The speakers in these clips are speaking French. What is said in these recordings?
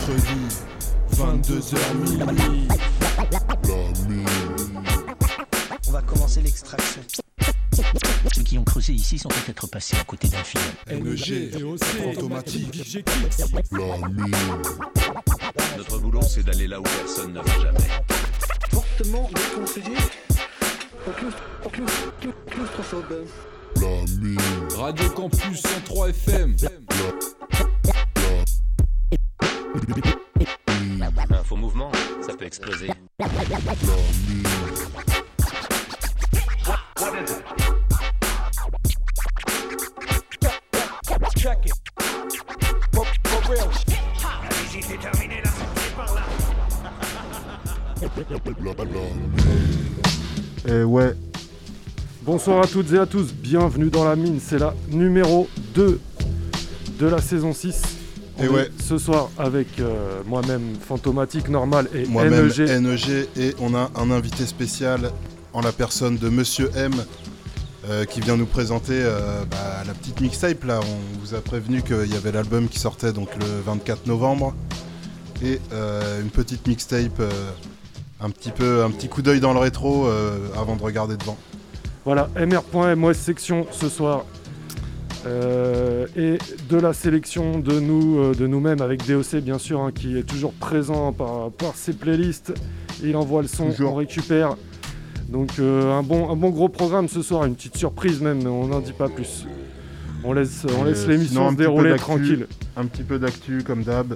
mercredi, 22h minuit. On va commencer l'extraction. Ceux qui ont creusé ici sont peut-être passés à côté d'un film. NG, VOC, automatique, Notre boulot, c'est d'aller là où personne ne va jamais. Fortement déconseillé. Claustrophobe. Radio Campus 103 FM. Un faux mouvement, ça peut exploser. Check it. For real. J'ai terminé la sortie par là. Et ouais. Bonsoir à toutes et à tous, bienvenue dans la mine, c'est la numéro 2 de la saison 6. Et ouais. Ce soir avec moi-même, Fantomatique, Normal et Moi-même, NEG. NEG, et on a un invité spécial en la personne de Monsieur M qui vient nous présenter la petite mixtape là. On vous a prévenu qu'il y avait l'album qui sortait donc le 24 novembre et une petite mixtape, un petit coup d'œil dans le rétro avant de regarder devant. Voilà, mr.mos section ce soir. Et de la sélection de nous-mêmes avec DOC bien sûr, hein, qui est toujours présent par ses playlists. Il envoie le son, Toujours. on récupère. Donc un bon gros programme ce soir, une petite surprise même, mais on n'en dit pas plus. On laisse l'émission sinon, un se petit dérouler peu d'actu, tranquille. Un petit peu d'actu comme d'hab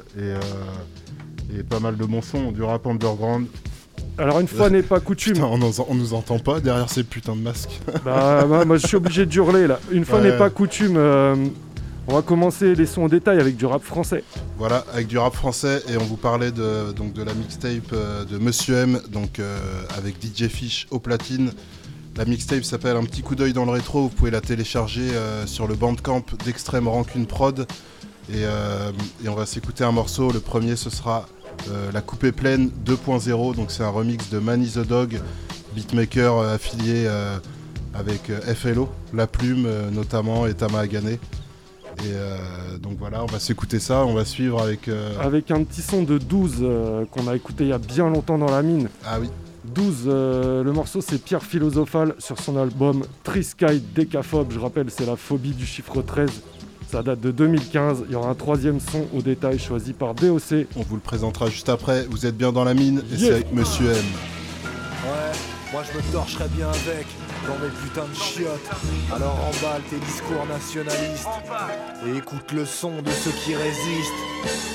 et pas mal de bons sons, du rap underground. Alors une fois n'est pas coutume. Putain, on nous entend pas derrière ces putains de masques. Moi je suis obligé de hurler là. Une fois Ouais. n'est pas coutume, on va commencer les sons en détail avec du rap français. Voilà, avec du rap français, et on vous parlait de la mixtape de Monsieur M, avec DJ Fish au platine. La mixtape s'appelle Un petit coup d'œil dans le rétro, vous pouvez la télécharger sur le bandcamp d'Extrême Rancune Prod. Et on va s'écouter un morceau, le premier ce sera La Coupée Pleine 2.0, donc c'est un remix de Manny the Dog, beatmaker affilié avec FLO, La Plume notamment, et Tama Agane. Et donc voilà, on va s'écouter ça, on va suivre avec... Avec un petit son de 12 qu'on a écouté il y a bien longtemps dans la mine. Ah oui. 12, le morceau c'est Pierre Philosophal sur son album Trisky Décaphobe. Je rappelle, c'est la phobie du chiffre 13. Ça date de 2015. Il y aura un troisième son au détail choisi par DOC. On vous le présentera juste après. Vous êtes bien dans la mine et Yeah. c'est avec Monsieur M. Ouais, moi je me torcherais bien avec dans mes putains de chiottes. Alors emballe tes discours nationalistes et écoute le son de ceux qui résistent.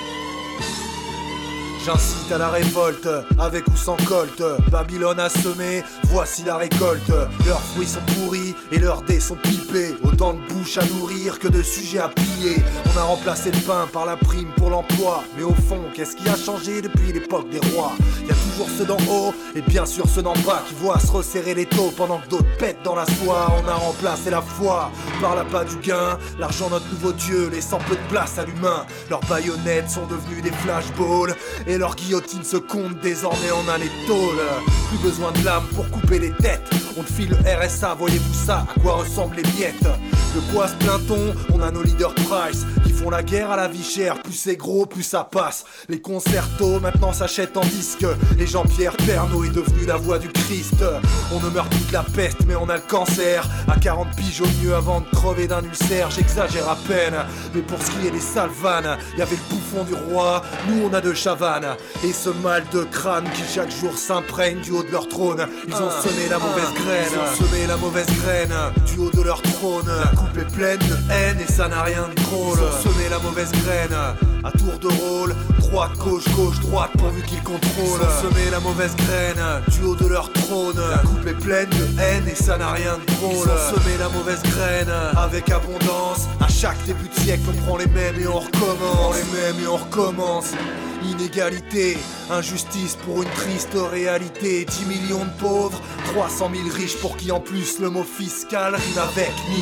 J'incite à la révolte, avec ou sans colte. Babylone a semé, voici la récolte. Leurs fruits sont pourris et leurs dés sont pipés. Autant de bouches à nourrir que de sujets à piller. On a remplacé le pain par la prime pour l'emploi. Mais au fond, qu'est-ce qui a changé depuis l'époque des rois? Y a toujours ceux d'en haut et bien sûr ceux d'en bas qui voient se resserrer les taux pendant que d'autres pètent dans la soie. On a remplacé la foi par l'appât du gain. L'argent notre nouveau dieu, laissant peu de place à l'humain. Leurs baïonnettes sont devenues des flashballs et leurs guillotines se comptent désormais en un étole. Plus besoin de lame pour couper les têtes. On te file le RSA, voyez-vous ça, à quoi ressemblent les miettes? De quoi se plaint-on? On a nos leaders Price qui font la guerre à la vie chère. Plus c'est gros, plus ça passe. Les concertos maintenant s'achètent en disque. Et Jean-Pierre Pernaut est devenu la voix du Christ. On ne meurt plus de la peste mais on a le cancer. À 40 piges au mieux avant de crever d'un ulcère. J'exagère à peine, mais pour ce qui est des sales vannes, y'avait le bouffon du roi, nous on a de Chavannes. Et ce mal de crâne qui chaque jour s'imprègne du haut de leur trône. Ils ont semé la mauvaise graine. Ils ont semé la mauvaise graine du haut de leur trône. La coupe est pleine de haine et ça n'a rien de drôle. Ils ont semé la mauvaise graine à tour de rôle. Droite, gauche, gauche, droite pourvu qu'ils contrôlent. Ils ont semé la mauvaise graine du haut de leur trône. La coupe est pleine de haine et ça n'a rien de drôle. Ils ont semé la mauvaise graine avec abondance. À chaque début de siècle on prend les mêmes et on recommence. Inégalité, injustice pour une triste réalité. 10 millions de pauvres, 300 000 riches pour qui en plus le mot fiscal rime avec niche. Mais ce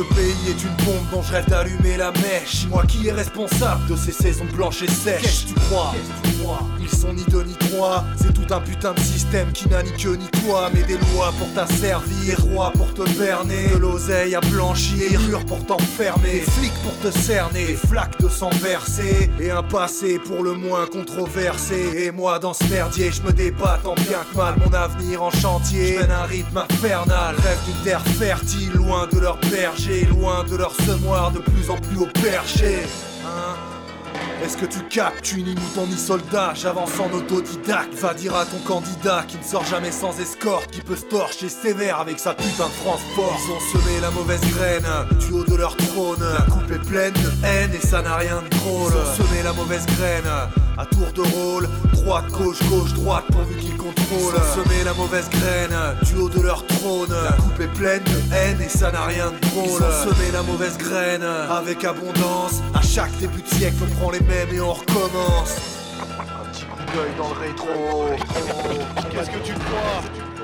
pays est une bombe dont je rêve d'allumer la mèche. Moi qui est responsable de ces saisons blanches et sèches. Qu'est-ce que tu crois? Ils sont ni deux ni trois. C'est tout un putain de système qui n'a ni queue ni toi. Mais des lois pour t'asservir, des rois pour te berner, de l'oseille à blanchir, des murs pour t'enfermer, des flics pour te cerner, des flaques de sang versées, et un passé pour le moins controversé. Et moi dans ce merdier, je me débatte en bien que mal. Mon avenir en chantier, je mène un rythme infernal. Rêve d'une terre fertile, loin de leur berger, loin de leur semoir de plus en plus au perché. Est-ce que tu captes, tu ni mouton ni soldat, j'avance en autodidacte. Va dire à ton candidat qui ne sort jamais sans escorte, qui peut se torcher sévère avec sa putain de France force. Ils ont semé la mauvaise graine du haut de leur trône. La coupe est pleine de haine et ça n'a rien de drôle. Ils ont semé la mauvaise graine à tour de rôle, droite, gauche, gauche, droite, pourvu qu'ils contrôlent. Ils ont semé la mauvaise graine du haut de leur trône. La coupe est pleine de haine et ça n'a rien de drôle. Ils ont semé la mauvaise graine avec abondance. À chaque début de siècle, on prend les mêmes et on recommence. Un petit coup d'œil dans le rétro. Qu'est-ce que tu crois?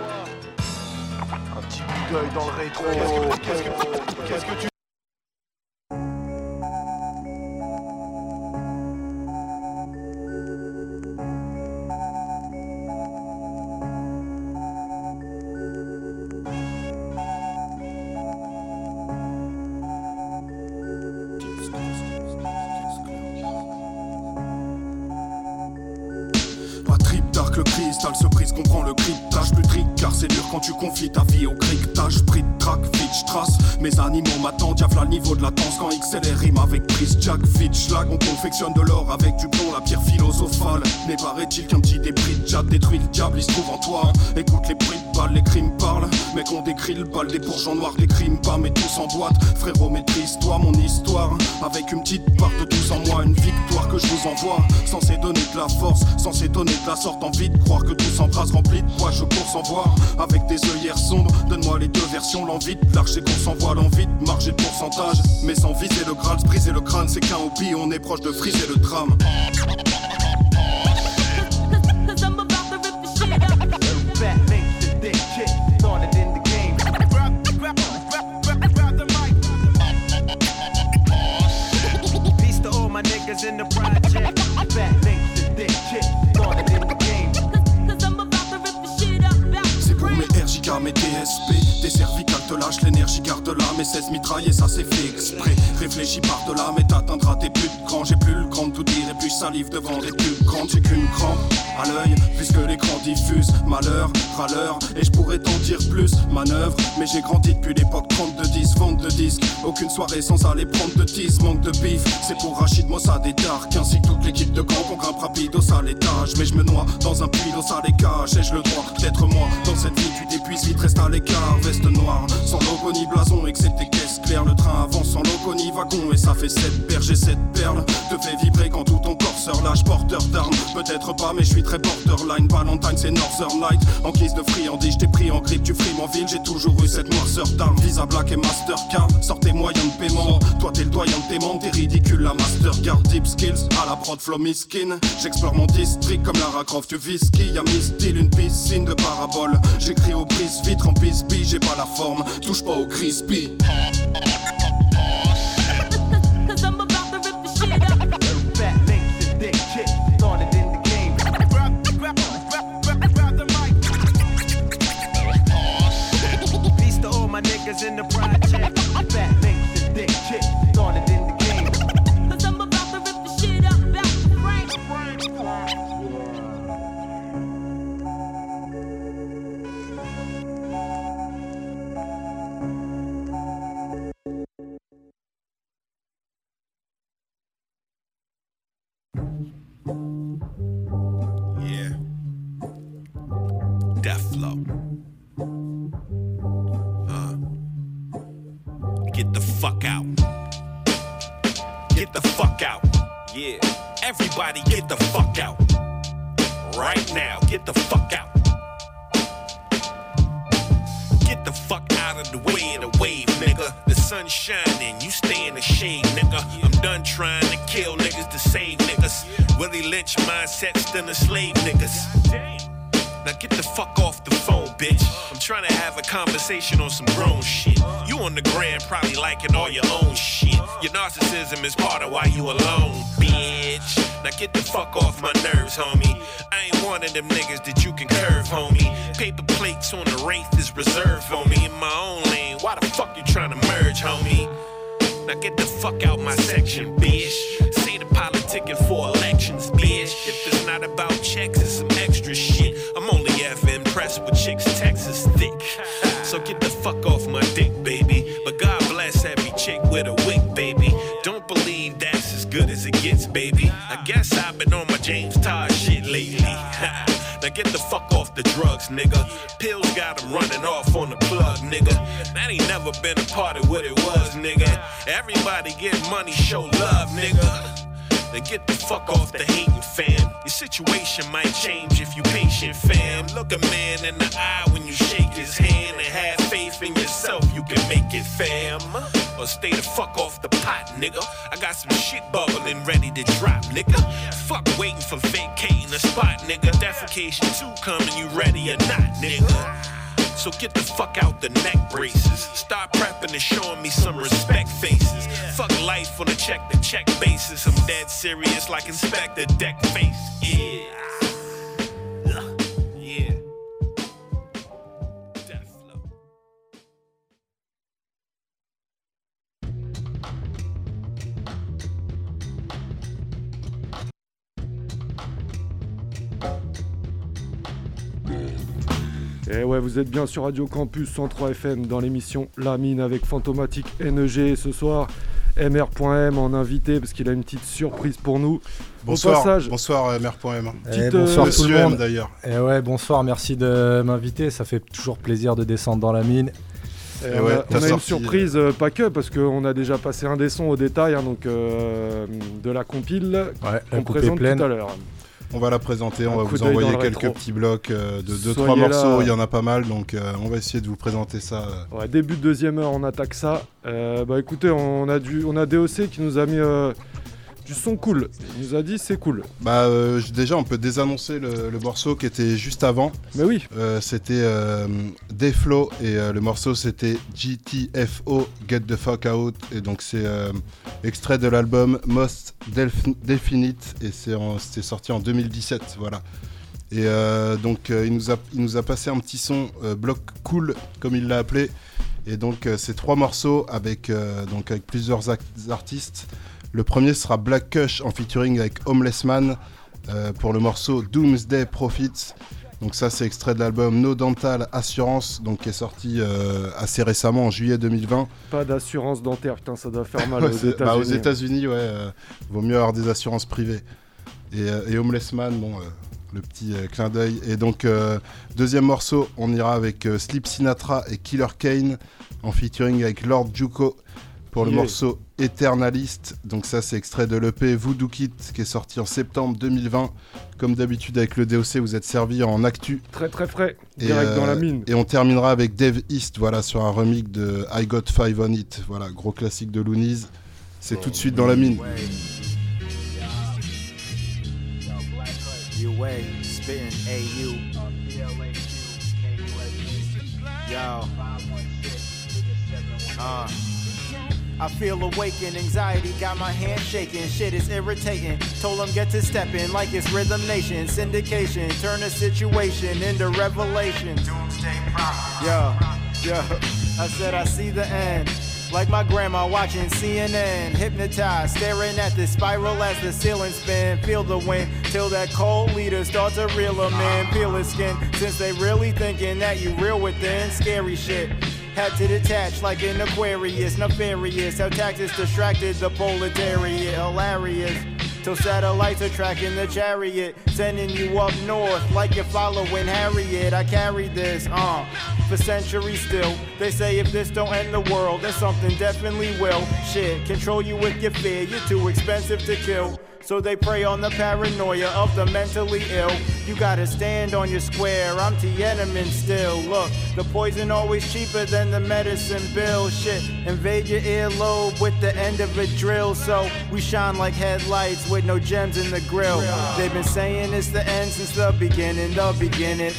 Un petit coup d'œil dans le rétro. Qu'est-ce que tu Le cristal se brise, comprend le cryptage. Plus trick car c'est dur quand tu confies ta vie au cryptage. Pris de track, vite j'trace. Mes animaux m'attendent, diable à le niveau de latence. Quand XLR rime avec prise jack, vite schlag. On confectionne de l'or avec du plomb, la pierre philosophale. Mais paraît-il qu'un petit débris de jade détruit le diable, il se trouve en toi. Écoute les bruits de balles, les crimes parlent. Mec on décrit le bal, des bourgeons noirs, des crimes pas. Mais tous en boîte, frérot maîtrise-toi mon histoire. Avec une petite part de tous en moi, une victoire que je vous envoie. Censé donner de la force, censé donner de la sorte, envie de croire que tout s'embrasse rempli de poids, je cours sans voir. Avec des œillères sombres, donne-moi les deux versions. L'envie de lâcher qu'on s'envoie, l'envie de marger de pourcentage. Mais sans viser le Graal, se briser le crâne, c'est qu'un hobby, on est proche de friser le drame. In the project, fat links and thick shit, started in the game. Cause I'm about to rip the shit up. C'est pour mes RJK, mes DSP. Tes cervicales te lâchent, l'énergie garde-la. Mes 16 mitrailles et ça c'est fait exprès. Réfléchis par-delà, mais t'atteindras tes plus de grands. J'ai plus le cran de tout dire et plus salive devant des pubs grandes. J'ai qu'une crampe à l'œil, puisque l'écran diffuse malheur, râleur. Et je pourrais t'en dire plus, manœuvre. Mais j'ai grandi depuis l'époque 32-10, vente de disques. Aucune soirée sans aller prendre de tease, manque de bif. C'est pour Rachid, Mossad et Dark, ainsi que toute l'équipe de gang. On grimpe rapide au sale étage. Mais je me noie dans un puits d'eau sale et cache. Et je le droit d'être moi. Dans cette vie tu t'épuises vite, reste à l'écart. Veste noire, sans logo ni blason, excepté caisse claire. Le train avance sans logo ni wagon. Et ça fait 7 berges et 7 perles. Te fait vibrer quand tout ton corps se relâche. Porteur d'armes, peut-être pas mais je suis très borderline. Valentine c'est Northern Light. En guise de friandise, je t'ai pris en grippe. Tu frimes en ville, j'ai toujours eu cette noirceur d'armes. Visa Black et Mastercard, sors tes moyens de paiement. Toi t'es le doyen de tes membres, t'es ridicule la Mastercard. Deep skills, à la prod flow miskin. J'explore mon district comme Lara Croft du whisky. Y'a mis style, une piscine de parabole. J'écris au brise-vitre en bisbille, j'ai pas la forme, touche pas au crispy. In the project, fat links and thick shit, started in the game. Cause I'm about to rip the shit up back to Frank. Yeah. Death flow. Get the fuck out. Get the fuck out. Yeah. Everybody get the fuck out. Right now, get the fuck out. Get the fuck out of the way of the wave, nigga. The sun's shining, you stay in the shade, nigga. I'm done trying to kill niggas to save niggas. Willie Lynch mindset still enslave niggas. Now get the fuck off the phone, bitch. I'm trying to have a conversation on some grown shit. You on the gram probably liking all your own shit. Your narcissism is part of why you alone, bitch. Now get the fuck off my nerves, homie. I ain't one of them niggas that you can curve, homie. Paper plates on the wraith is reserved for me. In my own lane, why the fuck you trying to merge, homie? Now get the fuck out my section, bitch. Say the politicking for elections, bitch. If it's not about checks, it's some extra shit. I'm only ever impressed with chicks Texas thick. So get the fuck off my dick, baby. But God bless every chick with a wig, baby. Don't believe that's as good as it gets, baby. I guess I've been on my James Todd shit lately. Now get the fuck off the drugs, nigga. Pills got 'em running off on the plug, nigga. That ain't never been a part of what it was, nigga. Everybody get money, show love, nigga. Then get the fuck off the hating, fam. Your situation might change if you patient, fam. Look a man in the eye when you shake his hand and have faith in yourself, you can make it, fam. Or stay the fuck off the pot, nigga. I got some shit bubbling ready to drop, nigga. Fuck waiting for vacating the spot, nigga. Defecation 2 coming, you ready or not, nigga? So get the fuck out the neck braces. Start prepping and showing me some respect faces. Fuck life on a check-to-check basis. I'm dead serious like Inspector Deck face. Yeah. Yeah. Death flow. Et ouais, vous êtes bien sur Radio Campus 103 FM dans l'émission La Mine avec Fantomatique NEG. Ce soir, MR.M en invité parce qu'il a une petite surprise pour nous. Bonsoir, au passage, bonsoir MR.M. Bonsoir tout le monde. D'ailleurs. Et ouais, bonsoir, merci de m'inviter. Ça fait toujours plaisir de descendre dans la mine. Et on a une surprise, pas que, parce qu'on a déjà passé un des sons au détail, hein, donc de la compile qu'on présente tout à l'heure. On va la présenter, on va vous envoyer quelques petits blocs de 2-3 morceaux, il y en a pas mal, donc on va essayer de vous présenter ça. Ouais, début de deuxième heure, on attaque ça. Écoutez, on a DOC qui nous a mis du son cool. Il nous a dit c'est cool. Déjà, on peut désannoncer le morceau qui était juste avant. Mais oui. C'était Deflow et le morceau c'était GTFO, Get the Fuck Out. Et donc c'est extrait de l'album Most Definite et c'était sorti en 2017. Voilà. Et donc il nous a passé un petit son bloc cool comme il l'a appelé. Et donc c'est 3 morceaux avec plusieurs artistes. Le premier sera Black Kush en featuring avec Homeless Man pour le morceau Doomsday Profits. Donc ça c'est extrait de l'album No Dental Assurance, donc qui est sorti assez récemment en juillet 2020. Pas d'assurance dentaire, putain ça doit faire mal aux États-Unis. Aux États-Unis, vaut mieux avoir des assurances privées. Et Homeless Man, le petit clin d'œil. Et donc deuxième morceau, on ira avec Sleep Sinatra et Killer Kane en featuring avec Lord Juco. Pour le morceau Eternalist, donc ça c'est extrait de l'EP Voodoo Kit qui est sorti en septembre 2020. Comme d'habitude avec le DOC, vous êtes servi en actu. Très très frais, direct dans la mine. Et on terminera avec Dave East, sur un remix de I Got 5 on It. Voilà, gros classique de Loonies. C'est tout de suite dans la mine. I feel awakened, anxiety got my hand shaking, shit is irritating, told them get to stepping like it's Rhythm Nation, syndication, turn a situation into revelation. Doomsday Prophet. Yo, I said I see the end, like my grandma watching CNN, hypnotized, staring at the spiral as the ceiling spin, feel the wind, till that cold leader starts to reel them in, peel his skin, since they really thinking that you real within, scary shit. Had to detach like an Aquarius, nefarious. How taxes distracted the proletariat, hilarious. Till satellites are tracking the chariot, sending you up north like you're following Harriet. I carried this, for centuries still. They say if this don't end the world, then something definitely will. Shit, control you with your fear, you're too expensive to kill. So they prey on the paranoia of the mentally ill. You gotta stand on your square, I'm Tiananmen still. Look, the poison always cheaper than the medicine bill. Shit, invade your earlobe with the end of a drill. So we shine like headlights with no gems in the grill. They've been saying it's the end since the beginning,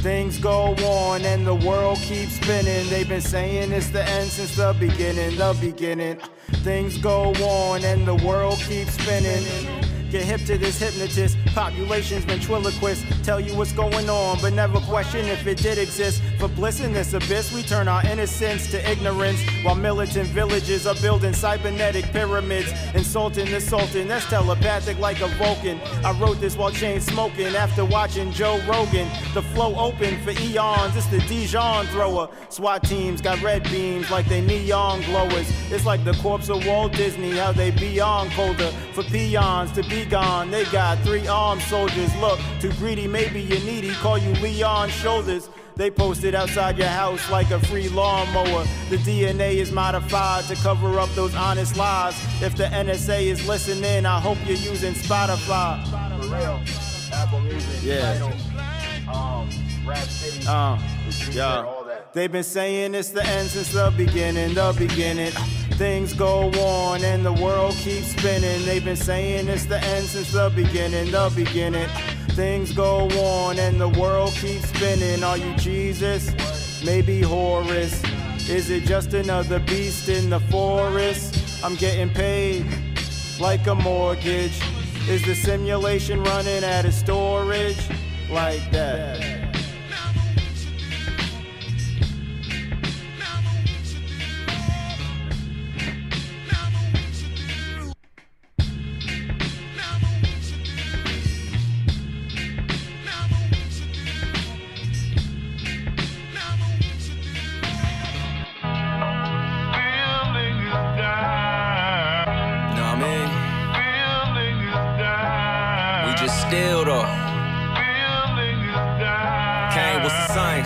Things go on and the world keeps spinning. They've been saying it's the end since the beginning, the beginning. Things go on and the world keeps spinning. Get hip to this hypnotist. Population's ventriloquist. Tell you what's going on, but never question if it did exist. For bliss in this abyss, we turn our innocence to ignorance. While militant villages are building cybernetic pyramids. Insulting the sultan, that's telepathic like a Vulcan. I wrote this while chain smoking after watching Joe Rogan. The flow open for eons, it's the Dijon thrower. SWAT teams got red beams like they neon glowers. It's like the corpse of Walt Disney, how they beyond colder. For peons to be gone, they got 3 armed soldiers. Look, too greedy, maybe you're needy, call you Leon Shoulders. They posted outside your house like a free lawnmower. The DNA is modified to cover up those honest lies. If the NSA is listening, I hope you're using Spotify. For real, Apple Music, yeah. Tidal, Rap City, Yeah. all that. They've been saying it's the end since the beginning, the beginning. Things go on and the world keeps spinning. They've been saying it's the end since the beginning, the beginning. Things go on and the world keeps spinning. Are you Jesus? Maybe Horus. Is it just another beast in the forest? I'm getting paid like a mortgage. Is the simulation running out of storage? Like that. Still though, Kane, what's the science?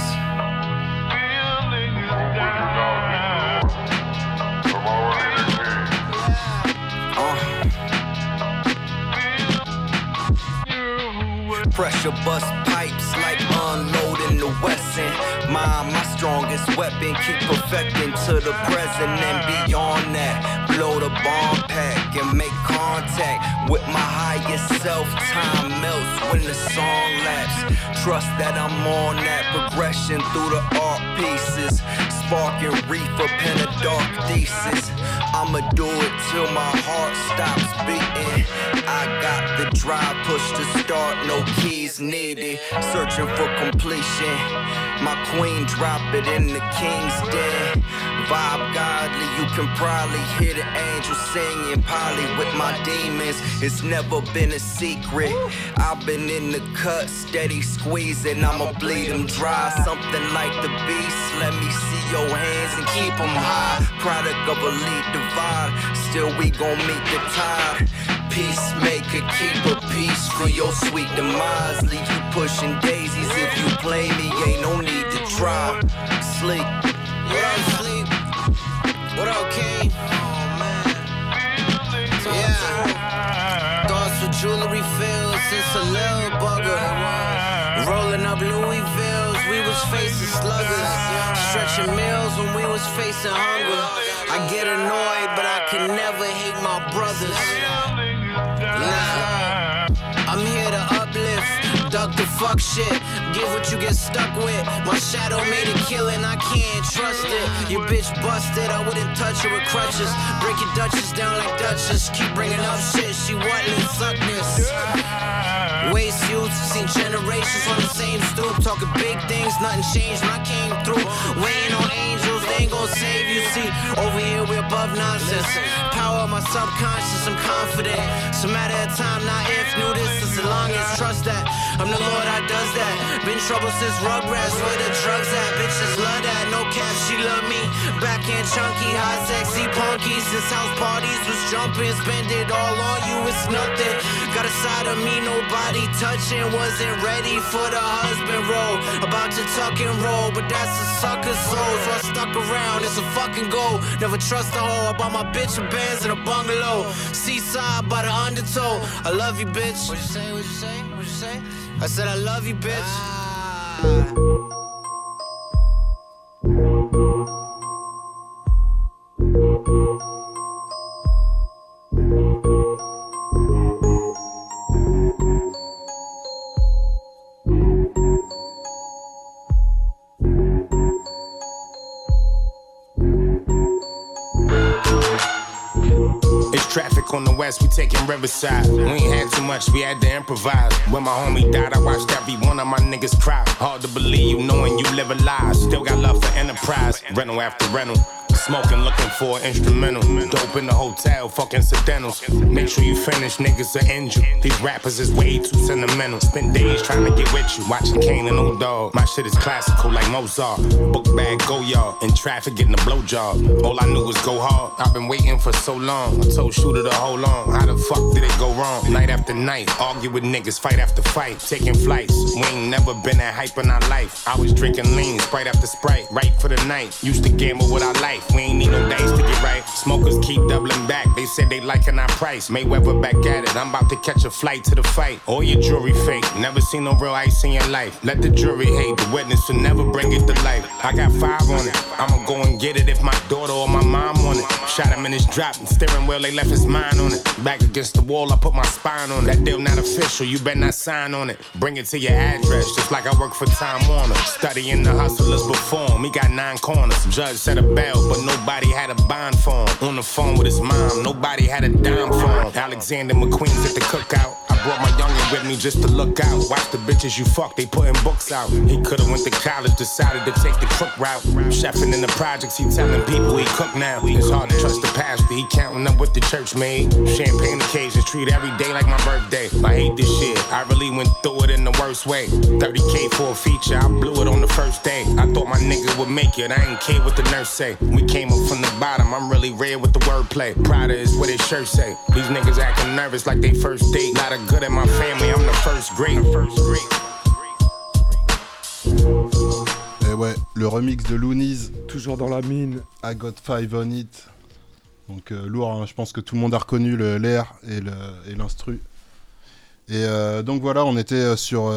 Pressure bust pipes like unloading the Wesson. My strongest weapon, keep perfecting to the present and beyond that. Blow the bomb pack and make contact with my highest self. Time melts when the song laps. Trust that I'm on that progression through the art pieces. Sparking reefer, pen a dark thesis. I'ma do it till my heart stops beating. I got the drive, push to start, no keys needed. Searching for completion. My queen drop it in the king's den. Vibe godly, you can probably hear the angels singing. Poly with my demons, it's never been a secret. I've been in the cut, steady squeezing. I'ma bleed them dry, something like the beast. Let me see your hands and keep them high. Product of elite divide, still we gon' meet the tide. Peacemaker, keep a peace for your sweet demise. Leave you pushing daisies if you play me, ain't no need to try. Sleep. What up, Sleep? What up, King? Yeah. Thoughts with jewelry fields since a little bugger. Rolling up Louisvilles, we was facing sluggers. Stretching meals when we was facing hunger. I get annoyed, but I can never hate my brothers. Nah, I'm here to uplift, duck the fuck shit. Give what you get stuck with. My shadow made a killing, I can't trust it. Your bitch busted, I wouldn't touch her with crutches. Break your Duchess down like Duchess. Keep bringing up shit, she wantin' suckness. Waste youth, seen generations on the same stoop. Talking big things, nothing changed when I came through. Waiting on angels, they ain't gon' save you. See, over here we above nonsense. Power of my subconscious, I'm confident. It's a matter of time, not if. Knew this as long as trust that. I'm the Lord, I does that. Been trouble since Rugrats, where the drugs at. Bitches love that, no cap, she love me. Back end chunky, hot sexy punky. Since house parties was jumping, spend it all on you, it's nothing. Got a side of me, nobody touching. Wasn't ready for the husband role. About to tuck and roll, but that's a sucker soul. So I stuck around, it's a fucking goal. Never trust a hoe, I bought my bitch a Benz in a bungalow. Seaside by the undertow. I love you, bitch. What you say, what you say, what you say? I said I love you, bitch. traffic on the west, we taking Riverside. We ain't had too much, we had to improvise. When my homie died, I watched every one of my niggas cry. Hard to believe you knowing you live a lie. Still got love for Enterprise, rental after rental. Smoking, looking for an instrumental. Dope in the hotel, fuck incidentals. Make sure you finish, niggas are injured. These rappers is way too sentimental. Spent days trying to get with you, watching Kane and Old Dog. My shit is classical like Mozart. Book bag, go yard. In traffic, getting a blowjob. All I knew was go hard. I've been waiting for so long. I told Shooter to hold on. How the fuck did it go wrong? Night after night, argue with niggas, fight after fight. Taking flights, we ain't never been that hype in our life. I was drinking lean, Sprite after Sprite. Right for the night, used to gamble with our life. We ain't need no dice to get right. Smokers keep doubling back. They said they liking our price. Mayweather back at it. I'm about to catch a flight to the fight. All your jewelry fake. Never seen no real ice in your life. Let the jury hate. The witness will never bring it to life. I got 5 on it. I'ma go and get it if my daughter or my mom want it. Shot him in his drop and steering wheel. They left his mind on it. Back against the wall. I put my spine on it. That deal not official. You better not sign on it. Bring it to your address. Just like I work for Time Warner. Studying the hustlers before him. He got 9 corners. Judge set a bell, but nobody had a bond for him. On the phone with his mom, nobody had a dime for him. Alexander McQueen's at the cookout. I brought my youngin' with me just to look out. Watch the bitches you fuck, they putting books out. He could've went to college, decided to take the crook route. Chefing in the projects, he telling people he cook now. It's hard to trust the pastor, he counting up what the church made. Champagne occasions, treat every day like my birthday. I hate this shit, I really went through it in the worst way. 30K for a feature, I blew it on the first day. I thought my nigga would make it, I ain't care what the nurse say. We came up from the bottom, I'm really rare with the wordplay. Prada is what his shirt say. These niggas acting nervous like they first date. Not a good in my family, I'm the first great. Et ouais, le remix de Loonies. Toujours dans la mine. I Got 5 on it. Donc lourd, hein, je pense que tout le monde a reconnu l'air et l'instru. Et donc voilà, on était sur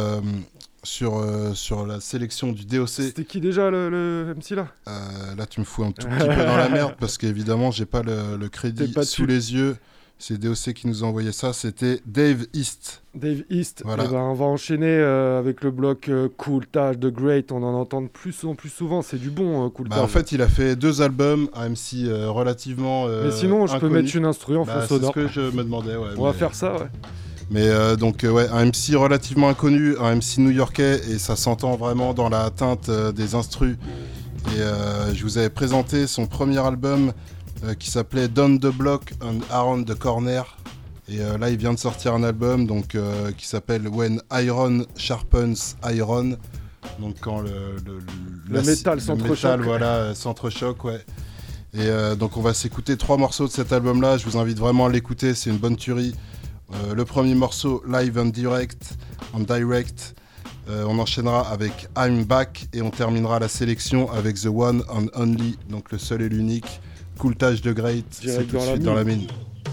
la sélection du DOC. C'était qui déjà le MC là? Là tu me fous un tout petit peu dans la merde parce qu'évidemment j'ai pas le crédit sous les yeux. C'est DOC qui nous a envoyé ça, c'était Dave East. Dave East, voilà. Ben, on va enchaîner avec le bloc Cool Taj, The Great, on en entend de plus en plus souvent, c'est du bon Cool Taj. En fait il a fait 2 albums, un MC relativement mais sinon je inconnu. Peux mettre une instru en fond sonore. C'est ce que je me demandais, ouais. On va faire ça, ouais. Mais donc ouais, un MC relativement inconnu, un MC new-yorkais, et ça s'entend vraiment dans la teinte des instrus. Et je vous avais présenté son premier album qui s'appelait Down the Block and Around the Corner. Et là il vient de sortir un album donc, qui s'appelle When Iron Sharpens Iron. Donc quand le métal s'entrechoque. Voilà, s'entrechoque, ouais. Et donc on va s'écouter 3 morceaux de cet album-là. Je vous invite vraiment à l'écouter, c'est une bonne tuerie. Le premier morceau, Live and Direct. On enchaînera avec I'm Back et on terminera la sélection avec The One and Only, donc le seul et l'unique, Cool Taj, The Great. C'est tout de suite dans la mine.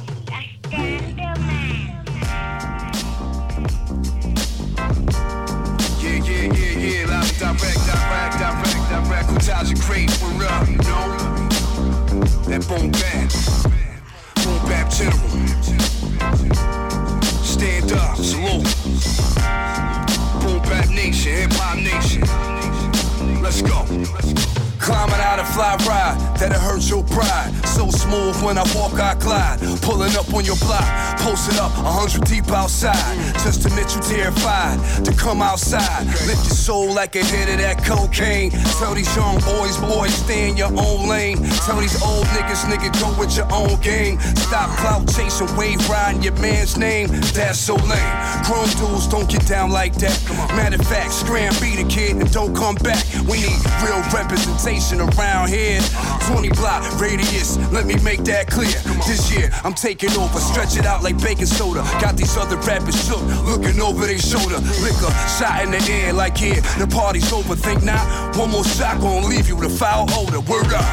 Yeah, live direct, Cool Taj, The Great, we're up, you know? That boom bap general. Stand up, salute. Boom bap nation, hip hop nation. Let's go. Climbing out a fly ride, that'll hurt your pride. So smooth when I walk, I glide. Pulling up on your block, posted up 100 deep outside. Just to admit you terrified to come outside. Lift your soul like a hit of that cocaine. Tell these young boys, stay in your own lane. Tell these old niggas, go with your own game. Stop clout chasing, wave riding your man's name. That's so lame. Grown dudes don't get down like that. Matter of fact, scram, beat a kid and don't come back. We need real representation around here. 20 block radius, let me make that clear. This year I'm taking over, stretch it out like baking soda. Got these other rappers shook, looking over their shoulder. Liquor shot in the air like yeah, the party's over. Think not, one more shot gon' leave you the foul odor. Word up.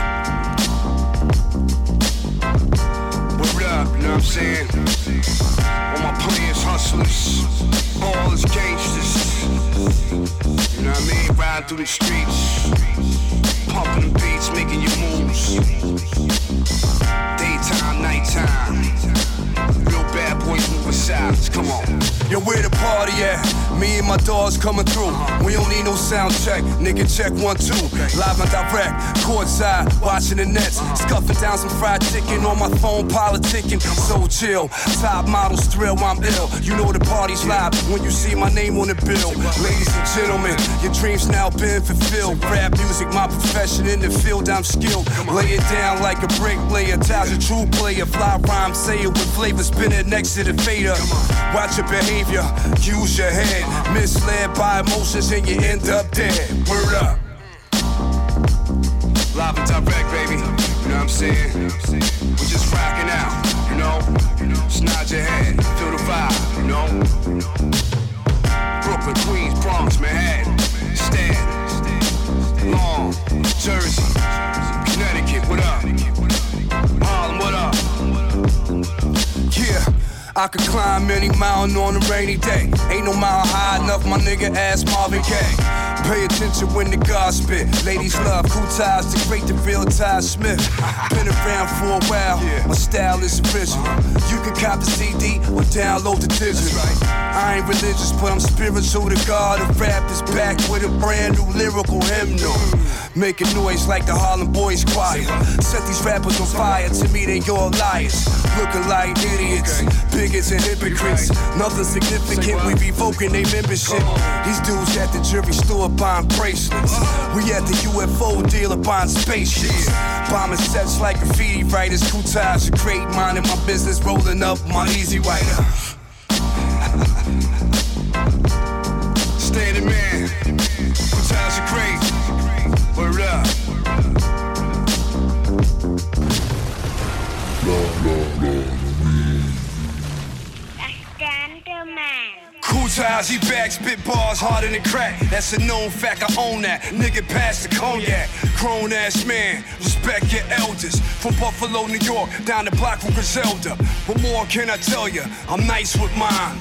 Word up, you know what I'm saying? All my players, hustlers, all is gangsters. You know what I mean? Riding through the streets, pumping the beats, making your moves. Daytime, nighttime. Real bad boys moving silence, come on. Yo, where the party at? Me and my dogs coming through. We don't need no sound check, nigga check 1, 2. Live and direct, courtside, watching the Nets, scuffing down some fried chicken on my phone, politicking. So chill, top models thrill, I'm ill. You know the party's live when you see my name on the bill. Ladies and gentlemen, your dreams now been fulfilled. Rap music, my profession in the field, I'm skilled. Lay it down like a break player, ties a true player. Fly rhyme, say it with flavor, spin it next to the fader. Watch your behavior, use your head. Misled by emotions and you end up dead. Word up. Live and direct, baby. You know what I'm saying? We're just rocking out, you know? Just nod your head, feel the vibe, you know? Brooklyn, Queens, Bronx, Manhattan, Staten, Long, Jersey, Connecticut, what up? Harlem, what up? Yeah. I could climb any mountain on a rainy day. Ain't no mountain high enough, my nigga, ask Marvin Gaye. Pay attention when the God spit. Ladies love cool ties, the great, the real Ty Smith. Been around for a while, my style is original. You can cop the CD or download the digital. I ain't religious, but I'm spiritual. The God of rap is back with a brand new lyrical hymnal. Making noise like the Harlem Boys Choir. Set these rappers on fire, to me they all liars. Looking like idiots, bigots and hypocrites. Nothing significant, we revoking their membership. These dudes at the jewelry store buying bracelets. We at the UFO dealer buying spaceships. Bombing sets like graffiti writers. Cool ties are great, minding my business, rolling up my easy rider. Standing man, cool ties are great. Word up. Cool ties, he back, spit bars harder than crack. That's a known fact, I own that. Nigga pass the cognac. Grown ass man, respect your elders. From Buffalo, New York, down the block from Griselda. What more can I tell ya? I'm nice with mine.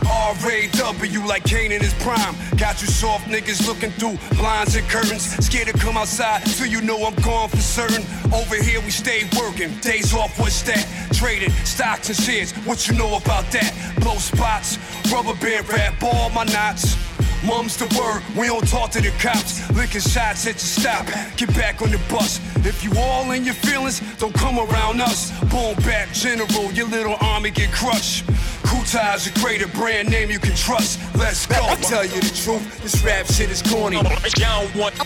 R.A.W. like Kane in his prime. Got you soft niggas looking through blinds and curtains. Scared to come outside till you know I'm gone for certain. Over here we stay working. Days off, what's that? Trading stocks and shares. What you know about that? Blow spots, rubber band rap, all my knots. Mum's the word, we don't talk to the cops. Licking shots at your stop, get back on the bus. If you all in your feelings, don't come around us. Boom back general, your little army get crushed. Cool ties, a greater brand name you can trust. Let's go. I tell you the truth, this rap shit is corny. Y'all don't want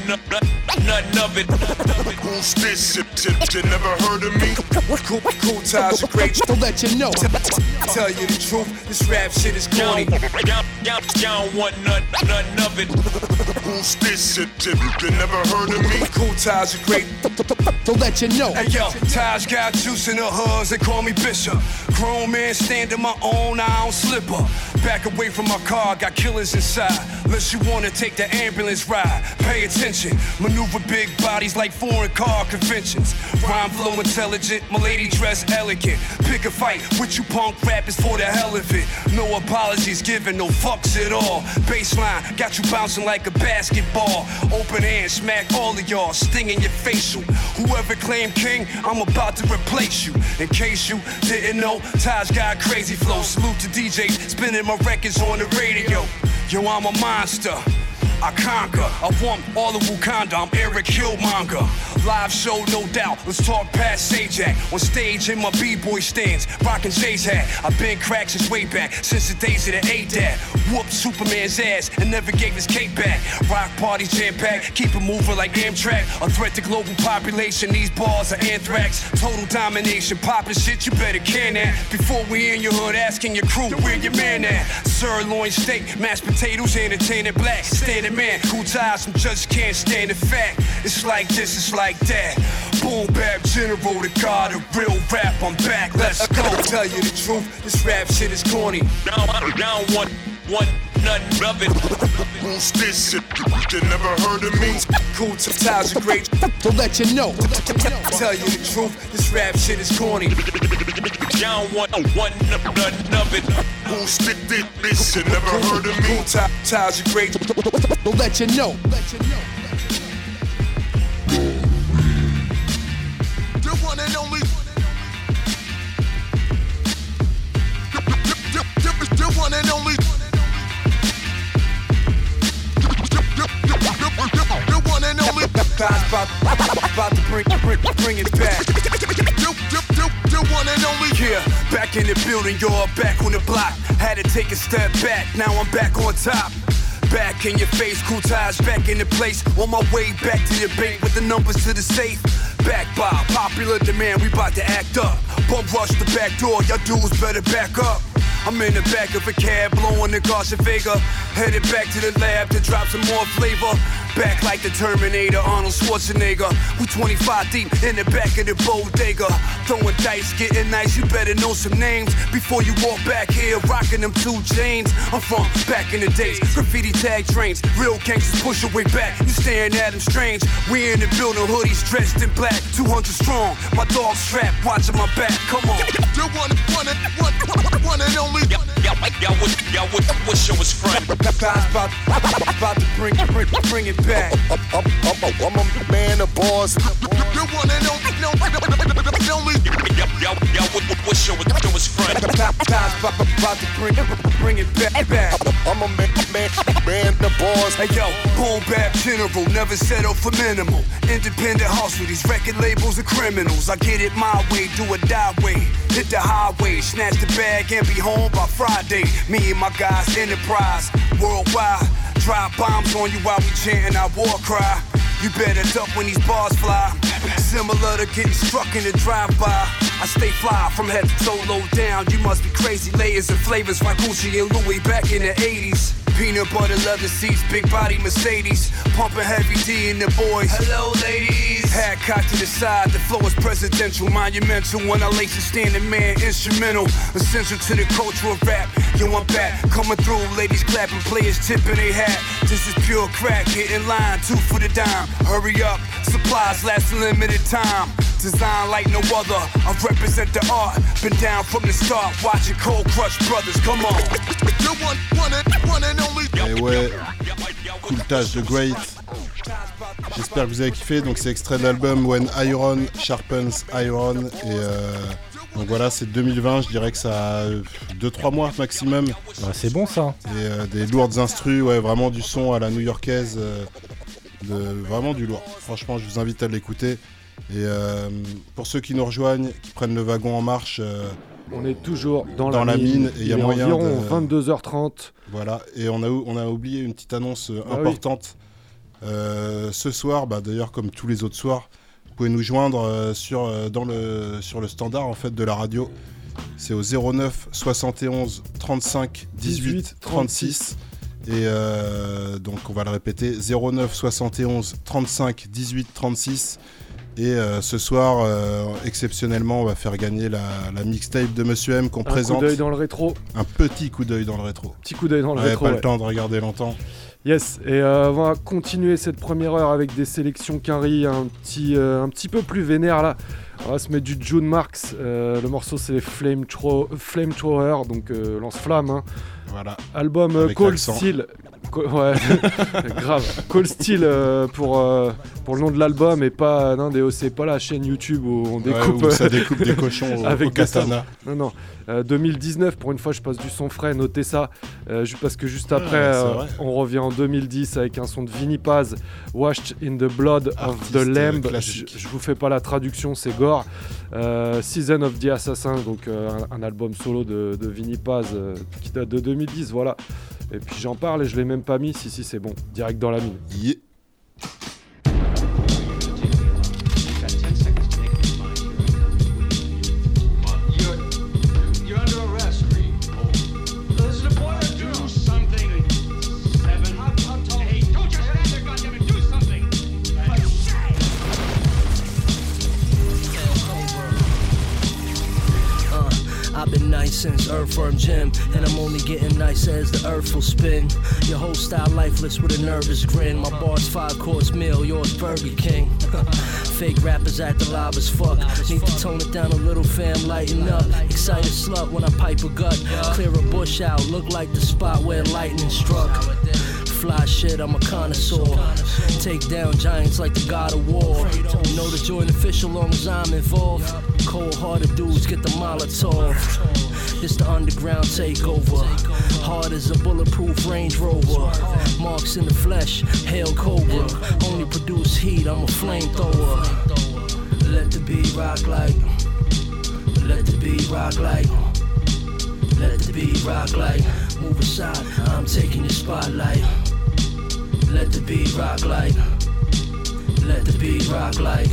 nothing of it. Who's this shit? You never heard of me? Cool ties are great. To let you know. I tell you the truth, this rap shit is corny. Y'all don't want nothing of it. Who's this shit? You never heard of me? Cool ties are great. To let you know. Hey yo, Taj got juice in the hoods, they call me Bishop. Grown man standing my own, I don't slip up. Back away from my car, got killers inside. Unless you wanna take the ambulance ride, pay attention. Maneuver big bodies like foreign car conventions. Rhyme flow intelligent, my lady dress elegant. Pick a fight with you punk rappers for the hell of it. No apologies given, no fucks at all. Baseline, got you bouncing like a basketball. Open hand, smack all of y'all, stinging your facial. Whoever claimed king, I'm about to replace you. In case you didn't know, Taj got crazy flow. Salute to DJs, spinning my records on the radio. Yo, I'm a monster. I conquer, I want all of Wakanda, I'm Eric Killmonger. Live show, no doubt, let's talk past Sajak. On stage in my B-boy stands, rockin' Jay's hat. I've been cracked since way back, since the days of the A-Dad. Whooped Superman's ass and never gave his cape back. Rock parties jam-packed, keep it moving like Amtrak. A threat to global population, these bars are anthrax. Total domination, poppin' shit, you better can that. Before we in your hood, asking your crew, where your man at? Sirloin steak, mashed potatoes, entertaining black. Standing man, cool ties, some just can't stand the fact. It's like this, it's like that. Boom bap general, the god of real rap, I'm back, let's go. Tell you the truth, this rap shit is corny. I don't want nothing of it. Who's this shit? You never heard of me? Cool ties are great. To let you know. Tell you the truth, this rap shit is corny. Y'all don't want nothing of it. Who's this? You never heard of me? Cool ties are great. To let you know. The one and only. The one and only. The one and only. about to bring it back. You one and only. Yeah, back in the building, you're back on the block. Had to take a step back, now I'm back on top. Back in your face, cool ties back in the place. On my way back to the bank with the numbers to the safe. Back by popular demand, we bout to act up. Bump rush the back door, y'all dudes better back up. I'm in the back of a cab, blowing the Garcia Vega. Headed back to the lab to drop some more flavor. Back like the Terminator, Arnold Schwarzenegger. We 25 deep in the back of the bodega. Throwing dice, getting nice, you better know some names. Before you walk back here, rocking them 2 chains. I'm from back in the days, graffiti tag trains. Real gangsters push your way back, you staring at them strange. We in the building, hoodies dressed in black. 200 strong, my dog strapped, watching my back, come on. You one and only. Y'all wish I was front. About to bring it back. I'm a man of bars. You one and only. Y'all wish I was front. About to bring it back. I'm a man of bars. Hey yo, boom bap general, never settle for minimal. Independent hustle, these record labels are criminals. I get it my way, do a die way. Hit the highway, snatch the bag and be home by Friday. Me and my guys, enterprise, worldwide. Drop bombs on you while we chanting our war cry. You better duck when these bars fly. Similar to getting struck in the drive-by. I stay fly from head to toe, low down. You must be crazy, layers and flavors like Gucci and Louis back in the 80s. Peanut butter leather seats, big body Mercedes. Pumping heavy D in the boys. Hello ladies. Hat cocked to the side, the flow is presidential, monumental. When I lace a standing man, instrumental. Essential to the culture of rap. Yo, I'm back, coming through, ladies clapping, players tipping they hat. This is pure crack, get in line, 2 for the dime. Hurry up, supplies last a limited time. Design like no other, I represent the art. Been down from the start, watching Cold Crush Brothers, come on. You one and only. Et ouais, Cool Taj The Great. J'espère que vous avez kiffé. Donc c'est extrait de l'album When Iron Sharpens Iron. Et donc voilà, c'est 2020. Je dirais que ça a 2-3 mois maximum. Bah, c'est bon ça. Et des lourdes instrus, ouais, vraiment du son à la new-yorkaise. Vraiment du lourd. Franchement, je vous invite à l'écouter. Et pour ceux qui nous rejoignent, qui prennent le wagon en marche, on est toujours dans la mine. Et il y a moyen environ 22h30. Voilà, et on a oublié une petite annonce importante. Oui. Ce soir, d'ailleurs comme tous les autres soirs, vous pouvez nous joindre sur le standard en fait de la radio. C'est au 09 71 35 18 36. Et donc on va le répéter, 09 71 35 18 36. Et ce soir, exceptionnellement, on va faire gagner la mixtape de Monsieur M qu'on présente. Un coup d'œil dans le rétro. Un petit coup d'œil dans le rétro. Petit coup d'œil dans le rétro. Pas le temps de regarder longtemps. Yes, et on va continuer cette première heure avec des sélections Quinry un petit peu plus vénère là. On va se mettre du June Marks. Le morceau c'est Flamethrower, donc lance-flamme. Hein. Voilà. Album Cold Steel. Ouais, grave. Cold Steel pour le nom de l'album et pas c'est pas la chaîne YouTube où on découpe. Où ça découpe des cochons avec au katana. Non. 2019, pour une fois je passe du son frais, notez ça. Parce que juste après, on revient en 2010 avec un son de Vinnie Paz, Washed in the Blood of the Lamb. Je vous fais pas la traduction, c'est gore. Season of the Assassin, donc un album solo de Vinnie Paz qui date de 2010, voilà. Et puis j'en parle et je l'ai même pas mis, si c'est bon, direct dans la mine. Yeah. I've been nice since Earthworm Jim, and I'm only getting nicer as the earth will spin. Your whole style lifeless with a nervous grin. My bar's 5-course meal, yours Burger King. Fake rappers act alive as fuck. Need to tone it down a little, fam, lighten up. Excited slut when I pipe a gut. Clear a bush out, look like the spot where lightning struck. fly shit, I'm a connoisseur. Take down giants like the God of War. Know the joint official long as I'm involved. Cold-hearted dudes get the Molotov. It's the underground takeover. Hard as a bulletproof Range Rover. Marks in the flesh, hail Cobra. Only produce heat, I'm a flamethrower. Let the beat rock like. Let the beat rock like. Let the beat rock like. Move aside, I'm taking your spotlight. Let the beat rock like. Let the beat rock like.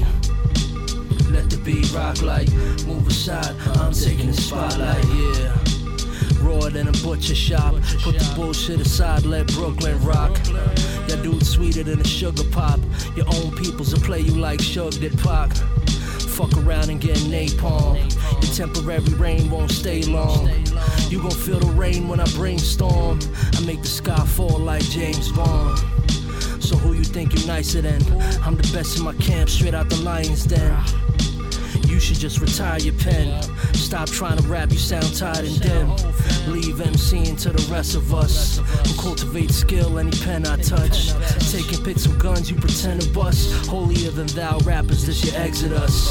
Let the beat rock like. Move aside, I'm taking the spotlight, yeah. Rawer than a butcher shop. Put the bullshit aside, let Brooklyn rock. Your dude's sweeter than a sugar pop. Your own peoples will play you like Suge did Pac. Fuck around and get napalm. Your temporary rain won't stay long. You gon' feel the rain when I brainstorm. I make the sky fall like James Bond. So who you think you nicer than? I'm the best in my camp, straight out the lion's den. You should just retire your pen. Stop trying to rap, you sound tired and dim. Leave MCing to the rest of us who cultivate skill any pen I touch. Taking pics of guns you pretend to bust. Holier than thou rappers, this your exodus.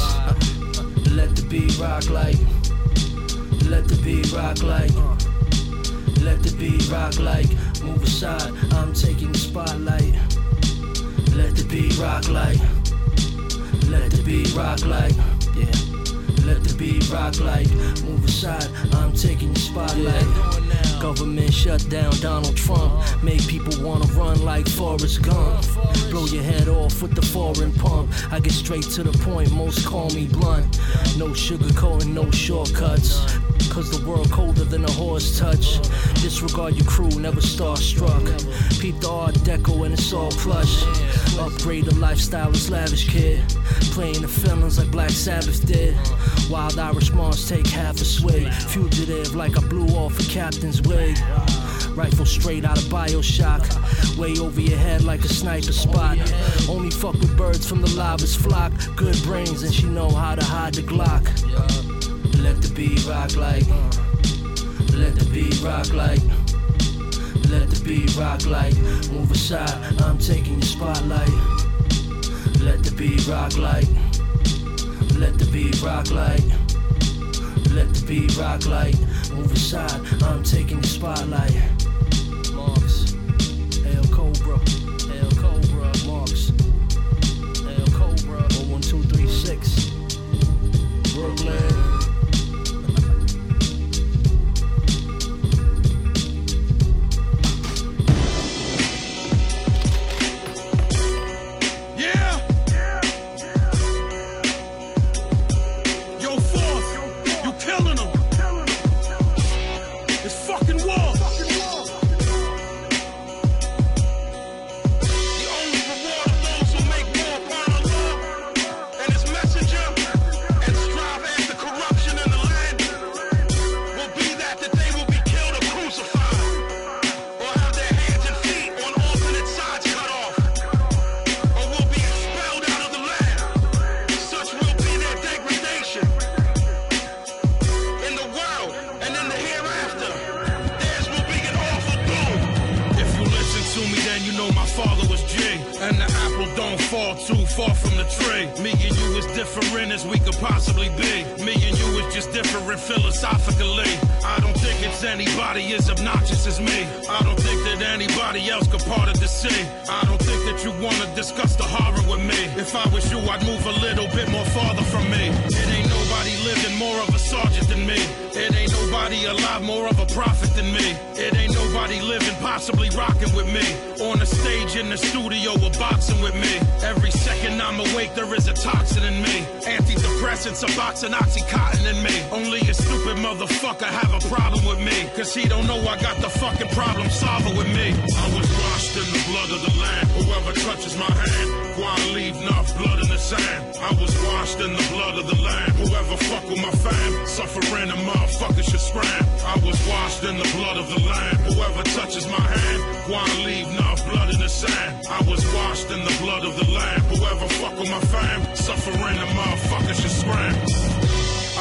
Let the beat rock like. Let the beat rock like. Let the beat rock like. Move aside, I'm taking the spotlight. Let the beat rock like. Let the beat rock like. Yeah. Let the beat rock like. Move aside, I'm taking the spotlight. Government shut down Donald Trump. Make people wanna run like Forrest Gump. Blow your head off with the foreign pump. I get straight to the point, most call me blunt. No sugarcoating, no shortcuts. Cause the world colder than a horse touch. Disregard your crew, never starstruck. Peep the Art Deco and it's all plush. Upgrade the lifestyle is lavish, kid. Playing the feelings like Black Sabbath did. Wild Irish Moms take half a swig. Fugitive like I blew off a captain's wig. Rifle straight out of Bioshock. Way over your head like a sniper spot. Only fuck with birds from the lobbers flock. Good brains and she know how to hide the Glock. Let the beat rock like. Let the beat rock like. Let the beat rock like. Move aside, I'm taking your spotlight. Let the beat rock like. Let the beat rock like. Let the beat rock like. Move aside, I'm taking your spotlight. Marks, El Cobra, El Cobra, Marks, El Cobra, 01236, Brooklyn. And Oxycontin in me. Only a stupid motherfucker have a problem with me. Cause he don't know I got the fucking problem solver with me. I was washed in the blood of the land. Whoever touches my hand, go and leave enough blood in the sand. I was washed in the blood of the land. Whoever fuck with my fam, suffering a motherfucker should scram. I was washed in the blood of the land. Whoever touches my hand, go and leave enough blood in the sand. I was washed in the blood of the land. Whoever fuck with my fam, suffering a motherfucker should scram.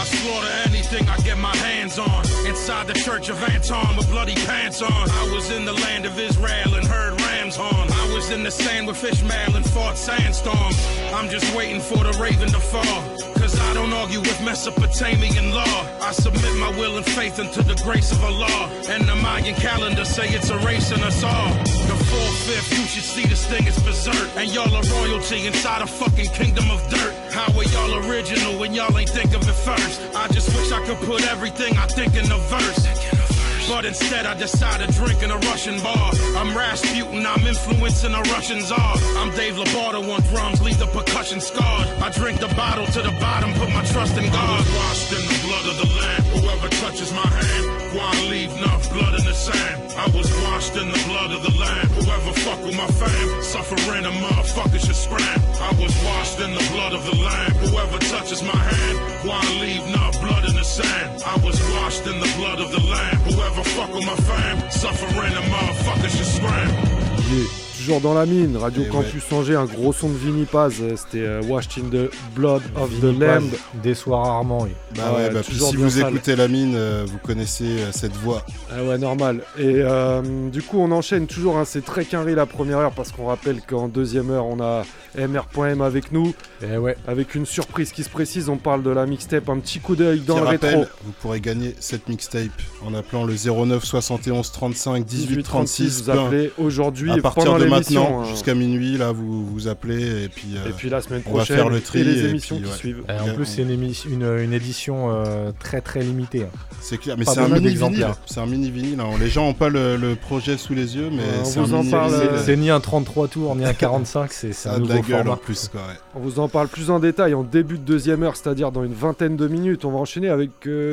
I slaughter anything I get my hands on. Inside the church of Anton with bloody pants on. I was in the land of Israel and heard rams horn. I was in the sand with Ishmael and fought sandstorms. I'm just waiting for the raven to fall. Cause I don't argue with Mesopotamian law. I submit my will and faith unto the grace of Allah. And the Mayan calendar say it's erasing us all. The 4/5, you should see this thing is berserk. And y'all are royalty inside a fucking kingdom of dirt. How are y'all original when y'all ain't think of it first? I just wish I could put everything I think in a verse. But instead I decide to drink in a Russian bar. I'm Rasputin, I'm influencing a Russian czar. I'm Dave Lovato on drums, leave the percussion scarred. I drink the bottle to the bottom, put my trust in God. I was washed in the blood of the Lamb. Whoever touches my hand, why leave enough blood in the sand? I was washed in the blood of the Lamb. Whoever fuck with my fam, suffering a motherfucker should scram. I was washed in the blood of the Lamb. Whoever touches my hand, why leave enough blood in the sand? I was washed in the blood of the Lamb. Whoever fuck with my fam, suffering a motherfucker should scram. Yeah. Toujours dans la mine, Radio Campus Angers, un gros son de Vinny Paz, c'était Washed in the Blood of the Lamb. Des soirs rarement, oui. Puis si vous écoutez la mine, vous connaissez cette voix. Ah ouais, normal. Et du coup, on enchaîne toujours, hein, c'est très quinri la première heure, parce qu'on rappelle qu'en deuxième heure, on a MR.M avec nous. Et ouais. Avec une surprise qui se précise, on parle de la mixtape, un petit coup d'œil dans le rappel, rétro. Vous pourrez gagner cette mixtape en appelant le 09 71 35 18 36. Vous appelez aujourd'hui à partir de maintenant, hein. jusqu'à minuit, là vous appelez et puis la semaine prochaine, on va faire le tri et les émissions qui suivent. Et en plus, c'est une édition très très limitée. C'est clair, mais c'est un mini vinyle. C'est un mini vinyle. Hein. Les gens n'ont pas le projet sous les yeux, mais c'est un mini vinyle. C'est ni un 33 tours, ni un 45, c'est un nouveau format. En plus, quoi, ouais. On vous en parle plus en détail en début de deuxième heure, c'est-à-dire dans une vingtaine de minutes. On va enchaîner avec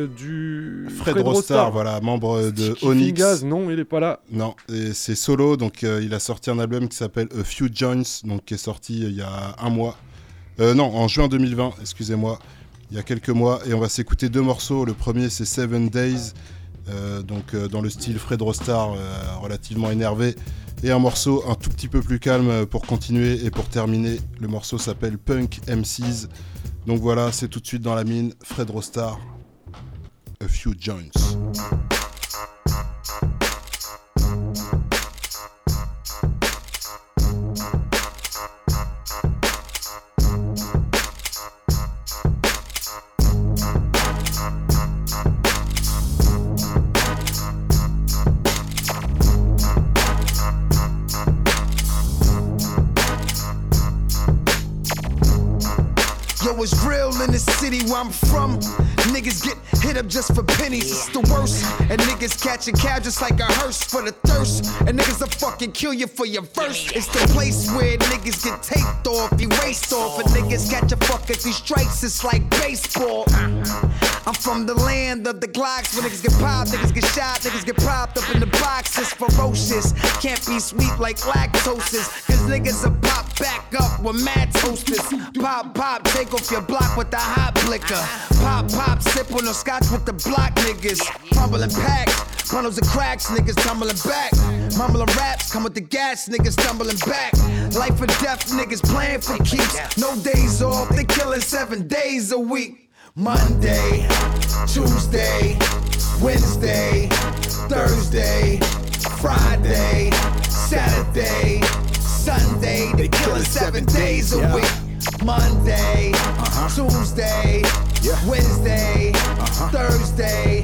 du Fred Rostar, voilà, membre de Onyx. Gaz, non, il est pas là. Non, c'est solo, donc il a sorti un album qui s'appelle A Few Joints, donc qui est sorti il y a un mois. En juin 2020, excusez-moi, il y a quelques mois, et on va s'écouter deux morceaux. Le premier, c'est 7 Days, dans le style Fred Rostar, relativement énervé, et un morceau un tout petit peu plus calme pour continuer et pour terminer. Le morceau s'appelle Punk MCs. Donc voilà, c'est tout de suite dans la mine, Fred Rostar, A Few Joints. It's real in the city where I'm from. Niggas get hit up just for pennies, it's the worst. And niggas catching cab just like a hearse for the thirst. And niggas will fucking kill you for your verse. It's the place where niggas get taped off, erased off. And niggas catch a fuck at these strikes, it's like baseball. I'm from the land of the Glocks. When niggas get popped, niggas get shot, niggas get propped up in the box. It's ferocious, can't be sweet like lactoses. Cause niggas will pop back up with mad toasters. Pop, pop, take off your block with the hot blicker. Pop, pop, sip on the scotch with the block niggas. Fumbling packs, bundles of cracks, niggas tumbling back. Mumbling raps, come with the gas, niggas stumbling back. Life or death, niggas playing for keeps. No days off, they killing 7 days a week. Monday, Tuesday, Wednesday, Thursday, Friday, Saturday, Sunday, they killing 7 days a week. Monday, Tuesday, Wednesday, Thursday,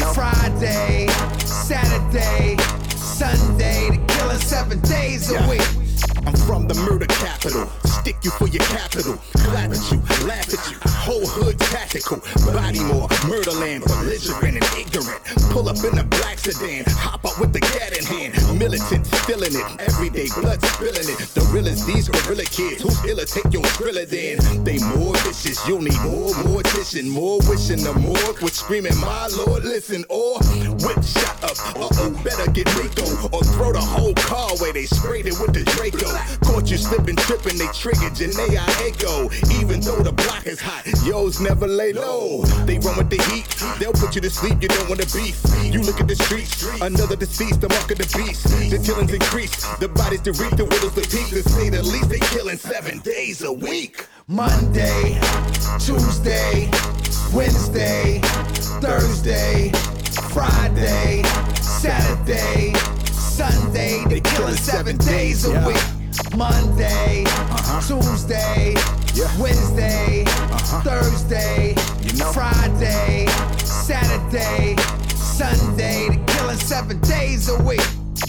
Friday, Saturday, Sunday, they killing 7 days a week. I'm from the murder capital, stick you for your capital, clap at you, laugh at you, whole hood tactical, Bodymore, murderland, belligerent and ignorant, pull up in a black sedan, hop out with the gat in hand, militant, feeling it, everyday blood spilling it, the realest these gorilla kids, who's illa take your thriller then, they more vicious, you'll need more mortician, more wishing the morgue, with screaming my lord, listen, or whip shot up, better get Rico, or throw the whole car away, they sprayed it with the Draco. Caught you slipping, tripping, they triggered Janae Echo. Even though the block is hot, yo's never lay low. They run with the heat, they'll put you to sleep, you don't want to beef. You look at the streets, another deceased, the mark of the beast. The killings increase, the bodies to reap, the widows the peak. To say the least, they killing 7 days a week. Monday, Tuesday, Wednesday, Thursday, Friday, Saturday, Sunday. They killing 7 days a week. Monday, Tuesday, Wednesday, Thursday, Friday, Saturday, Sunday. They killing 7 days a week.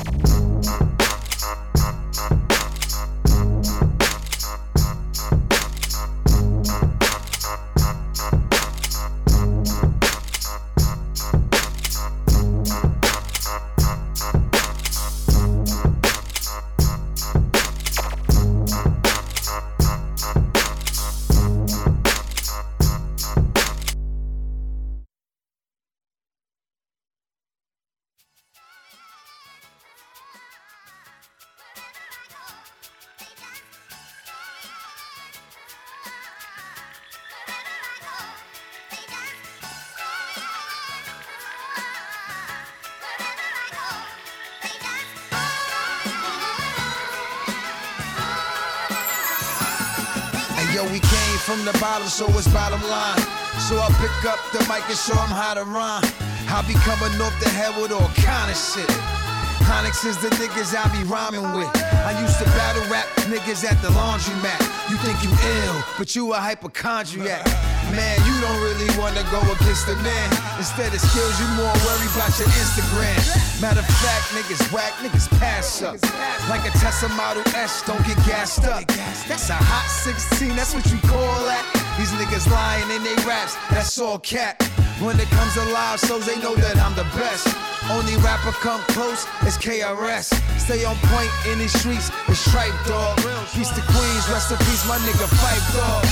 Yo, we came from the bottom, so it's bottom line. So I pick up the mic and show them how to rhyme. I be coming off the head with all kind of shit. Onyx is the niggas I be rhyming with. I used to battle rap niggas at the laundromat. You think you ill, but you a hypochondriac. Man, you don't really wanna go against the man. Instead of skills, you more worried about your Instagram. Matter of fact, niggas whack, niggas pass up. Like a Tesla Model S, don't get gassed up. That's a hot 16, that's what you call that. These niggas lying in they raps, that's all cap. When it comes to live shows, they know that I'm the best. Only rapper come close is KRS. Stay on point in these streets, it's Tripe Dog. Peace to Queens, rest in peace, my nigga Fife Dog.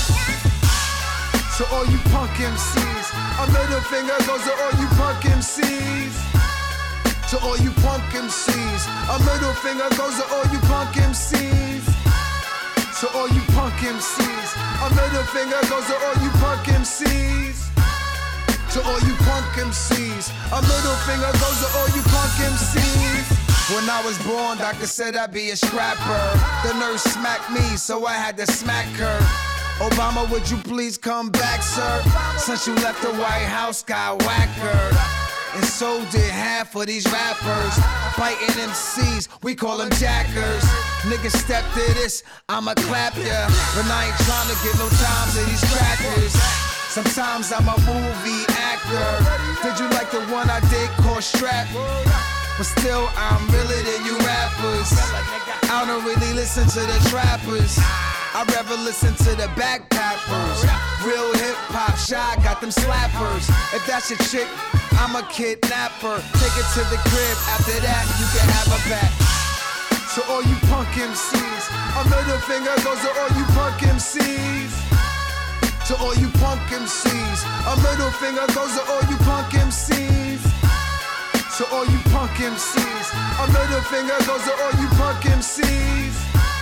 To all you punk MCs, a middle finger goes to all you punk MCs. To all you punk MCs, a middle finger goes to all you punk MCs. To all you punk MCs, a middle finger goes to all you punk MCs. To all you punk MCs, a middle finger goes to all you punk MCs. When I was born, doctor said I'd be a scrapper. The nurse smacked me, so I had to smack her. Obama, would you please come back, sir? Since you left the White House, got whacker. And so did half of these rappers. Fighting MCs, we call them jackers. Niggas step to this, I'ma clap ya. But I ain't tryna get no time to these crackers. Sometimes I'm a movie actor. Did you like the one I did called Strap? But still, I'm realer than you rappers. I don't really listen to the trappers. I'd rather listen to the backpackers. Real hip-hop, Shy got them slappers. If that's your chick, I'm a kidnapper. Take it to the crib, after that, you can have her back. So all you punk MCs, a middle finger goes to all you punk MCs. To all you punk MCs, a middle finger goes to all you punk MCs. To all you punk MCs, a middle finger goes to all you punk MCs.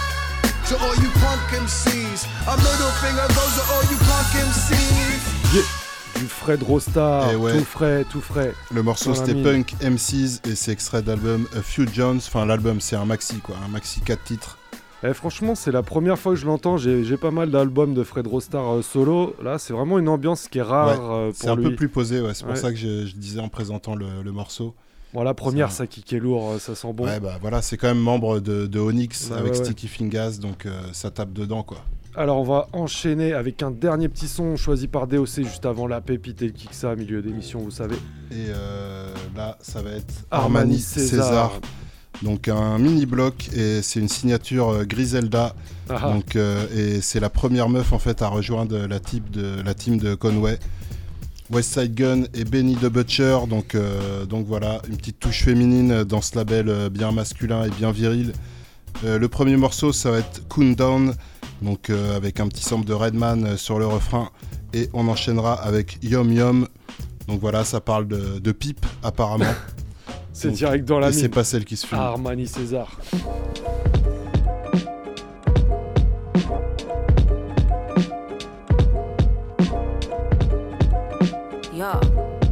To all you punk MCs, a middle finger goes to all you punk MCs. Yeah. Du Fred Rostar, ouais. tout frais. Le morceau c'était Punk MCs et c'est extrait d'album A Few Jones. Enfin l'album c'est un maxi quoi, un maxi 4 titres. Franchement, c'est la première fois que je l'entends. J'ai pas mal d'albums de Fred Rostar solo. Là, c'est vraiment une ambiance qui est rare pour lui. C'est un peu plus posé, ouais. C'est pour ça que je disais en présentant le morceau. Bon, la première, ça kick est lourd, ça sent bon. Ouais, bah voilà, c'est quand même membre de Onyx avec Sticky Fingers, donc ça tape dedans, quoi. Alors, on va enchaîner avec un dernier petit son choisi par DOC juste avant la pépite et le Kiksa, milieu d'émission, vous savez. Et là, ça va être Armani César. Donc un mini bloc et c'est une signature Griselda. Donc et c'est la première meuf en fait à rejoindre la team de Conway, Westside Gun et Benny the Butcher. Donc voilà, une petite touche féminine dans ce label bien masculin et bien viril. Le premier morceau ça va être Cool Down, donc avec un petit sample de Redman sur le refrain et on enchaînera avec Yum Yum. Donc voilà, ça parle de pipe apparemment. C'est direct dans la mine. C'est pas celle qui se filme. Armani César. Yo.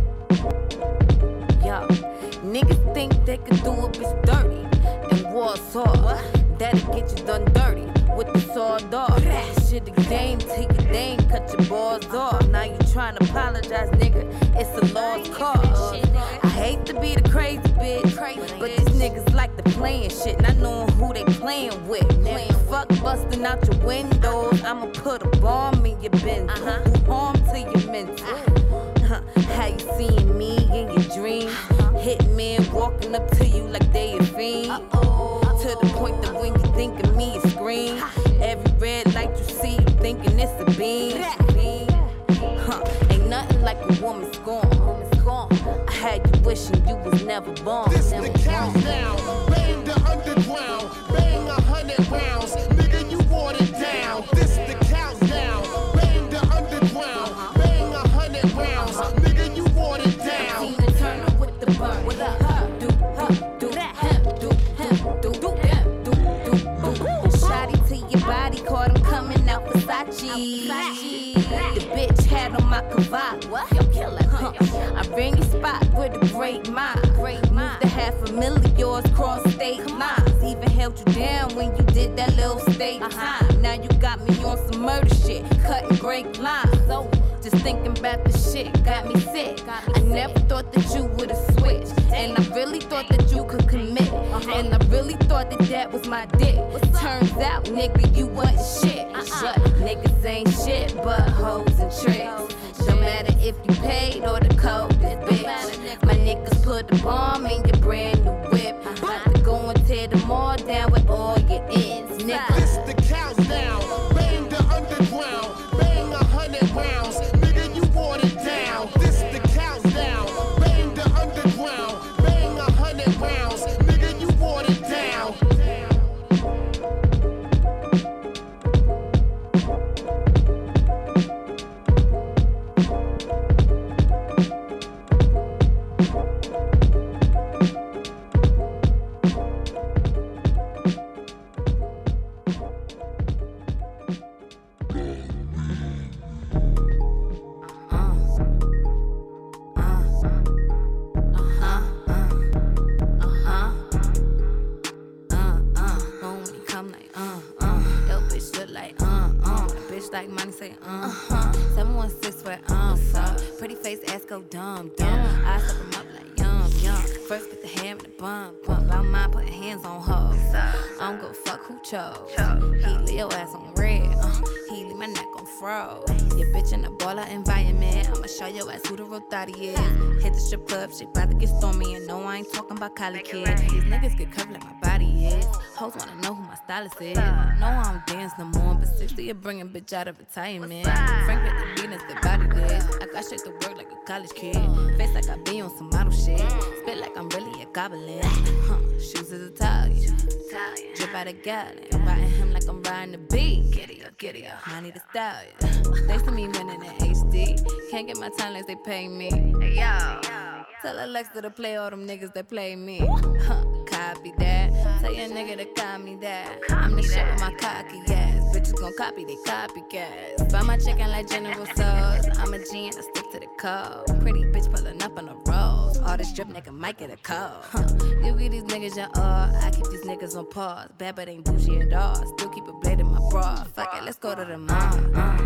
Niggas think they can do it, it's dirty. And Warsaw, that'll get you done dirty. With the sword off. Shit, the game, take it, they ain't cut your balls off. Now you trying to apologize, nigga. It's a lost cause. I hate to be the crazy bitch, but these niggas like to playing shit, not knowing who they playing with. Nigga, fuck busting out your windows. I'ma put a bomb in your Benz. Do harm to your mental. How you seeing me in your dreams? Hitmen walking up to you like they a fiend. To the point that when you think of me, you scream. Every red light you see, you thinking it's a beam. Ain't nothing like a woman scorn. I had you wishing you was never born. This the countdown, bang the underground, bang 100 rounds, nigga you watered down. This the countdown, bang the underground, bang 100 rounds, nigga you watered down. Tina Turner with the burn. What up? Do that, do shotty to your body, caught him coming out Versace. The bitch had on my Cavalli. I bring you spot with a great mind. Moved to $500,000 yours cross state lines. Even held you down when you did that little state time. Now you got me on some murder shit, cutting great lines. So just thinking about the shit got me sick. I never thought that you would've switched, and I really thought that you could commit, and I really thought that that was my dick. Turns out, nigga, you wasn't shit. But niggas ain't shit but hoes and tricks. No matter if you paid or the code is bitch. My niggas put a bomb in your brand new whip. About to go and tear them all down with all your ends, nigga. This the countdown, bang the underground, bang 100 rounds, nigga you watered down. This the countdown, bang the underground, bang 100 rounds, nigga you watered down. Like money say 716 where I'm from. Pretty face ass go dumb. I step him up like yum. First get the ham and the bump. About mine putting hands on hoes. I don't give a fuck who chose. He leave your ass on red. He leave my neck on froze. Your bitch in a baller environment. I'ma show your ass who the real thotty is. Hit the strip club, shit about to get stormy. And no, I ain't talking about college kids. These niggas get curvy like my body is. Hoes wanna know who my stylist is. No, I don't dance no more, but 60 of bringing bitch out of retirement. Frank with the Venus, the body this. I got straight to work like a college kid. Face like I be on some model shit. Spit like I'm really a goblin. Shoes is Italian. Drip out a gallon. Riding him like I'm riding the beat. Giddy up. I need a stallion. Thanks to me winning in HD. Can't get my time unless they pay me. Yo. Tell Alexa to play all them niggas that play me. Copy that. Tell your nigga to copy me that. I'm the shit with my cocky ass. Bitches gon' copy, they copycats. Buy my chicken like General Tso's. I'm a G and I stick to the code. Pretty bitch pulling up on the rolls. All this drip nigga might get a cold. You give these niggas your all. I keep these niggas on pause. Bad but ain't bougie at all. Still keep a blade in my bra. Fuck it, let's go to the mall.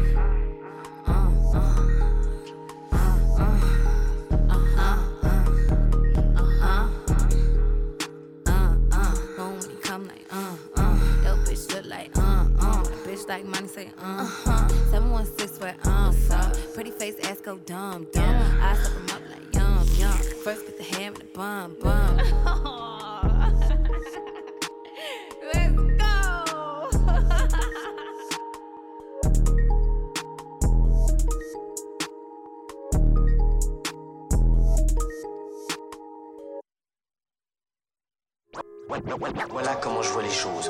Like money say $716 where I'm from. Pretty face ass go dumb. I step him up like yum. First get the ham and the bum. Let's go. Voilà comment je vois les choses.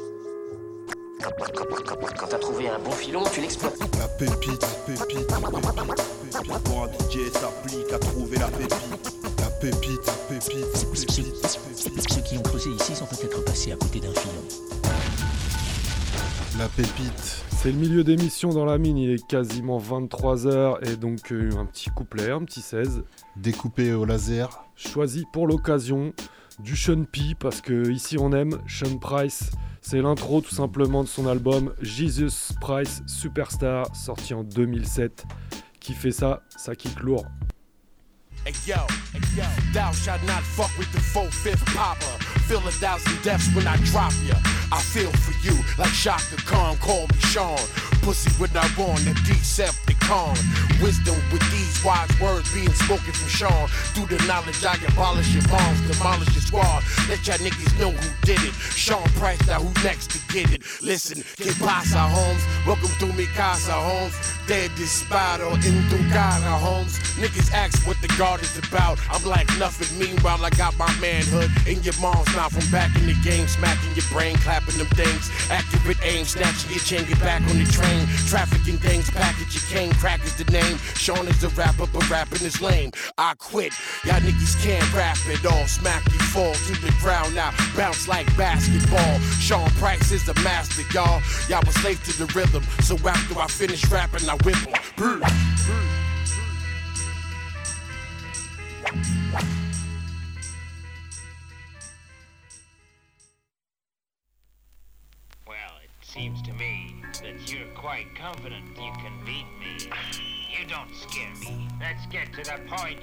Quand t'as trouvé un bon filon, tu l'exploites. La pépite. Pour un DJ s'applique à trouver la pépite. La pépite. Ceux qui ont creusé ici sont peut-être passés à côté d'un filon. La pépite. C'est le milieu d'émission dans la mine, il est quasiment 23h et donc un petit couplet, un petit 16. Découpé au laser. Choisi pour l'occasion du Sean P parce que ici on aime Sean Price. C'est l'intro tout simplement de son album Jesus Price Superstar, sorti en 2007, Qui fait ça kick lourd. Hey yo, thou shalt not fuck with the 4/5 popper. Feel 1,000 deaths when I drop ya. I feel for you like Shaka Khan, call me Sean. Pussy what I want, a Decepticon. Wisdom with these wise words being spoken from Sean. Through the knowledge I abolish your moms, demolish your squad. Let y'all niggas know who did it. Sean Price, now who next to get it? Listen, que pasa, Holmes? Welcome to mi casa, Holmes. Dead Despado, in tu cara, Holmes. Niggas ask what the guard is about. I'm like nothing. Meanwhile, I got my manhood in your mom's mouth. From back in the game, smacking your brain, clapping them things. Accurate aim, snatching your chain, get back on the train. Trafficking things, package your cane, crack is the name. Sean is a rapper, but rapping is lame. I quit. Y'all niggas can't rap at all. Smack you, fall to the ground now. Bounce like basketball. Sean Price is a master, y'all. Y'all was slave to the rhythm. So after I finish rapping, I whip them. Well, it seems to me that you're quite confident you can beat me. You don't scare me. Let's get to the point.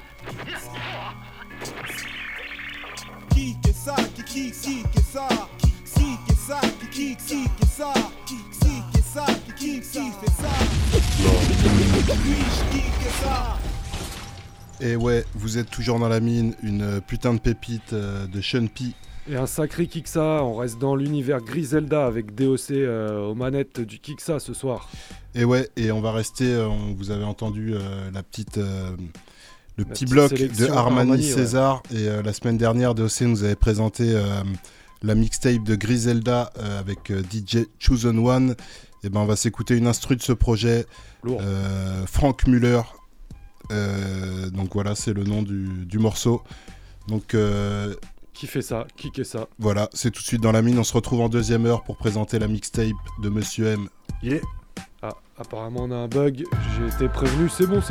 Qui que ça, qui que ça, qui que ça, qui que ça, qui que ça, qui fait ça. Qui que ça. Et ouais, vous êtes toujours dans la mine, une putain de pépite de Sean P. Et un sacré Kiksa, on reste dans l'univers Griselda avec DOC aux manettes du Kiksa ce soir. Et ouais, et on va rester, vous avez entendu la petite, le petit bloc de Armani César. Ouais. Et la semaine dernière, DOC nous avait présenté la mixtape de Griselda avec DJ Chosen One. Et ben on va s'écouter une instru de ce projet, Frank Muller. Donc voilà, c'est le nom du morceau. Donc qui fait ça, qui est ça. Voilà, c'est tout de suite dans la mine. On se retrouve en deuxième heure pour présenter la mixtape de Monsieur M. Yeah. Ah, apparemment on a un bug. J'ai été prévenu, c'est bon.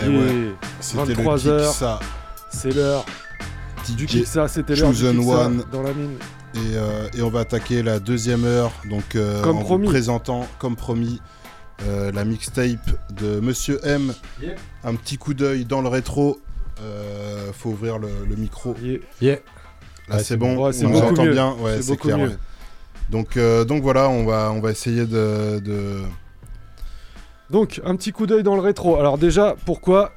C'était 23h. le Kiksa. C'est l'heure du DJ Kiksa, c'était l'heure du Chosen Kiksa One. dans la mine. Et on va attaquer la deuxième heure, donc Comme en promis. vous présentant, comme promis, la mixtape de Monsieur M. Yep. Un petit coup d'œil dans le rétro. Faut ouvrir le micro. Yeah. Là, Ouais, c'est bon, ouais, c'est on nous beaucoup entend mieux. bien. Ouais, C'est c'est beaucoup clair. mieux. Ouais. Donc voilà, on va essayer de... Donc, un petit coup d'œil dans le rétro. Alors déjà, pourquoi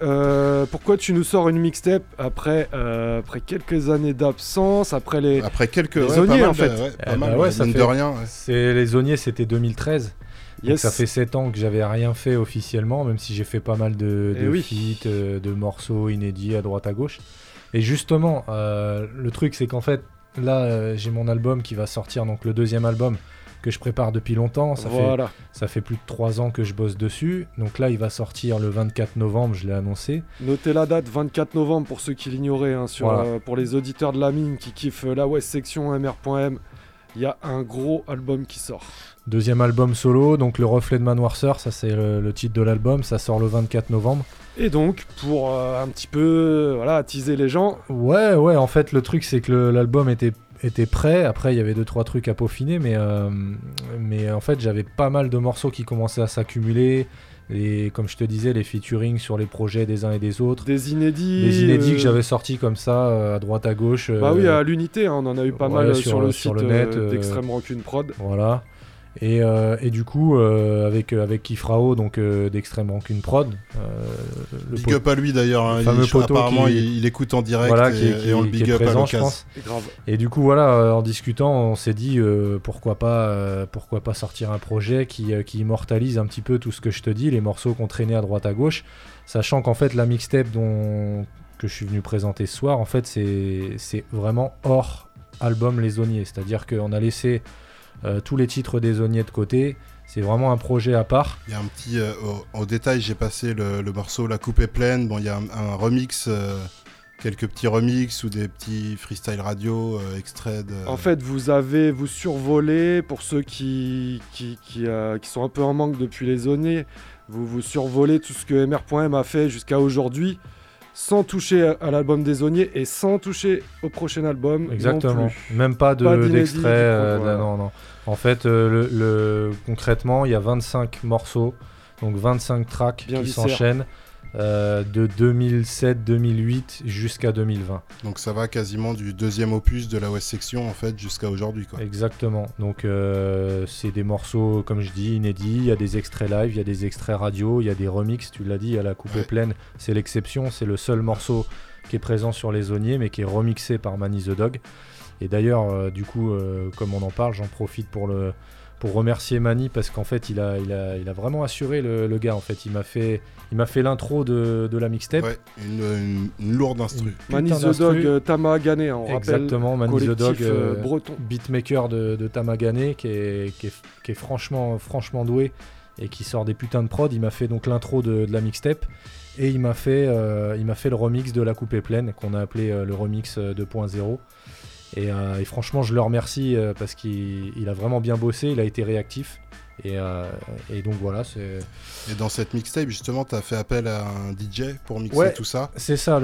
tu nous sors une mixtape après quelques années d'absence, après quelques les ouais, Zoniers, pas mal en fait. pas mal, ça mine fait, de rien. Ouais. C'est les Zoniers, c'était 2013. Donc Yes. ça fait 7 ans que j'avais rien fait officiellement, même si j'ai fait pas mal de oui. feats, de morceaux inédits à droite à gauche. Et justement, le truc c'est qu'en fait, là j'ai mon album qui va sortir, donc le deuxième album que je prépare depuis longtemps. Ça fait plus de 3 ans que je bosse dessus. Donc là il va sortir le 24 novembre, je l'ai annoncé. Notez la date, 24 novembre pour ceux qui l'ignoraient, hein, Voilà. pour les auditeurs de la mine qui kiffent la West Section MR.M. Il y a un gros album qui sort. Deuxième album solo, donc Le Reflet de ma noirceur, ça c'est le titre de l'album, ça sort le 24 novembre. Et donc, pour un petit peu attiser les gens... Ouais, en fait le truc c'est que l'album était prêt, après il y avait 2-3 trucs à peaufiner, mais en fait j'avais pas mal de morceaux qui commençaient à s'accumuler, et comme je te disais, les featuring sur les projets des uns et des autres. Des inédits que j'avais sortis comme ça, à droite à gauche. Bah oui, à l'unité, hein, on en a eu pas mal sur le site net d'Extrême Rancune Prod. Voilà. Et du coup, avec Kifrao, donc d'Extrême Rancune Prod. Big up à lui d'ailleurs, hein, apparemment il écoute en direct, voilà, et on le big up présent, à je pense. Grave. Et du coup, voilà, en discutant, on s'est dit pourquoi pas sortir un projet qui immortalise un petit peu tout ce que je te dis, les morceaux qu'on traînait à droite à gauche, sachant qu'en fait la mixtape que je suis venu présenter ce soir, en fait c'est vraiment hors album Les Zoniers, c'est-à-dire qu'on a laissé tous les titres des Zoniers de côté. C'est vraiment un projet à part. Il y a un petit... au détail, j'ai passé le morceau La coupe est pleine. Bon, il y a un remix, quelques petits remix ou des petits freestyle radio extraits de... En fait, vous survolez, pour ceux qui sont un peu en manque depuis les Zoniers, vous survolez tout ce que MR.M a fait jusqu'à aujourd'hui, sans toucher à l'album des Zoniers et sans toucher au prochain album. Exactement. Non plus. Même pas d'extrait. Voilà. Non. En fait, concrètement, il y a 25 morceaux, donc 25 tracks Bien qui viscère. s'enchaînent de 2007-2008 jusqu'à 2020. Donc ça va quasiment du deuxième opus de la West Section en fait jusqu'à aujourd'hui, quoi. Exactement. Donc c'est des morceaux, comme je dis, inédits. Il y a des extraits live, il y a des extraits radio, il y a des remixes. Tu l'as dit, il y a La coupe est pleine. C'est l'exception. C'est le seul morceau qui est présent sur Les Zoniers, mais qui est remixé par Manny the Dog. Et d'ailleurs, du coup, comme on en parle, j'en profite pour remercier Manny, parce qu'en fait il a vraiment assuré le gars. En fait il m'a fait l'intro de la mixtape. Ouais, une lourde instru. Manny the Dog, Tamagane, on rappelle. Exactement, Manny the Dog, breton. Beatmaker de Tamagane, qui est franchement doué et qui sort des putains de prod. Il m'a fait donc l'intro de la mixtape, et il m'a fait le remix de La coupe est pleine, qu'on a appelé le remix 2.0. Et franchement je le remercie parce qu'il a vraiment bien bossé, il a été réactif, et donc voilà. Et dans cette mixtape justement t'as fait appel à un DJ pour mixer tout ça. C'est ça,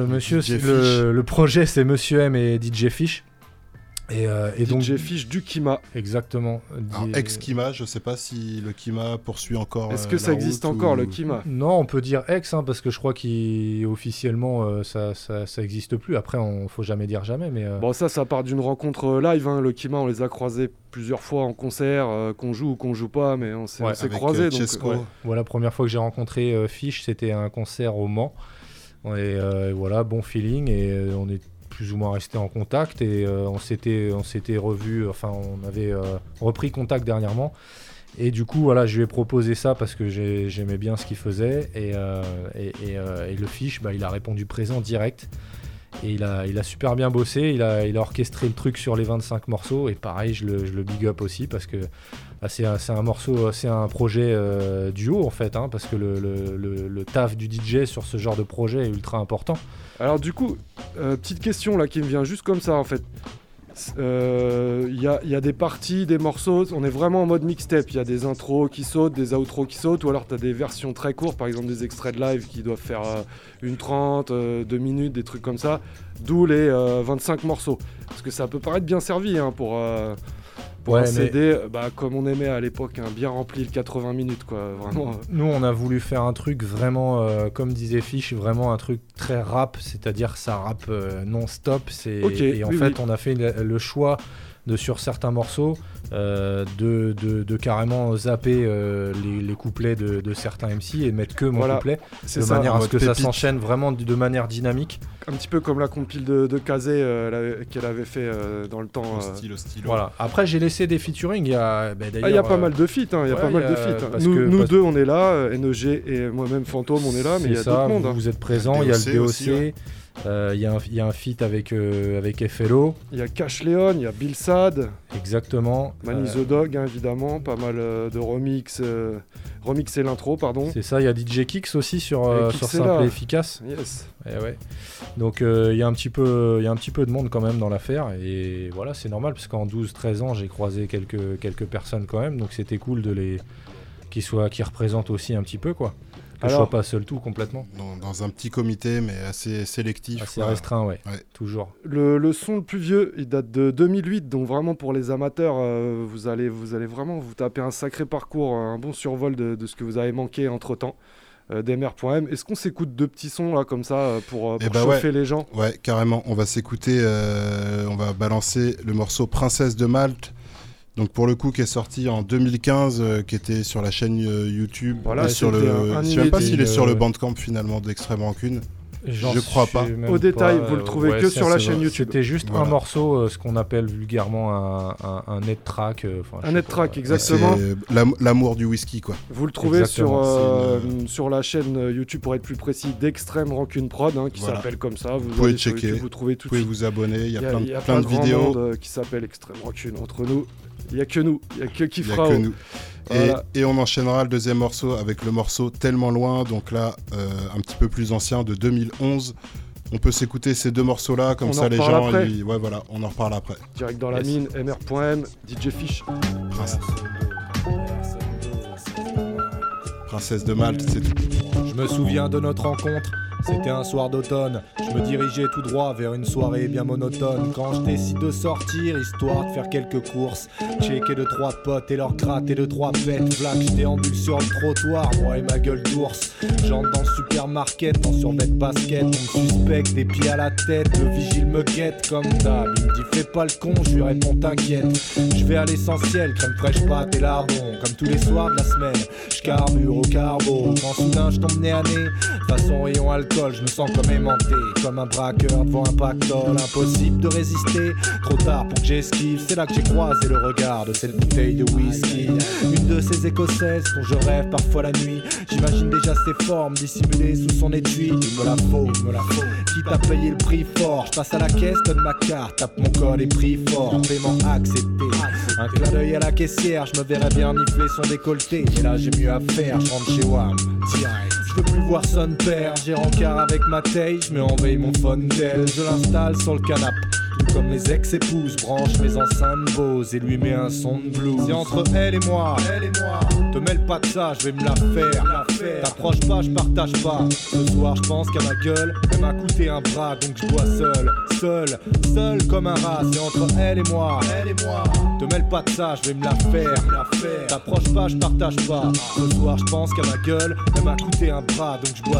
le projet c'est Monsieur M et DJ Fish. Et donc DJ Fish du Kima. Exactement. Ex-Kima, je sais pas si le Kima poursuit encore. Est-ce que ça existe encore le Kima? Non, on peut dire ex, hein, parce que je crois qu'officiellement ça existe plus. Après, faut jamais dire jamais. Mais bon, ça part d'une rencontre live. Hein. Le Kima, on les a croisés plusieurs fois en concert, qu'on joue ou qu'on joue pas, mais on s'est croisés. Voilà, la première fois que j'ai rencontré Fish, c'était un concert au Mans. Et voilà, bon feeling, et on est plus ou moins resté en contact, et on s'était revu, enfin on avait repris contact dernièrement, et du coup voilà, je lui ai proposé ça parce que j'aimais bien ce qu'il faisait, et le Fish, il a répondu présent direct, et il a super bien bossé, il a orchestré le truc sur les 25 morceaux, et pareil je le big up aussi, parce que c'est un projet duo en fait, hein, parce que le taf du DJ sur ce genre de projet est ultra important. Alors du coup, petite question là qui me vient juste comme ça en fait. Il y a des parties, des morceaux, on est vraiment en mode mixtape. Il y a des intros qui sautent, des outros qui sautent, ou alors tu as des versions très courtes, par exemple des extraits de live qui doivent faire 1:30, 2 minutes, des trucs comme ça. D'où les 25 morceaux. Parce que ça peut paraître bien servi pour un CD, comme on aimait à l'époque, bien rempli le 80 minutes, quoi, vraiment. Nous, on a voulu faire un truc vraiment, comme disait Fish, vraiment un truc très rap, c'est-à-dire ça rappe non-stop. On a fait le choix sur certains morceaux de carrément zapper les couplets de certains MC et mettre que mon couplet, de manière à ce que ça s'enchaîne vraiment de manière dynamique. Un petit peu comme la compile de Kazé qu'elle avait fait dans le temps. Stylo. Voilà. Après, j'ai laissé des featuring. Il y a pas mal de feats. Nous deux, on est là. NEG et moi-même Fantôme, on est là. Mais il y a d'autres mondes. Vous êtes présents. Il y a le DOC. Il y a un feat avec FLO. Il y a Cash Leon, il y a Bill Sad. Exactement. Manny the Dog, évidemment. Pas mal de remix. Remixer l'intro, pardon. C'est ça, il y a DJ Kix aussi sur Simple et Efficace. Yes. Ouais. Donc il y a un petit peu de monde quand même dans l'affaire. Et voilà, c'est normal, parce qu'en 12-13 ans, j'ai croisé quelques personnes quand même. Donc c'était cool qu'ils représentent aussi un petit peu, quoi. Que je sois pas seul tout complètement. Dans un petit comité, mais assez sélectif. Assez restreint, ouais. Toujours. Le son le plus vieux, il date de 2008, donc vraiment pour les amateurs, vous allez vraiment vous taper un sacré parcours, un bon survol de ce que vous avez manqué entre-temps. DMR.m. Est-ce qu'on s'écoute 2 petits sons là comme ça pour chauffer les gens? Ouais, carrément. On va s'écouter, on va balancer le morceau Princesse de Malte. Donc pour le coup qui est sorti en 2015, qui était sur la chaîne YouTube, je sais même pas s'il est sur le Bandcamp finalement d'Extrême Rancune. Je crois pas. Au détail, vous le trouvez que sur la chaîne YouTube. C'était juste un morceau, ce qu'on appelle vulgairement un net track. Un net track, exactement. C'est l'amour du whisky, quoi. Vous le trouvez sur la chaîne YouTube, pour être plus précis, d'Extrême Rancune Prod, qui s'appelle comme ça. Vous pouvez checker, vous trouvez tout vous pouvez vous abonner. Il y a plein de vidéos. vidéos. Monde qui s'appelle Extrême Rancune. Entre nous, il n'y a que nous, il n'y a que Kifrao. Voilà. Et on enchaînera le deuxième morceau avec le morceau Tellement Loin, donc là un petit peu plus ancien, de 2011. On peut s'écouter ces 2 morceaux-là, comme ça les gens... on en reparle après. Direct dans la mine, MR.M, DJ Fish. Princesse de Malte, c'est tout. Je me souviens de notre rencontre. C'était un soir d'automne, je me dirigeais tout droit vers une soirée bien monotone. Quand je décide de sortir, histoire de faire quelques courses, checker 2-3 potes et leur gratter 2-3 pètes. Vlac, je déambule sur le trottoir, moi et ma gueule d'ours. J'entre dans le supermarket en survêt de basket. On me suspecte des pieds à la tête, le vigile me guette comme d'hab. Il me dit fais pas le con, je lui réponds t'inquiète. Je vais à l'essentiel, crème fraîche, pâte et lardons. Comme tous les soirs de la semaine, je carbure au carbo. Quand soudain je tombe nez à nez, façon rayon alcool. Je me sens comme aimanté, comme un braqueur devant un pactole. Impossible de résister, trop tard pour que j'esquive. C'est là que j'ai croisé le regard de cette bouteille de whisky. Une de ces écossaises dont je rêve parfois la nuit. J'imagine déjà ses formes dissimulées sous son étui. Il me la faut, quitte à payer le prix fort. Je passe à la caisse, donne ma carte, tape mon code et prix fort. Paiement accepté, un clin d'œil à la caissière. Je me verrais bien nifler son décolleté. Et là j'ai mieux à faire, je rentre chez WAM direct. Je peux plus voir son père, j'ai rencard avec ma taille, je mets en veille mon phone tel, je l'installe sur le canapé. Tout comme les ex-épouses, branche mes enceintes Bose et lui met un son de blues. C'est entre elle et moi, te mêle pas de ça, je vais me la faire. T'approches pas, je partage pas. Ce soir je pense qu'à ma gueule, elle m'a coûté un bras, donc je bois seul comme un rat. C'est entre elle et moi, te mêle pas de ça, je vais me la faire. T'approches pas, je partage pas. Ce soir je pense qu'à ma gueule, elle m'a coûté un bras, donc je bois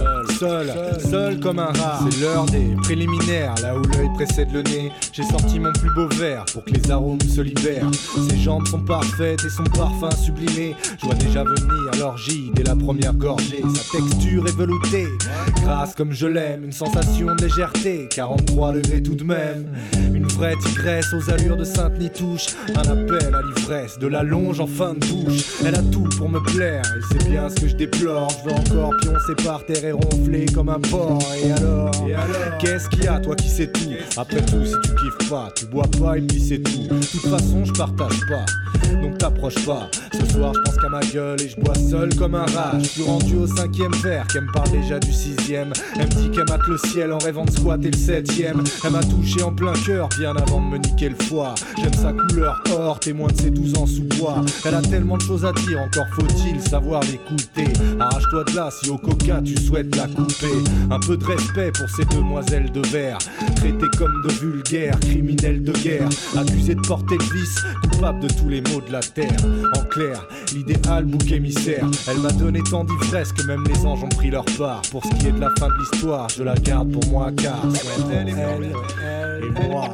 seul comme un rat. C'est l'heure des préliminaires, là où l'œil précède le nez. J'ai sorti mon plus beau verre pour que les arômes se libèrent. Ses jambes sont parfaites et son parfum sublimé. Je vois déjà venir l'orgie dès la première gorgée. Sa texture est veloutée, grasse comme je l'aime. Une sensation de légèreté, 43 degrés tout de même. Une vraie tigresse aux allures de Sainte-Nitouche. Un appel à l'ivresse, de la longe en fin de bouche. Elle a tout pour me plaire et c'est bien ce que je déplore. Je veux encore pioncer par terre et ronfler comme un porc. Et alors qu'est-ce qu'il y a, toi qui sais tout? Après tout, si tu kiffes pas, tu bois pas et puis c'est tout. De toute façon, je partage pas, donc t'approches pas. Ce soir, je pense qu'à ma gueule et je bois seul comme un rat. Je suis rendu au 5e verre, qu'elle me parle déjà du 6e. Elle me dit qu'elle mate le ciel en rêvant de squatter le 7e. Elle m'a touché en plein cœur, bien avant de me niquer le foie. J'aime sa couleur or, témoin de ses 12 ans sous bois. Elle a tellement de choses à dire, encore faut-il savoir l'écouter. Arrache-toi de là si au coca tu souhaites la couper. Un peu de respect pour ces demoiselles de verre, traitées comme de vulgaires criminels de guerre, accusées de porter le vice, coupables de tous les maux de la terre. En clair, l'idéal bouc émissaire. Elle m'a donné tant d'ivresse que même les anges ont pris leur part. Pour ce qui est de la fin de l'histoire, je la garde pour moi car elle et moi.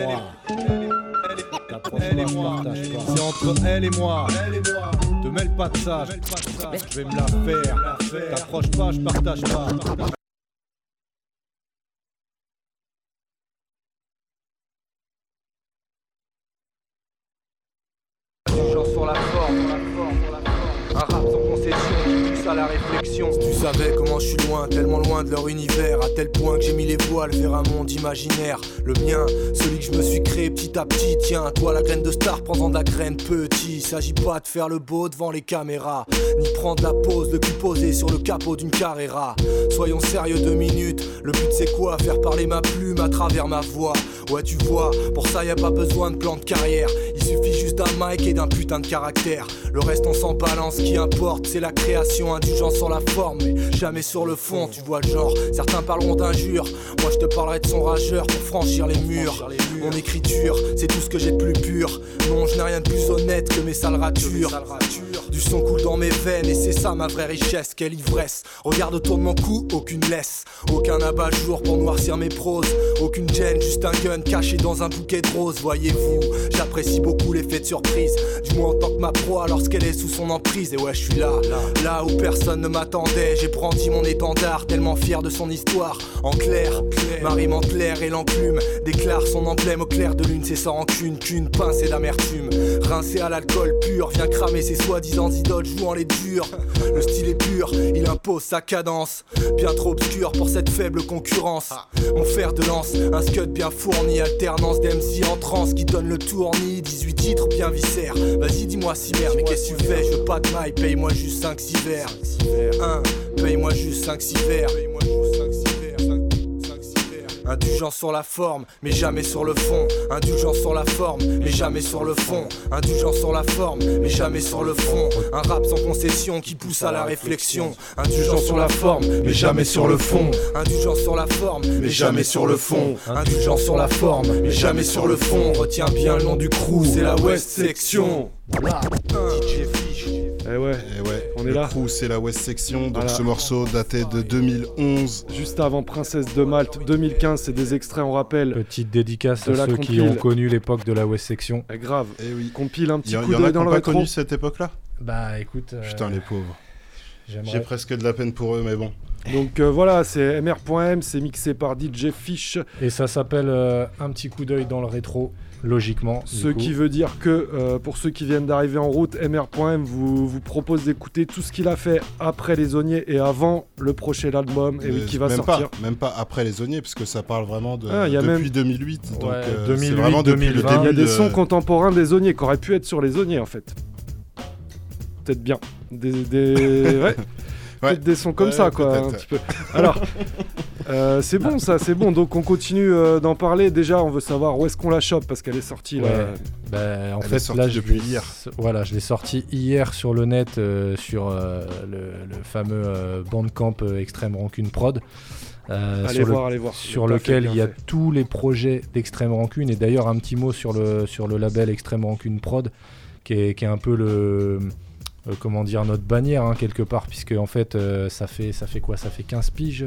C'est entre elle et moi. Te mêle pas de ça, je vais me la faire. T'approches pas, je partage pas. Sur la forme, un rap sans concession qui pousse à la réflexion. Si tu savais comment je suis loin, tellement loin de leur univers, à tel point que j'ai mis les voiles vers un monde imaginaire. Le mien, celui que je me suis créé petit à petit. Tiens, toi la graine de star, prends-en de la graine petit. S'agit pas de faire le beau devant les caméras, ni prendre la pose, le cul posé sur le capot d'une Carrera. Soyons sérieux 2 minutes, le but c'est quoi? Faire parler ma plume à travers ma voix. Ouais tu vois, pour ça y a pas besoin de plan de carrière. Il suffit juste d'un mic et d'un putain de caractère. Le reste on s'en balance, ce qui importe c'est la création. Indulgent sur la forme mais jamais sur le fond. Tu vois le genre, certains parleront d'injures, moi je te parlerai de son rageur pour franchir les murs. Mon écriture, c'est tout ce que j'ai de plus pur. Non, je n'ai rien de plus honnête que mes sales ratures. Du son coule dans mes veines et c'est ça ma vraie richesse. Quelle ivresse, regarde autour de mon cou, aucune laisse. Aucun abat-jour pour noircir mes proses. Aucune gêne, juste un gun caché dans un bouquet de roses. Voyez-vous, j'apprécie beaucoup l'effet de surprise, du moins en tant que ma proie lorsqu'elle est sous son emprise. Et ouais je suis là où personne ne m'attendait. J'ai brandi mon étendard, tellement fier de son histoire. En clair, ma rime en clair et l'enclume déclare son emblème au clair de lune. C'est sans rancune qu'une pincée d'amertume. Rincé à l'alcool pur, vient cramer ses soi-disant idoles jouant les durs. Le style est pur, il impose sa cadence, bien trop obscur pour cette faible concurrence. Mon fer de lance, un scud bien fourni, alternance d'MC en transe qui donne le tournis. 18 titres bien viscères, vas-y dis-moi si merde. Mais qu'est-ce que tu fais, je veux pas de maille, paye-moi juste 5-6 verres. Paye-moi juste 5-6 verres. Indulgent sur la forme, mais jamais sur le fond. Indulgent sur la forme, mais jamais sur le fond. Indulgent sur la forme, mais jamais sur le fond. Un rap sans concession qui pousse à la réflexion. Indulgent sur la forme, mais jamais sur le fond. Indulgent sur la forme, mais jamais sur le fond. Indulgent sur la forme, mais jamais sur le fond. Retiens bien le nom du crew, c'est la West Section. DJ Fish. Eh ouais, on est là. Le crew, c'est la West Section, donc voilà. Ce morceau daté de 2011. Juste avant Princesse de Malte, 2015, c'est des extraits, on rappelle. Petite dédicace à ceux qui ont connu l'époque de la West Section. Grave, oui. Compile un petit coup d'œil dans le rétro. Il y en a qui n'ont pas connu cette époque-là. Bah écoute... Putain les pauvres. J'ai presque de la peine pour eux, mais bon. Donc voilà, c'est MR.M, c'est mixé par DJ Fish. Et ça s'appelle Un petit coup d'œil dans le rétro. Logiquement. Ce qui veut dire que pour ceux qui viennent d'arriver en route, MR.M vous propose d'écouter tout ce qu'il a fait après Les Auniers et avant le prochain album qui va sortir. Même pas après Les Auniers, parce que ça parle vraiment depuis même... 2008. Donc 2008, c'est vraiment depuis 2020. le début. Il y a des sons contemporains des Auniers qui auraient pu être sur Les Auniers en fait. Peut-être bien. Ouais. Peut-être des sons comme ça quoi, un petit peu. Alors c'est bon ça, c'est bon. Donc on continue d'en parler. Déjà on veut savoir où est-ce qu'on la chope parce qu'elle est sortie là. En fait là depuis hier. Voilà, je l'ai sortie hier sur le net sur le fameux Bandcamp Extrême Rancune Prod. Allez voir. Sur lequel il y a tous les projets d'Extrême Rancune et d'ailleurs un petit mot sur le label Extrême Rancune Prod qui est un peu comment dire, notre bannière quelque part, puisque en fait ça fait quoi, ça fait 15 piges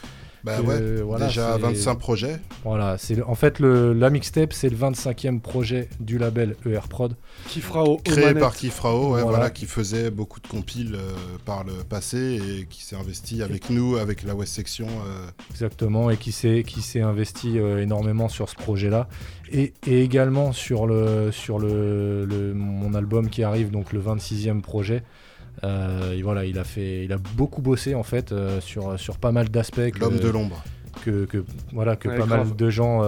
voilà, déjà 25 projets. Voilà, c'est en fait la mixtape, c'est le 25e projet du label ER Prod. Kifrao, créé par Kifrao, voilà, qui faisait beaucoup de compiles par le passé et qui s'est investi avec nous, avec la West Section. Exactement, et qui s'est investi énormément sur ce projet-là. Et également sur mon album qui arrive, donc le 26e projet. Voilà, il a beaucoup bossé en fait sur pas mal d'aspects. L'homme de l'ombre. pas grave. mal de gens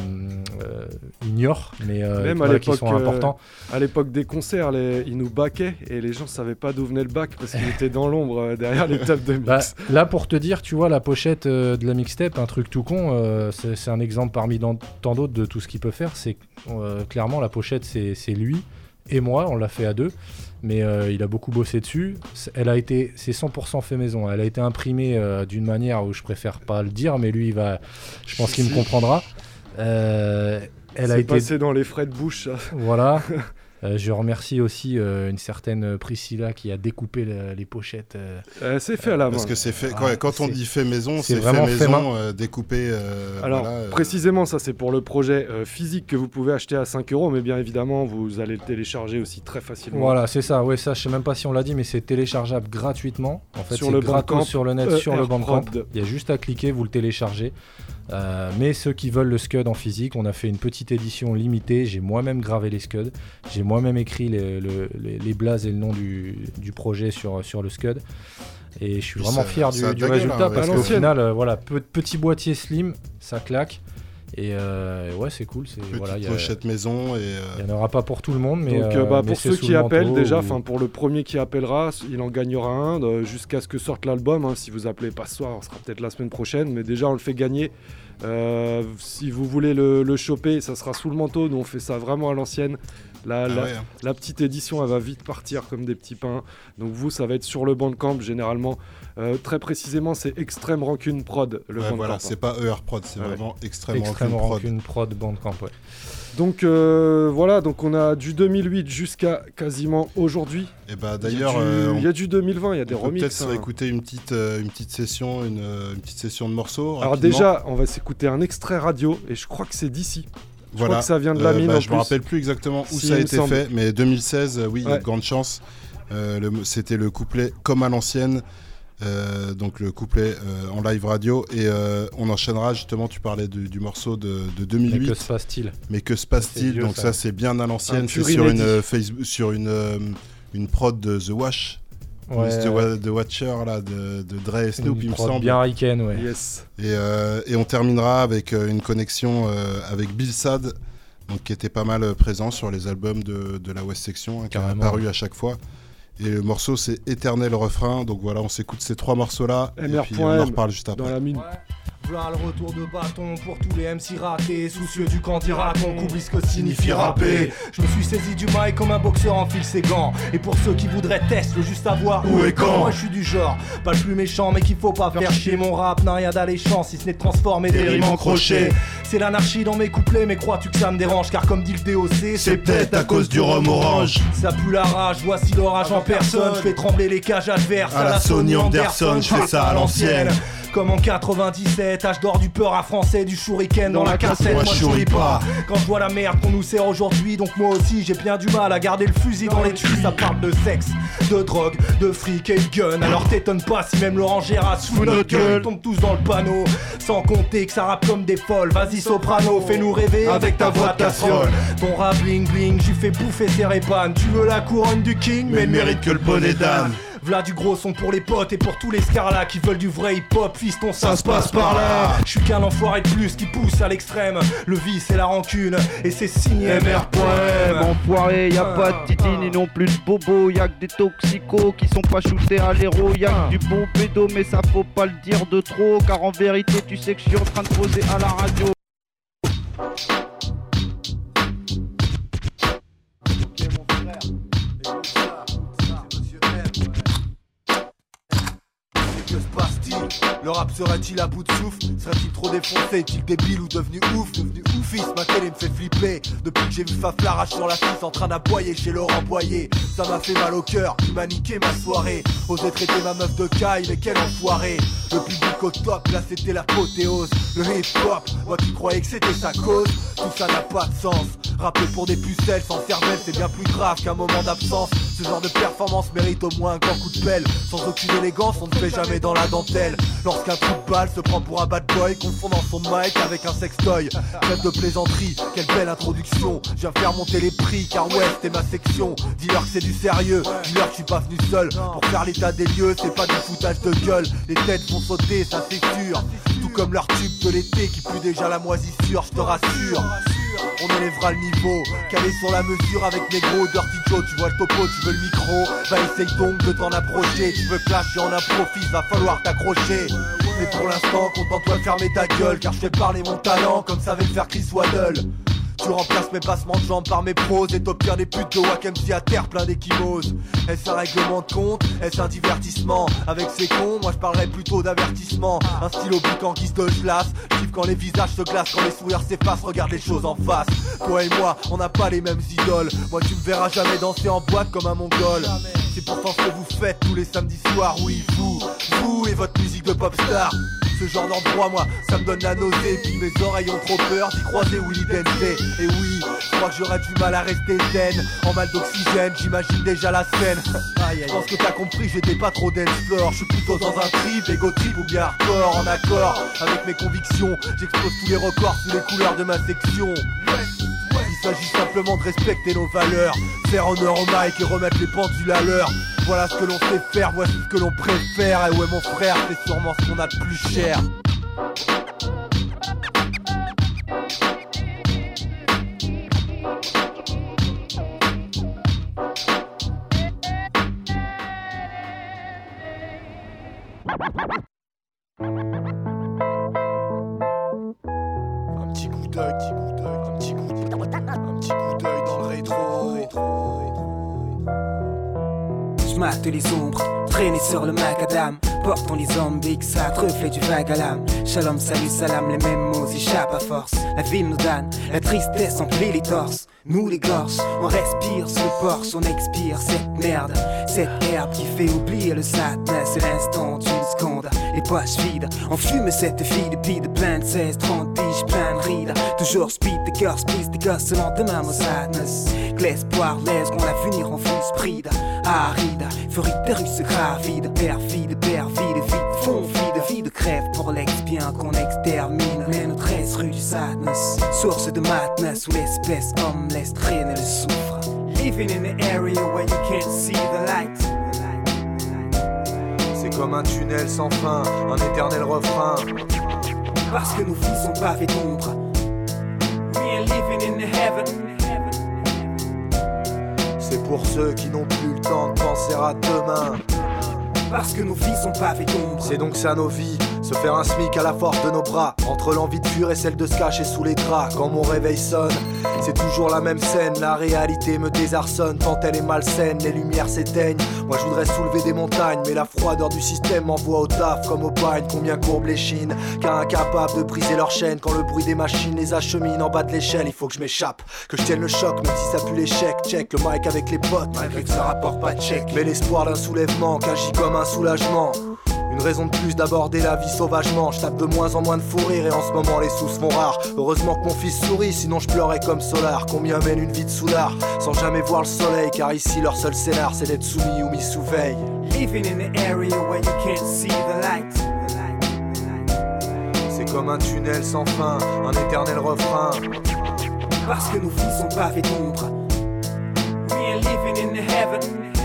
ignorent, mais même qui sont importants. À l'époque des concerts, ils nous baquaient et les gens savaient pas d'où venait le bac parce qu'il était dans l'ombre derrière les tables de mix. Là, pour te dire, tu vois, la pochette de la mixtape, un truc tout con, c'est un exemple parmi tant d'autres de tout ce qu'il peut faire. C'est clairement la pochette, c'est lui et moi, on l'a fait à deux. Mais il a beaucoup bossé dessus. C'est 100% fait maison. Elle a été imprimée d'une manière où je préfère pas le dire, mais lui, je pense qu'il me comprendra. Elle a été passé dans les frais de bouche. Ça. Voilà. Je remercie aussi une certaine Priscilla qui a découpé les pochettes. C'est fait à la main. Parce que c'est fait. Quand on dit fait maison, c'est vraiment fait maison, découpé. Alors précisément, ça c'est pour le projet physique que vous pouvez acheter à 5€, mais bien évidemment, vous allez le télécharger aussi très facilement. Voilà, c'est ça. Ouais, ça, je sais même pas si on l'a dit, mais c'est téléchargeable gratuitement. En fait, sur le Bandcamp, sur le net, sur le Bandcamp. Il y a juste à cliquer, vous le téléchargez. Mais ceux qui veulent le Scud en physique, on a fait une petite édition limitée. J'ai moi-même gravé les Scuds. J'ai moi-même écrit les blazes et le nom du projet sur le Scud. Et je suis vraiment fier du résultat parce qu'au final, petit boîtier slim, ça claque. Et ouais, c'est cool. Petite pochette maison. Il n'y en aura pas pour tout le monde. Mais, donc, pour ceux qui appellent, déjà, pour le premier qui appellera, il en gagnera un jusqu'à ce que sorte l'album. Hein. Si vous appelez pas ce soir, on sera peut-être la semaine prochaine. Mais déjà, on le fait gagner. Si vous voulez le choper, ça sera sous le manteau. Nous, on fait ça vraiment à l'ancienne. La petite édition, elle va vite partir comme des petits pains. Donc vous, ça va être sur le Bandcamp généralement. Très précisément, c'est Extreme Rancune Prod. Bandcamp. Voilà, c'est pas ER Prod, c'est vraiment Extreme Rancune Prod Bandcamp. Ouais. Donc voilà, donc on a du 2008 jusqu'à quasiment aujourd'hui. Et bah d'ailleurs, il y a du 2020, il y a des remixes. Peut-être écouter une petite session de morceaux. Alors rapidement. Déjà, on va s'écouter un extrait radio et je crois que c'est d'ici. Je crois que ça vient de la mine. Je me rappelle plus exactement où ça a été fait, mais 2016, oui, il y a de grandes chances. C'était le couplet comme à l'ancienne, donc le couplet en live radio, et on enchaînera justement. Tu parlais du morceau de 2008. Mais que se passe-t-il Donc ça, c'est bien à l'ancienne. C'est sur une prod de The Wash. Ouais. The Watcher là, de Dre et Snoop, il me semble. Bien Riken, ouais. Yes. Et on terminera avec une connexion avec Bill Sad, donc, qui était pas mal présent sur les albums de la West Section, qui a apparu à chaque fois. Et le morceau, c'est Éternel Refrain. Donc voilà, on s'écoute ces trois morceaux-là. Et puis on en reparle juste après. Dans la mine. Ouais. Voilà le retour de bâton pour tous les MC ratés, soucieux du quand il raconte, oublie ce que signifie rapper. Je me suis saisi du mic comme un boxeur enfile ses gants. Et pour ceux qui voudraient tester, le juste savoir où et quand. Moi je suis du genre, pas le plus méchant, mais qu'il faut pas faire chier. Mon rap n'a rien d'alléchant si ce n'est de transformer des rimes en crochets. C'est l'anarchie dans mes couplets, mais crois-tu que ça me dérange? Car comme dit le DOC, c'est peut-être à cause du rhum orange. Ça pue la rage, voici l'orage en personne. Je fais trembler les cages adverses à la Sony Anderson, je fais ça à l'ancienne. Comme en 97, âge d'or du peur à français, du shuriken dans la cassette. Moi je souris pas quand je vois la merde qu'on nous sert aujourd'hui. Donc moi aussi j'ai bien du mal à garder le fusil dans les tuyaux. Ça parle de sexe, de drogue, de fric et de gun. Alors t'étonnes pas si même Laurent Gérard sous notre gueule tombe tous dans le panneau. Sans compter que ça rappe comme des folles. Vas-y soprano, fais-nous rêver avec ta voix de casserole. Ton rap bling bling, j'y fais bouffer ses répanes. Tu veux la couronne du king, mais mérite que le bonnet d'âne. V'là du gros son pour les potes et pour tous les scarlas qui veulent du vrai hip-hop, fiston, ça se passe par là. Je suis qu'un enfoiré de plus qui pousse à l'extrême. Le vice et la rancune, et c'est signé MR.M. Enfoiré, y'a pas de titine et non plus de bobo. Y'a que des toxicos qui sont pas shootés à l'héros. Y'a que du bon pédo, mais ça faut pas le dire de trop. Car en vérité, tu sais que je suis en train de poser à la radio. Que se passe-t-il? Le rap serait-il à bout de souffle? Serait-il trop défoncé? Est-il débile ou devenu ouf? Devenu oufiste, ma télé me fait flipper. Depuis que j'ai vu Faf l'arrache sur la fille en train d'aboyer chez Laurent Boyer. Ça m'a fait mal au cœur, il m'a niqué ma soirée. Osé traiter ma meuf de caille, mais quel enfoiré. Le public au top, là c'était l'apothéose. Le hip-hop, moi qui croyais que c'était sa cause. Tout ça n'a pas de sens. Rapper pour des pucelles sans cervelle, c'est bien plus grave qu'un moment d'absence. Ce genre de performance mérite au moins un grand coup de pelle. Sans aucune élégance, on ne fait jamais dans la dentelle. Lorsqu'un coup de balle se prend pour un bad boy, confondant son mic avec un sextoy. Trêve de plaisanterie, quelle belle introduction. Je viens faire monter les prix car ouais c'était ma section. Dis-leur que c'est du sérieux, dis-leur que je suis pas venu seul. Pour faire l'état des lieux, c'est pas du foutage de gueule. Les têtes vont sauter, ça c'est sûr. Tout tout comme leur tube de l'été qui pue déjà la moisissure, je te rassure. On élèvera le niveau, calé sur la mesure avec mes gros Dirty Joe. Tu vois le topo, tu veux le micro, bah essaye donc de t'en approcher. Tu veux clasher en impro-fils, va falloir t'accrocher. Mais pour l'instant, contente-toi de fermer ta gueule, car je fais parler mon talent comme savait le faire Chris Waddle. Tu remplaces mes passements de jambes par mes proses et t'obtiens des putes de Wack MC à terre plein d'échymoses. Est-ce un règlement de compte? Est-ce un divertissement? Avec ces cons, moi je parlerais plutôt d'avertissement. Un stylo bic en guise de glace. Kiffe quand les visages se glacent, quand les sourires s'effacent. Regarde les choses en face. Toi et moi, on n'a pas les mêmes idoles. Moi tu me verras jamais danser en boîte comme un mongol. C'est pourtant ce que vous faites tous les samedis soirs. Oui, vous et votre musique de pop star. Ce genre d'endroit, moi, ça me donne la nausée. Puis mes oreilles ont trop peur d'y croiser Willy Densey. Et oui, je crois que j'aurais du mal à rester zen. En mal d'oxygène, j'imagine déjà la scène. Je pense que t'as compris, j'étais pas trop dance floor. Je suis plutôt dans un trip, ego trip ou bien hardcore. En accord avec mes convictions, j'explose tous les records sous les couleurs de ma section. Il s'agit simplement de respecter nos valeurs, faire honneur au mic et remettre les pendules à l'heure. Voilà ce que l'on sait faire, voici ce que l'on préfère. Et ouais mon frère, c'est sûrement ce qu'on a de plus cher. Un petit coup d'œil, un petit coup d'œil dans le rétro. J'mate les ombres, traîner sur le macadam. Portons les zombies, ça reflet du vague à l'âme. Shalom, salut, salam, les mêmes mots échappent à force. La ville nous donne, la tristesse emplit les torses. Nous les gorges, on respire sous le porche, on expire cette merde. Cette herbe qui fait oublier le sadness. C'est l'instant d'une seconde, les poches vides. On fume cette fille de bide, plein de 16, 30 tiges, plein de rides. Toujours speed, des cœurs, split, des gosses, seulement de même au sadness. Que l'espoir laisse qu'on l'avenir en full speed. Aride, furie de russe gravide. Perfide, vide, fond vide, crève pour l'ex-bien qu'on extermine. Mais notre reste rue du sadness, source de madness où l'espèce homme laisse traîner le soufre. Living in the area where you can't see the light. C'est comme un tunnel sans fin, un éternel refrain. Parce que nos vies sont pavées d'ombre. We ain't living in the heaven. C'est pour ceux qui n'ont plus le temps de penser à demain. Parce que nos vies sont pavées d'ombre. C'est donc ça nos vies, se faire un smic à la force de nos bras. Entre l'envie de fuir et celle de se cacher sous les draps. Quand mon réveil sonne, c'est toujours la même scène. La réalité me désarçonne tant elle est malsaine. Les lumières s'éteignent, moi je voudrais soulever des montagnes. Mais la froideur du système m'envoie au taf comme au bagne. Combien courbent les chines, car incapables de briser leur chaîne. Quand le bruit des machines les achemine en bas de l'échelle. Il faut que je m'échappe, que je tienne le choc. Même si ça pue l'échec, check le mic avec les potes. Malgré que ça rapporte pas de chèque. Mais l'espoir d'un soulèvement qu'agit comme un soulagement. Une raison de plus d'aborder la vie sauvagement. Je tape de moins en moins de fou rire et en ce moment les sous se font rares. Heureusement que mon fils sourit, sinon je pleurais comme Solar. Combien mène une vie de soulard sans jamais voir le soleil. Car ici leur seul scénar c'est d'être soumis ou mis sous veille. Living in the area where you can't see the light. C'est comme un tunnel sans fin, un éternel refrain. Parce que nos vies sont pavées d'ombre. We ain't living in the heaven.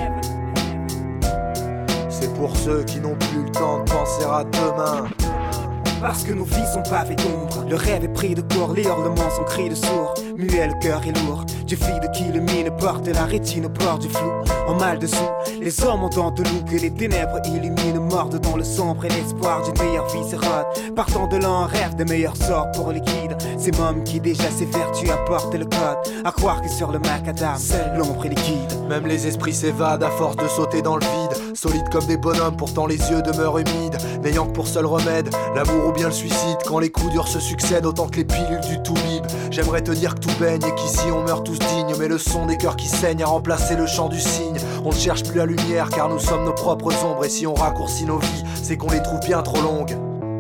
C'est pour ceux qui n'ont plus le temps de penser à demain. Parce que nos vies sont pavées d'ombre. Le rêve est pris de court, les hurlements sont cris de sourd. Muet, le cœur est lourd. Du fil de qui le mine porte la rétine au bord du flou. En mal dessous, les hommes ont tant de loup que les ténèbres illuminent, mordent dans le sombre et l'espoir d'une meilleure vie s'érode. Partant de là en rêve de meilleurs sorts pour les kids. Ces mômes qui déjà ses vertus apportent le code. À croire que sur le macadam, seule l'ombre est liquide. Même les esprits s'évadent à force de sauter dans le vide. Solides comme des bonhommes, pourtant les yeux demeurent humides. N'ayant que pour seul remède l'amour ou bien le suicide. Quand les coups durs se succèdent autant que les pilules du Toubib. J'aimerais te dire que tout baigne et qu'ici on meurt tous dignes. Mais le son des cœurs qui saignent a remplacé le chant du cygne. On ne cherche plus la lumière car nous sommes nos propres ombres. Et si on raccourcit nos vies, c'est qu'on les trouve bien trop longues.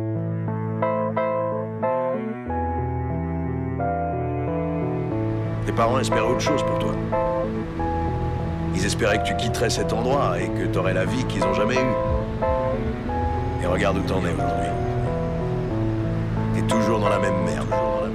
Tes parents espéraient autre chose pour toi. Ils espéraient que tu quitterais cet endroit et que t'aurais la vie qu'ils ont jamais eue. Et regarde où t'en es aujourd'hui. T'es toujours dans la même merde.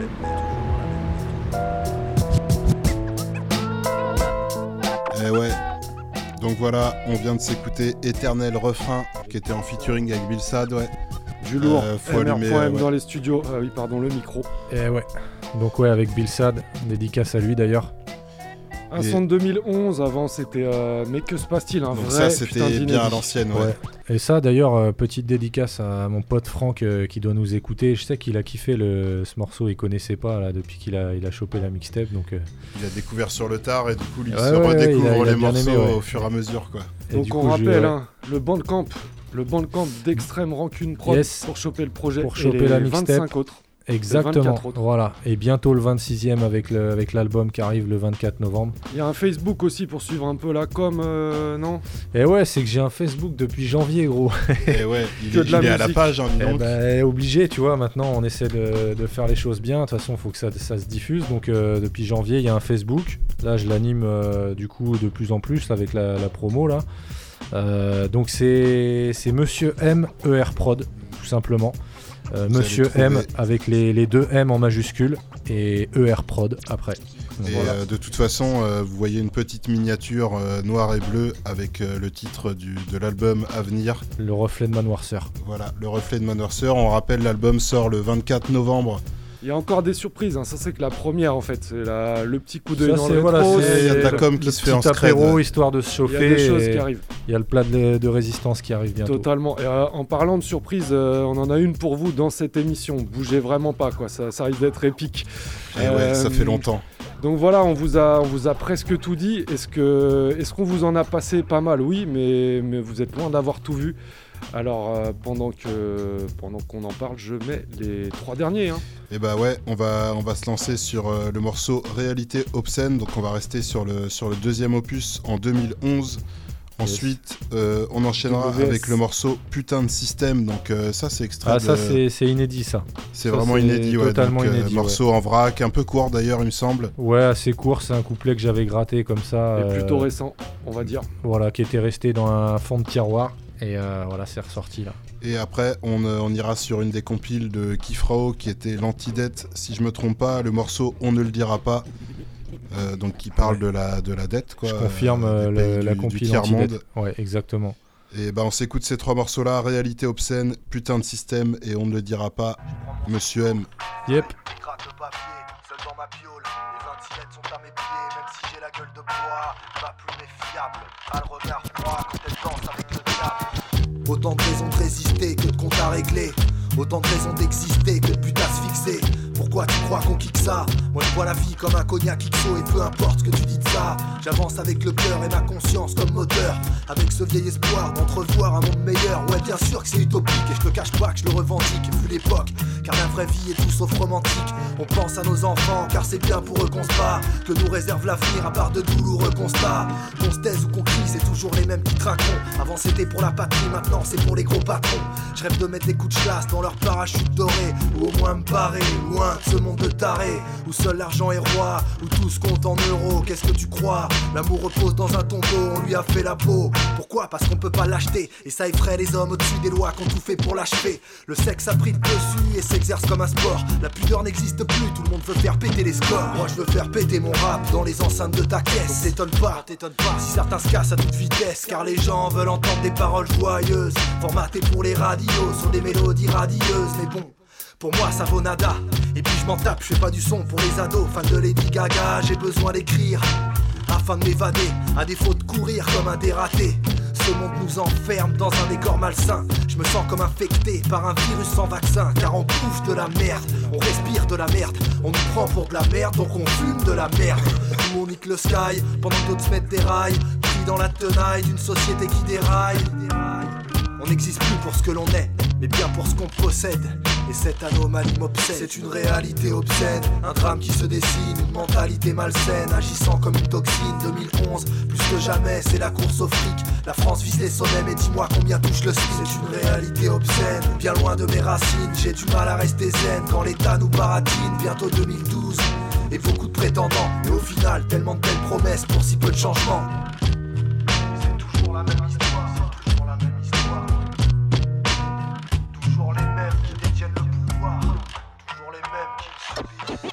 Eh ouais. Donc voilà, on vient de s'écouter Éternel Refrain, qui était en featuring avec Bill Sad, ouais. Du lourd. Faut allumer, MR.M ouais. dans les studios. Ah oui, pardon, le micro. Et ouais. Donc ouais, avec Bill Sad, dédicace à lui d'ailleurs. Un son de 2011, avant c'était mais que se passe-t-il, un Donc vrai ça, putain c'était bien d'inédit. à l'ancienne, ouais. Et ça d'ailleurs, petite dédicace à mon pote Franck qui doit nous écouter. Je sais qu'il a kiffé ce morceau, il connaissait pas là, depuis qu'il a chopé la mixtape. Donc, il a découvert sur le tard et du coup il Ouais, se ouais, redécouvre il a les bien morceaux aimé, ouais. au fur et à mesure, quoi. Et Donc du on coup, rappelle, hein, le Bandcamp d'Extrême Rancune Prod Yes. pour choper le projet pour et choper les la mixtape. 25 autres. Exactement, 24 autres. voilà. Et bientôt le 26e avec l'album qui arrive le 24 novembre. Il y a un Facebook aussi pour suivre un peu la com, non? Et ouais, c'est que j'ai un Facebook depuis janvier, gros. Et ouais, il Que de la est à la musique. page, hein, dis donc. Obligé, tu vois, maintenant on essaie de faire les choses bien. De toute façon, il faut que ça se diffuse. Donc depuis janvier, il y a un Facebook. Là, je l'anime du coup de plus en plus avec la promo là. Donc c'est Monsieur M ER Prod, tout simplement. Monsieur M avec les deux M en majuscule et ER Prod après. Et Voilà. de toute façon, vous voyez une petite miniature noire et bleue avec le titre de l'album à venir. Le reflet de ma noirceur. Voilà, le reflet de ma noirceur. On rappelle, l'album sort le 24 novembre. Il y a encore des surprises, hein. Ça c'est que la première en fait, c'est le petit coup d'œil Ça, dans c'est- le voilà, rétro, c'est- Il y a de la le- com qui se fait en Petit scred. apéro histoire de se Il y chauffer. a des choses et qui arrivent. Il y a le plat de résistance qui arrive bientôt. Totalement. Et en parlant de surprise, on en a une pour vous dans cette émission. Bougez vraiment pas, quoi. Ça risque d'être épique. Et ouais, ça fait longtemps. Donc voilà, on vous a presque tout dit. Est-ce qu'on vous en a passé pas mal? Oui, mais vous êtes loin d'avoir tout vu. Alors pendant qu'on en parle, je mets les 3 derniers. Hein. Et bah ouais, on va se lancer sur le morceau Réalité Obscène. Donc on va rester sur le deuxième opus en 2011. Ensuite, on enchaînera WS. avec le morceau Putain de Système. Donc ça, c'est extrait. Ah, ça c'est inédit ça. C'est Ça, vraiment inédit, ouais. Totalement Donc, inédit. morceau en vrac, un peu court d'ailleurs, il me semble. Ouais, assez court, c'est un couplet que j'avais gratté comme ça. Et plutôt récent, on va dire. Voilà, qui était resté dans un fond de tiroir. Et voilà, c'est ressorti là. Et après, on ira sur une des compiles de Kifrao qui était l'antidette, si je me trompe pas, le morceau On ne le dira pas. Donc qui parle de la dette, quoi. Je confirme la compile tiers-monde. anti-dette. Ouais, exactement. Et bah on s'écoute ces 3 morceaux-là, Réalité Obscène, Putain de Système et On ne le dira pas, Monsieur M. Yep. Gratte le papier, seul dans ma piole. Les 26 lettres sont à mes pieds, même si j'ai la gueule de bois. Ma plume est fiable, a le regard froid quand elle danse avec le diable. Autant de raisons de résister que de comptes à régler. Autant de raisons d'exister que de but à se fixer. Pourquoi tu crois qu'on kick ça? Moi je vois la vie comme un cognac XO et peu importe ce que tu dis de ça. J'avance avec le cœur et ma conscience comme moteur. Avec ce vieil espoir d'entrevoir un monde meilleur. Ouais bien sûr que c'est utopique et je te cache pas que je le revendique vu l'époque. Car la vraie vie est tout sauf romantique. On pense à nos enfants car c'est bien pour eux qu'on se bat. Que nous réserve l'avenir à part de douloureux constats. Qu'on se taise ou qu'on crie c'est toujours les mêmes qui traqueront. Avant c'était pour la patrie, maintenant c'est pour les gros patrons. Je rêve de mettre les coups de chasse dans leur parachute doré. Ou au moins me barrer loin de ce monde de tarés. Où seul l'argent est roi, où tout se compte en euros. Qu'est-ce que tu crois? L'amour repose dans un tombeau, on lui a fait la peau. Pourquoi? Parce qu'on peut pas l'acheter. Et ça effraie les hommes au-dessus des lois qu'on tout fait pour l'achever. Le sexe a pris le dessus et s'exerce comme un sport. La pudeur n'existe plus, tout le monde veut faire péter les scores. Moi je veux faire péter mon rap dans les enceintes de ta caisse. Donc t'étonne pas si certains se cassent à toute vitesse. Car les gens veulent entendre des paroles joyeuses, formatées pour les radios sur des mélodies radieuses. Mais bon, pour moi ça vaut nada. Et puis je m'en tape, je fais pas du son pour les ados. Fan de Lady Gaga, j'ai besoin d'écrire afin de m'évader, à défaut de courir comme un dératé. Ce monde nous enferme dans un décor malsain. Je me sens comme infecté par un virus sans vaccin. Car on bouffe de la merde, on respire de la merde. On nous prend pour de la merde, donc on fume de la merde. Nous on nique le sky, pendant que d'autres se mettent des rails. Pris dans la tenaille d'une société qui déraille. On n'existe plus pour ce que l'on est, mais bien pour ce qu'on possède. Et cette anomalie m'obsède. C'est une réalité obscène, un drame qui se dessine, une mentalité malsaine, agissant comme une toxine. 2011, plus que jamais, c'est la course au fric. La France vise les sommets, mais dis-moi combien touche le SMIC. C'est une réalité obscène, bien loin de mes racines. J'ai du mal à rester zen quand l'État nous baratine. Bientôt 2012, et beaucoup de prétendants. Et au final, tellement de belles promesses pour si peu de changements. C'est toujours la même histoire, c'est toujours la même histoire. Toujours les mêmes qui détiennent le pouvoir. Toujours les mêmes qui le subissent.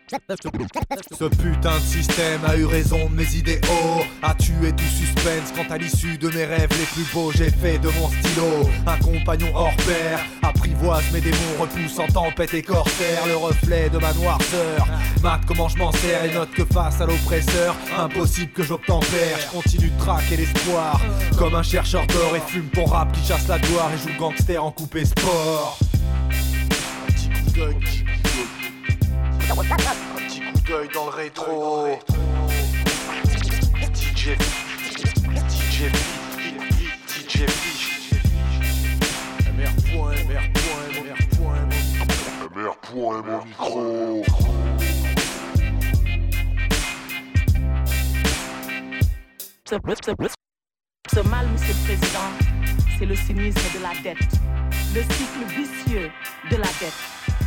Ce putain de système a eu raison de mes idéaux, a tué tout suspense quand à l'issue de mes rêves les plus beaux j'ai fait de mon stylo un compagnon hors pair, apprivoise mes démons, repousse en tempête et corsaire le reflet de ma noirceur. Mac, comment je m'en sers et note que face à l'oppresseur, impossible que j'obtempère. Je continue de traquer l'espoir comme un chercheur d'or et fume ton rap qui chasse la gloire et joue le gangster en coupé sport. Un petit coup d'œil, un petit coup d'œil dans le rétro. DJ MR mon micro. Ce mal, monsieur le président, c'est le cynisme de la dette, le cycle vicieux de la dette.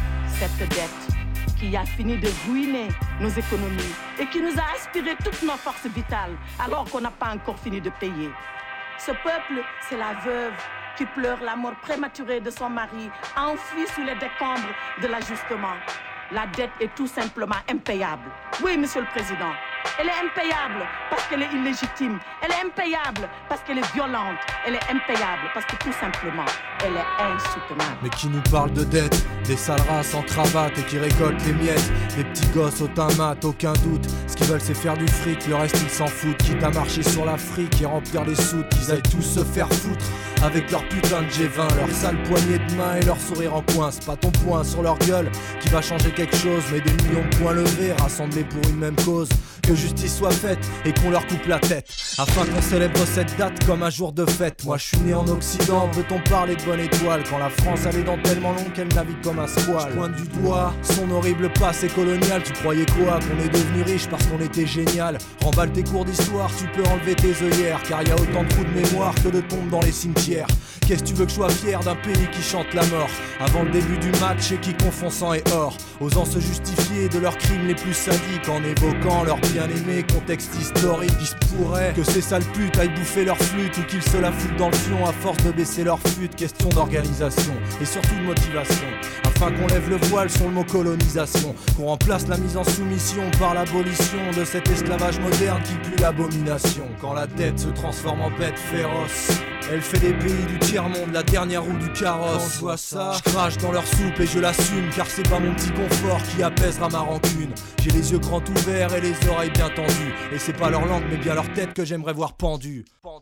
Cette dette qui a fini de ruiner nos économies et qui nous a aspiré toutes nos forces vitales alors qu'on n'a pas encore fini de payer. Ce peuple, c'est la veuve qui pleure la mort prématurée de son mari, enfoui sous les décombres de l'ajustement. La dette est tout simplement impayable. Oui, monsieur le président. Elle est impayable parce qu'elle est illégitime. Elle est impayable parce qu'elle est violente. Elle est impayable parce que tout simplement, elle est insoutenable. Mais qui nous parle de dette, des sales races en cravate et qui récoltent les miettes, des petits gosses au teint mat, aucun doute. Ce qu'ils veulent c'est faire du fric, le reste ils s'en foutent. Quitte à marcher sur l'Afrique et remplir les soutes, qu'ils aillent tous se faire foutre avec leur putain de G20, leur sale poignée de main et leur sourire en coin. C'est pas ton poing sur leur gueule qui va changer quelque chose, mais des millions de points levés rassemblés pour une même cause. Que justice soit faite et qu'on leur coupe la tête, afin qu'on célèbre cette date comme un jour de fête. Moi je suis né en Occident, peut-on parler de bonne étoile quand la France a les dents tellement longues qu'elle navigue comme un squale. Je pointe du doigt son horrible passé colonial. Tu croyais quoi, qu'on est devenu riche parce qu'on était génial? Remballe tes cours d'histoire, tu peux enlever tes œillères, car y a autant de trous de mémoire que de tombes dans les cimetières. Qu'est-ce que tu veux que je sois fier d'un pays qui chante la mort avant le début du match et qui confond sang et or, osant se justifier de leurs crimes les plus sadiques en évoquant leur bien-aimé contexte historique. Il se pourrait que ces sales putes aillent bouffer leur flûte ou qu'ils se la foutent dans le fion à force de baisser leur flûte. Question d'organisation et surtout de motivation, afin qu'on lève le voile sur le mot colonisation, qu'on remplace la mise en soumission par l'abolition de cet esclavage moderne qui pue l'abomination. Quand la dette se transforme en bête féroce, elle fait des pays du tiers-monde la dernière roue du carrosse. Quand je vois ça, je crache dans leur soupe et je l'assume, car c'est pas mon petit confort qui apaisera ma rancune. J'ai les yeux grands ouverts et les oreilles bien tendues, et c'est pas leur langue mais bien leur tête que j'aimerais voir pendue.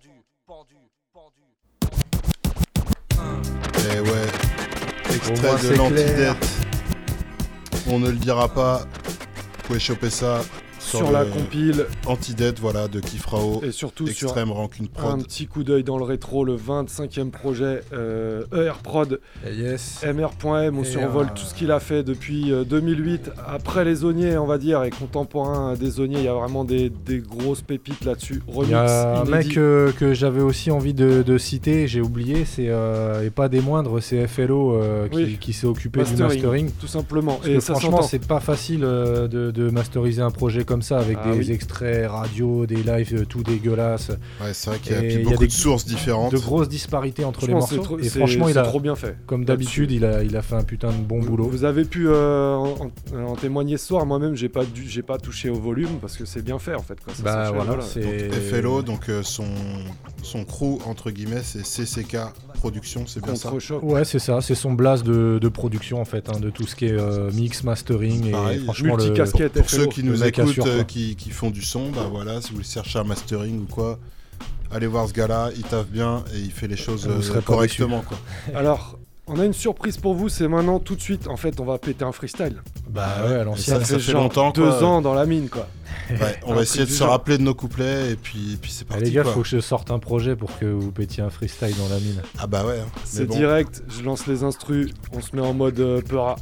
Eh ouais, extrait de l'antidette. On ne le dira pas, vous pouvez choper ça sur la compile Antidette, voilà, de Kifrao et surtout Extrême sur Rancune Prod. Un petit coup d'œil dans le rétro, le 25e projet ER Prod, MR.M. On survole tout ce qu'il a fait depuis 2008, après les Zoniers on va dire, et contemporain des Zoniers, il y a vraiment des grosses pépites là-dessus. Remix, il y a un inédit. mec que j'avais aussi envie de citer, j'ai oublié, c'est et pas des moindres, c'est FLO qui s'est occupé du mastering. Tout simplement. Parce et que ça franchement c'est pas facile de masteriser un projet comme ça avec des extraits radio, des lives tout dégueulasses. Ouais, c'est vrai qu'il y a beaucoup de sources différentes. De grosses disparités entre les morceaux. Et franchement, il a trop bien fait. Comme d'habitude, il a fait un putain de bon boulot. Vous avez pu en témoigner ce soir. Moi-même, j'ai pas touché au volume parce que c'est bien fait en fait. Quoi. Ça voilà, c'est FLO, donc son crew entre guillemets, c'est CCK Production, c'est bien ça. Ouais, c'est ça. C'est son blast de production en fait, de tout ce qui est mix, mastering. Pareil, et franchement, multicasquette. Pour ceux qui nous écoutent, qui font du son, bah voilà, si vous cherchez un mastering ou quoi, allez voir ce gars-là, il taffe bien et il fait les choses correctement, quoi. Alors, on a une surprise pour vous, c'est maintenant tout de suite. En fait, on va péter un freestyle. Bah ouais, à l'ancienne. Ça fait longtemps, 2 ans dans la mine, quoi. Ouais, on va essayer de se rappeler de nos couplets et puis c'est parti. Les gars, quoi. faut que je sorte un projet pour que vous pétiez un freestyle dans la mine. Ah bah ouais. C'est bon. Direct, je lance les instrus, on se met en mode peura.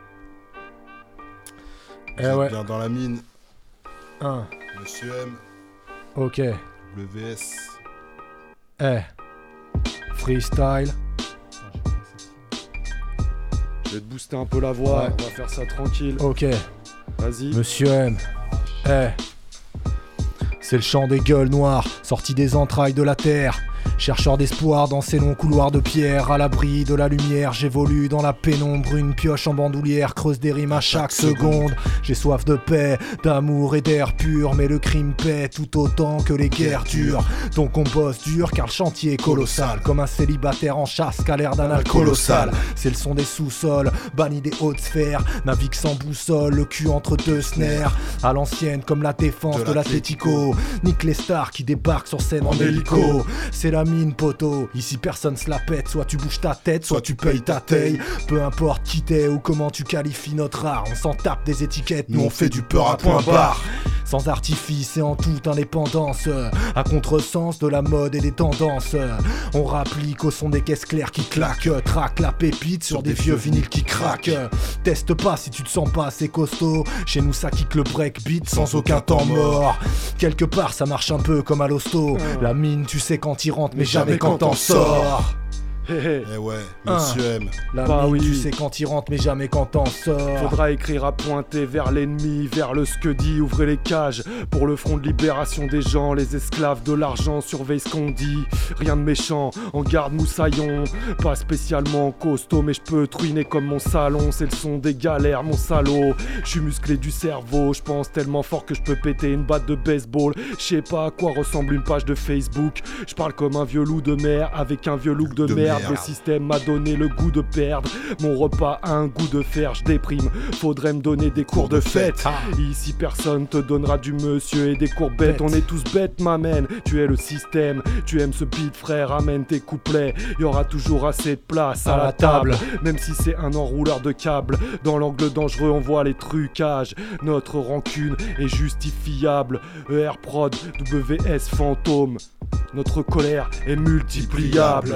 Ouais. Bien dans la mine. 1. Monsieur M. Ok. WS. Freestyle. Je vais te booster un peu la voix, on va faire ça tranquille. Ok. Vas-y. Monsieur M. C'est le chant des gueules noires, sorti des entrailles de la terre. Chercheur d'espoir dans ces longs couloirs de pierre, à l'abri de la lumière, j'évolue dans la pénombre, une pioche en bandoulière creuse des rimes à chaque seconde. J'ai soif de paix, d'amour et d'air pur, mais le crime paie tout autant que les guerres durent. Donc on bosse dur car le chantier est colossal, comme un célibataire en chasse qu'à l'air d'un alcool colossal. C'est le son des sous-sols, banni des hautes sphères, navigue sans boussole, le cul entre deux snares. À l'ancienne comme la défense de l'Atlético, nique les stars qui débarquent sur scène en hélico. C'est la mine poteau, ici personne se la pète, soit tu bouges ta tête, soit tu payes ta taille. Peu importe qui t'es ou comment tu qualifies notre art, on s'en tape des étiquettes, nous on fait du peur à point barre. Sans artifice et en toute indépendance, à contresens de la mode et des tendances. On rapplique au son des caisses claires qui claquent, traque la pépite sur des vieux vinyles qui craquent. Teste pas si tu te sens pas assez costaud, chez nous ça kick le breakbeat sans aucun temps mort. Quelque part ça marche un peu comme à l'hosto, la mine tu sais quand t'y rentres mais jamais quand t'en sors. Eh ouais, Monsieur M. La mine, tu sais quand il rentre mais jamais quand t'en sors. Faudra écrire à pointer vers l'ennemi, vers le scudi, ouvrez les cages pour le front de libération des gens. Les esclaves de l'argent surveillent ce qu'on dit. Rien de méchant, en garde moussaillon. Pas spécialement costaud mais je peux truiner comme mon salon. C'est le son des galères mon salaud. Je suis musclé du cerveau, je pense tellement fort que je peux péter une batte de baseball. Je sais pas à quoi ressemble une page de Facebook. Je parle comme un vieux loup de mer avec un vieux look de merde. Le système m'a donné le goût de perdre. Mon repas a un goût de fer, je déprime. Faudrait me donner des cours de fête. Ici personne te donnera du monsieur et des courbettes. On est tous bêtes m'amène. Tu es le système, tu aimes ce beat frère. Amène tes couplets, y'aura toujours assez de place à la table. Même si c'est un enrouleur de câbles. Dans l'angle dangereux on voit les trucages. Notre rancune est justifiable. ER Prod, WS Fantôme. Notre colère est multipliable.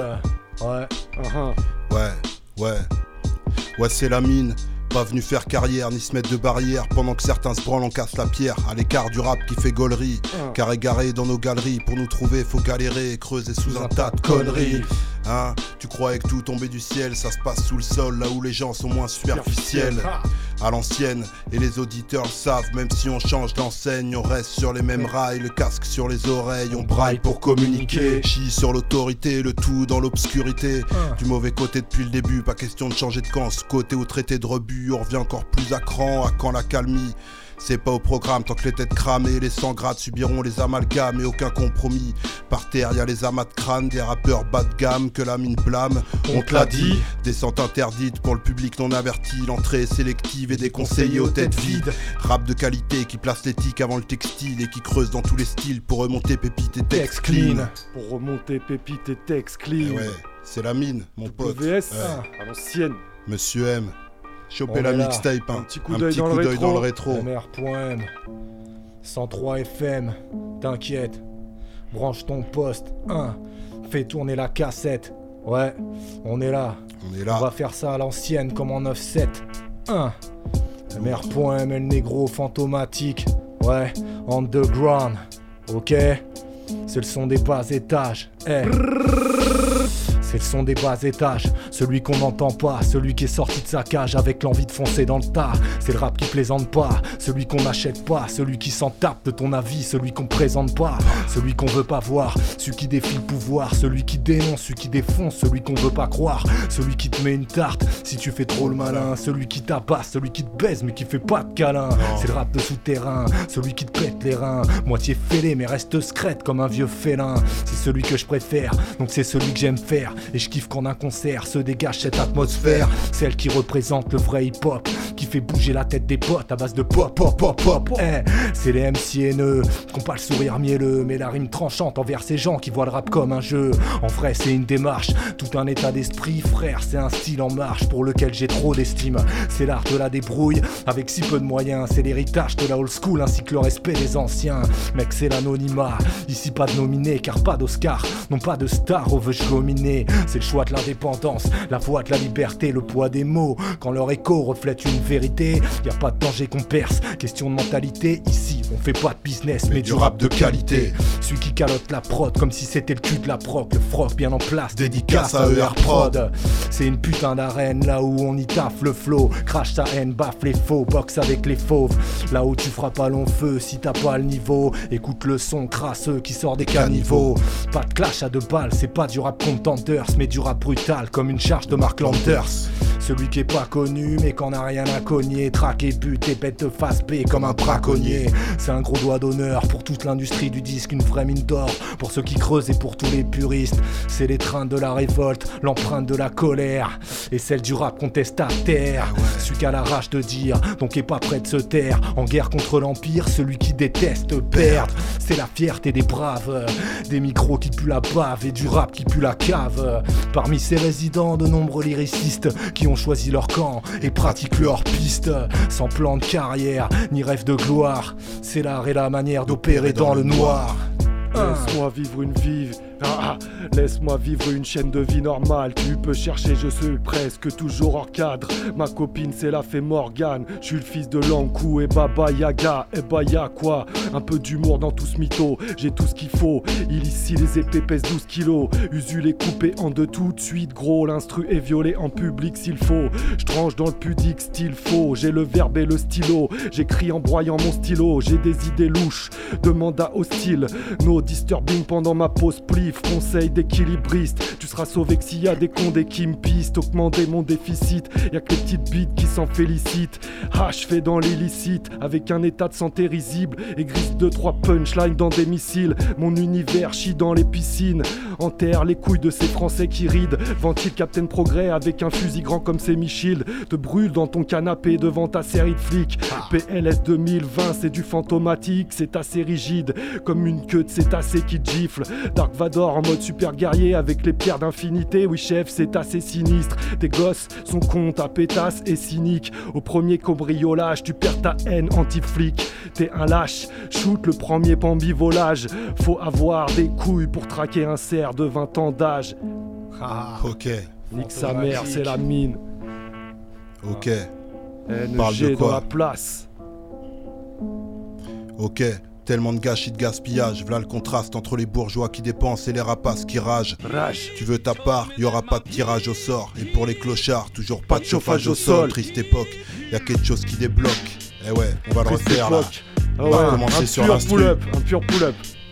Ouais, c'est la mine. Pas venu faire carrière ni se mettre de barrière pendant que certains se branlent, on casse la pierre. À l'écart du rap qui fait gaulerie, car égaré dans nos galeries. Pour nous trouver faut galérer et creuser sous un tas de conneries. Hein, tu croyais que tout tombait du ciel, ça se passe sous le sol, là où les gens sont moins superficiels. À l'ancienne, et les auditeurs le savent, même si on change d'enseigne, on reste sur les mêmes rails, le casque sur les oreilles, on braille pour communiquer. Chie sur l'autorité, le tout dans l'obscurité. Du mauvais côté depuis le début, pas question de changer de camp. Ce côté au traité de rebut, on revient encore plus à cran, à quand la calmie. C'est pas au programme, tant que les têtes cramées, les 100 grades subiront les amalgames et aucun compromis. Par terre y'a les amas de crâne, des rappeurs bas de gamme que la mine blâme. On te l'a dit, descente interdite pour le public non averti, l'entrée est sélective et des conseillers aux têtes vides. Rap de qualité qui place l'éthique avant le textile et qui creuse dans tous les styles pour remonter pépite et texte clean. Pour remonter pépite et texte clean. Ouais, c'est la mine, mon pote. WS, à l'ancienne. Monsieur M. Choper la mixtape, un petit coup d'œil dans le rétro. MR.M 103 FM, t'inquiète, branche ton poste, fais tourner la cassette. Ouais, on est là. On va faire ça à l'ancienne comme en 9-7. MR.M, le négro fantomatique. Ouais, underground. Ok, c'est le son des bas étages. C'est le son des bas étages, celui qu'on n'entend pas, celui qui est sorti de sa cage avec l'envie de foncer dans le tas. C'est le rap qui plaisante pas, celui qu'on n'achète pas, celui qui s'en tape de ton avis, celui qu'on présente pas, celui qu'on veut pas voir, celui qui défie le pouvoir, celui qui dénonce, celui qui défonce, celui qu'on veut pas croire, celui qui te met une tarte si tu fais trop le malin, celui qui tabasse, celui qui te baise mais qui fait pas de câlin. C'est le rap de souterrain, celui qui te pète les reins, moitié fêlé mais reste secrète comme un vieux félin. C'est celui que je préfère, donc c'est celui que j'aime faire. Et je kiffe quand d'un concert se dégage cette atmosphère, celle qui représente le vrai hip-hop, qui fait bouger la tête des potes à base de pop, pop, pop, pop. C'est les MC haineux, qu'on pas le sourire mielleux, mais la rime tranchante envers ces gens qui voient le rap comme un jeu. En vrai c'est une démarche, tout un état d'esprit, frère, c'est un style en marche pour lequel j'ai trop d'estime. C'est l'art de la débrouille, avec si peu de moyens, c'est l'héritage de la old school ainsi que le respect des anciens. Mec c'est l'anonymat, ici pas de nominé car pas d'Oscar, non pas de star, on veut dominer. C'est le choix de l'indépendance, la voix de la liberté, le poids des mots, quand leur écho reflète une vérité. Y a pas de danger qu'on perce, question de mentalité, ici On fait pas de business mais du rap de qualité. Celui qui calotte la prod comme si c'était le cul de la proc. Le froc bien en place, dédicace à ER Prod. C'est une putain d'arène là où on y taffe le flow. Crash sa haine, baffe les faux, boxe avec les fauves. Là où tu feras pas long feu si t'as pas le niveau. Écoute le son crasseux qui sort des caniveaux. Pas de clash à 2 balles, c'est pas du rap contenders, mais du rap brutal comme une charge de Mark Landers. Celui qui est pas connu mais qu'on a rien à cogner. Traquer, buter, pète de face B comme un braconnier. C'est un gros doigt d'honneur pour toute l'industrie du disque, une vraie mine d'or pour ceux qui creusent et pour tous les puristes. C'est l'étreinte de la révolte, l'empreinte de la colère et celle du rap contestataire. Celui qui a la rage de dire, donc est pas prêt de se taire. En guerre contre l'empire, celui qui déteste perdre. C'est la fierté des braves, des micros qui puent la bave et du rap qui pue la cave. Parmi ces résidents, de nombreux lyricistes qui ont choisi leur camp et pratiquent leur piste. Sans plan de carrière, ni rêve de gloire. C'est l'art et la manière d'opérer dans le noir. Laisse-moi vivre une vie. Laisse-moi vivre une chaîne de vie normale. Tu peux chercher, je suis presque toujours hors cadre. Ma copine c'est la fée Morgane. Je suis le fils de Lankou et Baba Yaga. Et bah y'a quoi? Un peu d'humour dans tout ce mytho. J'ai tout ce qu'il faut. Il ici les épées pèsent 12 kilos. Usul est coupé en deux tout de suite. Gros, l'instru est violé en public s'il faut. Je tranche dans le pudique style faux. J'ai le verbe et le stylo. J'écris en broyant mon stylo. J'ai des idées louches de mandat hostile. No disturbing pendant ma pause pli. Conseil d'équilibriste, tu seras sauvé que s'il y a des condés qui me pistent. Augmenter mon déficit, y'a que les petites bites qui s'en félicitent. Je fais dans l'illicite, avec un état de santé risible. Et glisse 2-3 punchlines dans des missiles. Mon univers chie dans les piscines. Enterre les couilles de ces Français qui rident. Ventile Captain Progrès avec un fusil grand comme Semi-Shield. Te brûle dans ton canapé devant ta série de flics. PLS 2020 c'est du fantomatique. C'est assez rigide, comme une queue de cétacé qui te gifle. Dark Vador en mode super guerrier avec les pierres d'infinité. Oui chef, c'est assez sinistre. Tes gosses sont cons, ta pétasse et cynique. Au premier cambriolage, tu perds ta haine anti-flic. T'es un lâche, shoot le premier pambivolage. Faut avoir des couilles pour traquer un cerf de 20 ans d'âge. Ok. Nique sa mère, c'est la mine. Ok. NG dans la place. Ok. Tellement de gâchis de gaspillage, v'là le contraste entre les bourgeois qui dépensent et les rapaces qui ragent. Tu veux ta part, y'aura pas de tirage au sort. Et pour les clochards, toujours pas de chauffage au sol. Triste époque, y'a quelque chose qui débloque. Eh ouais, on va le refaire là. On va commencer sur l'instru. Un pur pull-up.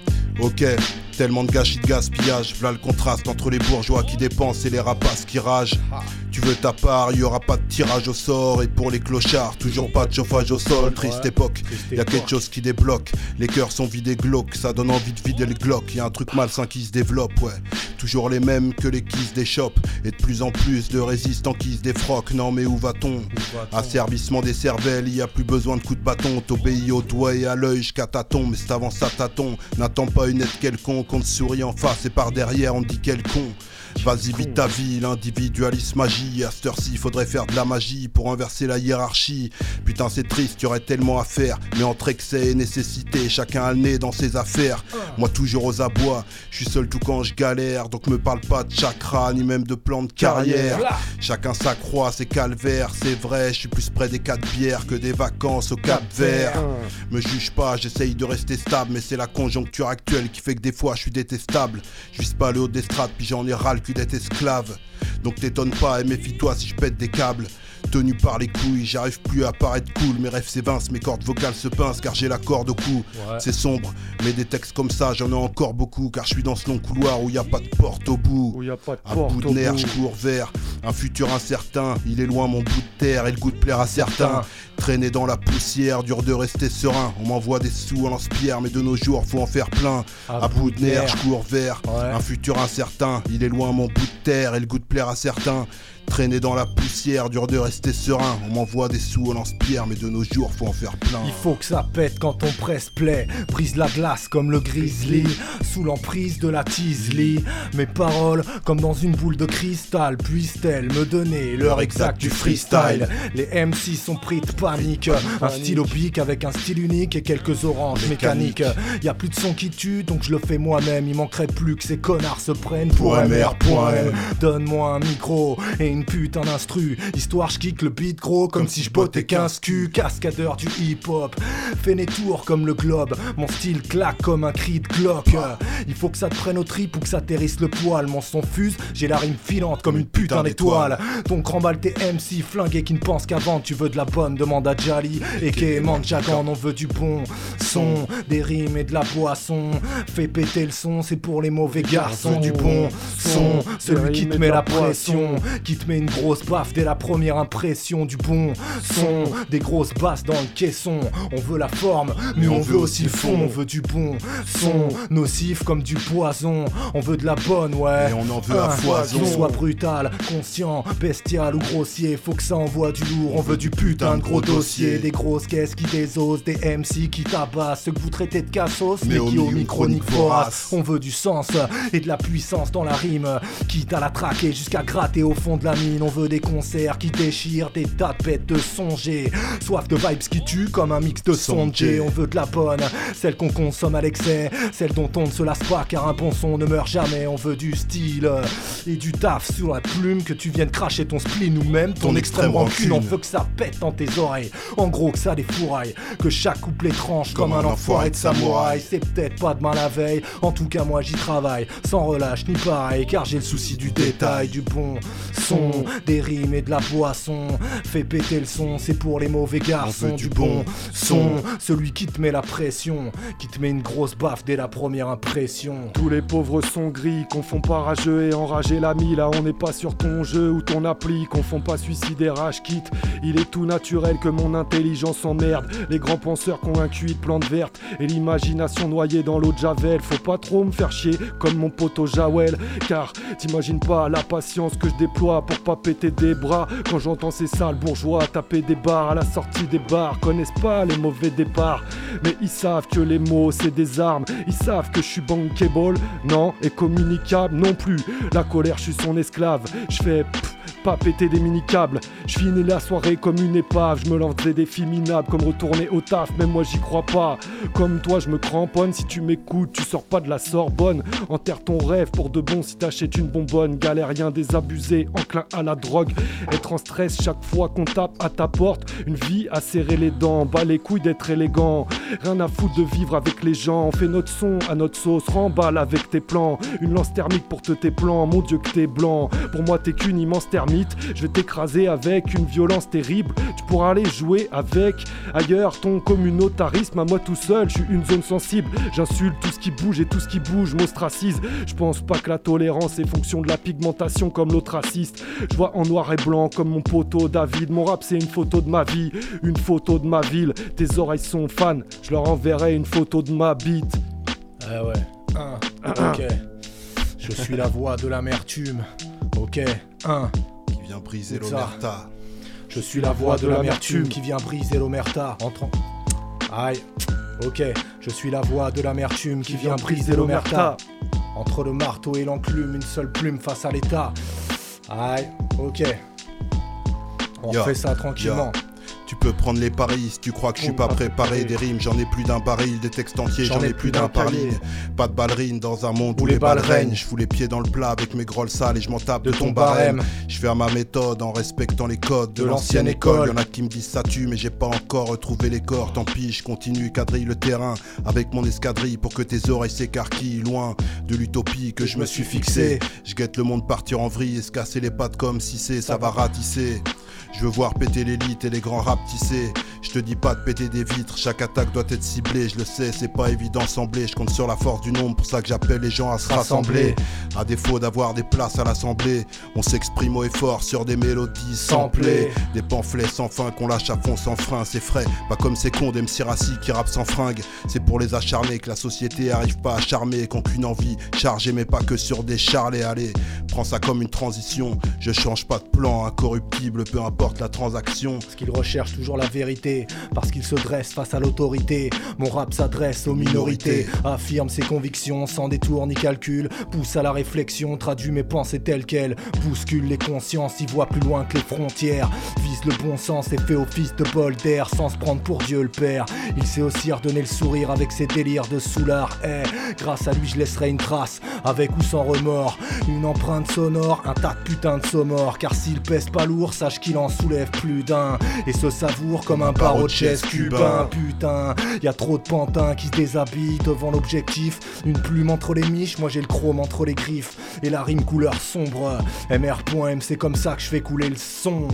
Ok. Tellement de gâchis de gaspillage, v'là le contraste entre les bourgeois qui dépensent et les rapaces qui ragent. Tu veux ta part, y'aura pas de tirage au sort. Et pour les clochards, toujours pas de chauffage au sol. Triste époque, y'a quelque chose qui débloque. Les cœurs sont vidés glauques, ça donne envie de vider le Glock. Y'a un truc malsain qui se développe, ouais. Toujours les mêmes que les kisses des shops. Et de plus en plus de résistants qui se défroquent. Non mais où va-t-on? Asservissement des cervelles, y a plus besoin de coups de bâton. T'obéis au doigt et à l'œil jusqu'à tâton. Mais c'est avant ça tâton, n'attends pas une aide quelconque. On te sourit en face et par derrière on te dit quel con. Vas-y vite ta vie, l'individualisme magie. À cette heure-ci faudrait faire de la magie pour inverser la hiérarchie. Putain c'est triste, y'aurait tellement à faire. Mais entre excès et nécessité, chacun a le nez dans ses affaires. Moi toujours aux abois, je suis seul tout quand je galère. Donc me parle pas de chakra, ni même de plan de carrière. Chacun s'accroît, c'est calvaire, c'est vrai. Je suis plus près des 4 bières que des vacances au Cap Vert. Me juge pas, j'essaye de rester stable. Mais c'est la conjoncture actuelle qui fait que des fois je suis détestable. Je vise pas le haut des strates, puis j'en ai ras le cul d'être esclave. Donc t'étonne pas et méfie-toi si je pète des câbles. Tenu par les couilles, j'arrive plus à paraître cool. Mes rêves s'évincent, mes cordes vocales se pincent car j'ai la corde au cou. C'est sombre, mais des textes comme ça j'en ai encore beaucoup. Car je suis dans ce long couloir où y a pas de porte au bout. À bout de nerfs, je cours vers un futur incertain. Il est loin mon bout de terre et le goût de plaire à certains. Traîner dans la poussière, dur de rester serein. On m'envoie des sous en lance-pierre, mais de nos jours faut en faire plein. À bout de nerfs, je cours vers un futur incertain. Il est loin mon bout de terre et le goût de plaire à certains. Traîner dans la poussière, dur de rester serein. On m'envoie des sous au lance-pierre, mais de nos jours faut en faire plein. Il faut que ça pète quand on presse play. Brise la glace comme le grizzly, sous l'emprise de la teasley. Mes paroles comme dans une boule de cristal. Puissent-elles me donner l'heure exacte du freestyle? Les MC sont pris de panique. Un stylo pique avec un style unique et quelques oranges mécaniques. Y'a plus de son qui tue, donc je le fais moi-même. Il manquerait plus que ces connards se prennent pour MR.M. Donne-moi un micro et une putain d'instru. Histoire je kick le beat gros comme si je bottais 15 culs. Cascadeur du hip-hop, fais des tours comme le globe. Mon style claque comme un cri de Glock. Il faut que ça te prenne au trip ou que ça t'hérisse le poil. Mon son fuse, j'ai la rime filante comme une putain d'étoile. Donc remballe tes MC flingués qui ne pensent qu'avant. Tu veux de la bonne, demande à Jali et Kéman Jagan. On veut du bon son, des rimes et de la boisson. Fais péter le son, c'est pour les mauvais garçons. Du bon son, celui qui te met la pression, qui te met une grosse baffe dès la première impression. Du bon son, des grosses basses dans le caisson. On veut la forme, mais on veut aussi le fond. On veut du bon son, nocif comme du poison. On veut de la bonne, ouais, et on en veut à foison. Qu'il soit brutal, conscient, bestial ou grossier, faut que ça envoie du lourd. On veut du putain de gros dossier, des grosses caisses qui désosent, des MC qui tabassent, ceux que vous traitez de cassos, mais qui au micro niquent vorace. On veut du sens et de la puissance dans la rime, quitte à la traquer jusqu'à gratter au fond de la mine. On veut des concerts qui déchirent, des tas de bêtes de songer, soif de vibes qui tue comme un mix de son de J. On veut de la bonne, celle qu'on consomme à l'excès, celle dont on ne se lasse pas car un bon son ne meurt jamais. On veut du style et du taf sur la plume, que tu viennes cracher ton spleen ou même ton extrême rancune. On veut que ça pète dans tes oreilles, en gros que ça défouraille, que chaque couplet tranche comme un enfoiré de samouraï. C'est peut-être pas demain la veille, en tout cas moi j'y travaille, sans relâche ni pareil, car j'ai le souci du détail. Du bon son, des rimes et de la boisson. Fais péter le son, c'est pour les mauvais garçons. Du bon son, celui qui te met la pression, qui te met une grosse baffe dès la première impression. Tous les pauvres sont gris, confond pas rageux et enragé l'ami. Là on n'est pas sur ton jeu ou ton appli, confond pas suicide et rage quitte. Il est tout naturel que mon intelligence emmerde les grands penseurs convaincus de plantes vertes et l'imagination noyée dans l'eau de Javel. Faut pas trop me faire chier comme mon poteau Jawel, car t'imagines pas la patience que je déploie pour pas péter des bras quand j'entends ces sales bourgeois taper des barres à la sortie des bars. Connaissent pas les mauvais départs, mais ils savent que les mots c'est des armes. Ils savent que je suis bankable, non, et communicable non plus. La colère, je suis son esclave. Je fais pas péter des mini-câbles. Je finis la soirée comme une épave. Je me lance des défis minables comme retourner au taf. Même moi j'y crois pas. Comme toi je me cramponne. Si tu m'écoutes, tu sors pas de la Sorbonne. Enterre ton rêve pour de bon si t'achètes une bonbonne. Galérien désabusé, enclin à la drogue. Être en stress chaque fois qu'on tape à ta porte. Une vie à serrer les dents. Bas les couilles d'être élégant. Rien à foutre de vivre avec les gens. On fait notre son à notre sauce. Remballe avec tes plans. Une lance thermique pour tes plans. Mon Dieu que t'es blanc. Pour moi t'es qu'une immense thermite. Je vais t'écraser avec une violence terrible. Tu pourras aller jouer avec ailleurs. Ton communautarisme à moi tout seul. Je suis une zone sensible. J'insulte tout ce qui bouge et tout ce qui bouge m'ostracise. Je pense pas que la tolérance est fonction de la pigmentation comme l'autre raciste. Je vois en noir et blanc comme mon poteau David. Mon rap c'est une photo de ma vie, une photo de ma ville. Tes oreilles sont fans, je leur enverrai une photo de ma bite. Ah ouais, ok. Je suis la voix de l'amertume. Ok, qui vient briser l'omerta. Je suis la voix de l'amertume qui vient briser l'omerta. Entrant. Aïe, ok. Je suis la voix de l'amertume qui vient briser l'omerta. Entre le marteau et l'enclume, une seule plume face à l'état. Aïe, ok. On fait ça tranquillement. Tu peux prendre les paris si tu crois que je suis pas préparé. Des rimes, j'en ai plus d'un baril. Des textes entiers, j'en ai plus d'un par ligne. Pas de ballerine dans un monde où les balles règnent. Je fous les pieds dans le plat avec mes grolles sales et je m'en tape de ton barème. Je fais à ma méthode en respectant les codes de l'ancienne école. Y'en a qui me disent ça tue mais j'ai pas encore retrouvé les corps. Tant pis, je continue, quadrille le terrain avec mon escadrille pour que tes oreilles s'écarquillent. Loin de l'utopie que je me suis fixé. Je guette le monde partir en vrille et se casser les pattes comme si ça va ratisser. Je veux voir péter l'élite et les grands rap tissés. Je te dis pas de péter des vitres, chaque attaque doit être ciblée. Je le sais, c'est pas évident semblé. Je compte sur la force du nombre, pour ça que j'appelle les gens à se rassembler. À défaut d'avoir des places à l'assemblée, on s'exprime haut et fort sur des mélodies samplées. Des pamphlets sans fin qu'on lâche à fond sans frein. C'est frais, pas comme ces cons d'MC Rassi qui rappent sans fringue. C'est pour les acharnés que la société arrive pas à charmer. Qu'aucune envie chargée mais pas que sur des charlets. Allez, prends ça comme une transition. Je change pas de plan, incorruptible, peu importe importe la transaction. Parce qu'ils recherchent toujours la vérité, parce qu'ils se dressent face à l'autorité. Mon rap s'adresse aux minorités, affirme ses convictions sans détour ni calcul, pousse à la réflexion, traduit mes pensées telles quelles, bouscule les consciences, y voit plus loin que les frontières, vise le bon sens et fait office de bol d'air sans se prendre pour Dieu le Père. Il sait aussi redonner le sourire avec ses délires de soulard. Grâce à lui je laisserai une trace, avec ou sans remords, une empreinte sonore, un tas de putain de saumores. Car s'il pèse pas lourd, sache qu'il en soulève plus d'un, et se savoure comme un barreau de chaise cubain. Putain, y a trop de pantins qui se déshabillent devant l'objectif. Une plume entre les miches, moi j'ai le chrome entre les griffes, et la rime couleur sombre. MR.M, c'est comme ça que je fais couler le son.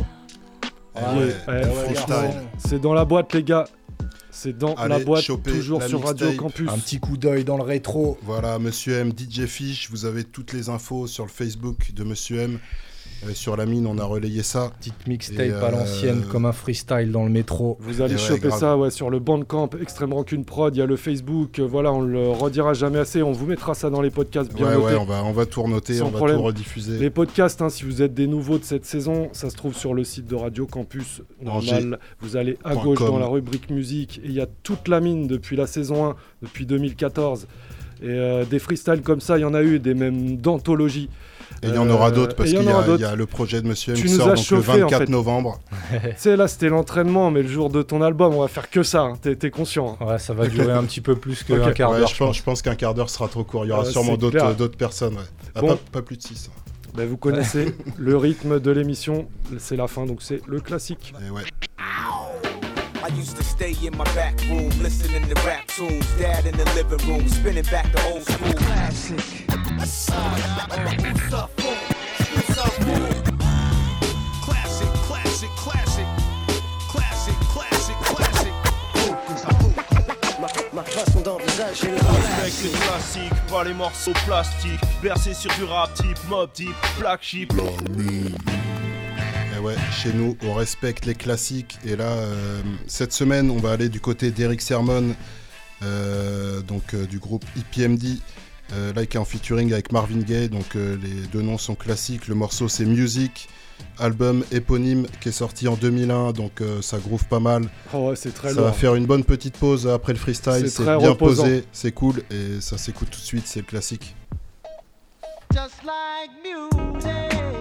C'est dans la boîte les gars. C'est dans la boîte, toujours la sur Radio Campus. Un petit coup d'œil dans le rétro. Voilà, Monsieur M, DJ Fish, vous avez toutes les infos sur le Facebook de Monsieur M. Sur la mine, on a relayé ça. Petite mixtape à l'ancienne, comme un freestyle dans le métro. Vous allez choper ça sur le Bandcamp, Extrême Rancune Prod, il y a le Facebook, voilà, on le redira jamais assez, on vous mettra ça dans les podcasts bien notés. On va tout renoter, sans on va problème. tout rediffuser. Les podcasts, si vous êtes des nouveaux de cette saison, ça se trouve sur le site de Radio Campus, normal. Vous allez à gauche dans la rubrique musique, et il y a toute la mine depuis la saison 1, depuis 2014. Et des freestyles comme ça, il y en a eu, des mêmes d'anthologie. Et il y en aura d'autres parce qu'il y a le projet de Monsieur M qui sort donc le 24 novembre. Tu sais, là c'était l'entraînement, mais le jour de ton album, on va faire que ça, t'es conscient. Ouais, ça va durer un petit peu plus qu'un quart d'heure. Je pense qu'un quart d'heure sera trop court, il y aura sûrement d'autres personnes. Bon. Pas plus de 6. Ben, vous connaissez le rythme de l'émission, c'est la fin, donc c'est le classique. Et ouais. I used to stay in my back room, listening to rap tunes. Dad in the living room, spinning back the old school. Classic. Ma façon d'envisager le respecte les classiques, pas les morceaux plastiques. Bercé sur du rap type, mob type, black sheep. Ouais, chez nous, on respecte les classiques. Et là, cette semaine, on va aller du côté d'Eric Sermon, du groupe EPMD, là qui est en featuring avec Marvin Gaye. Donc les deux noms sont classiques. Le morceau, c'est Music, album éponyme qui est sorti en 2001. Donc ça groove pas mal. Oh ouais, c'est très ça lourd. va faire une bonne petite pause après le freestyle. C'est bien reposant. posé, c'est cool. Et ça s'écoute tout de suite, c'est le classique. Just like music.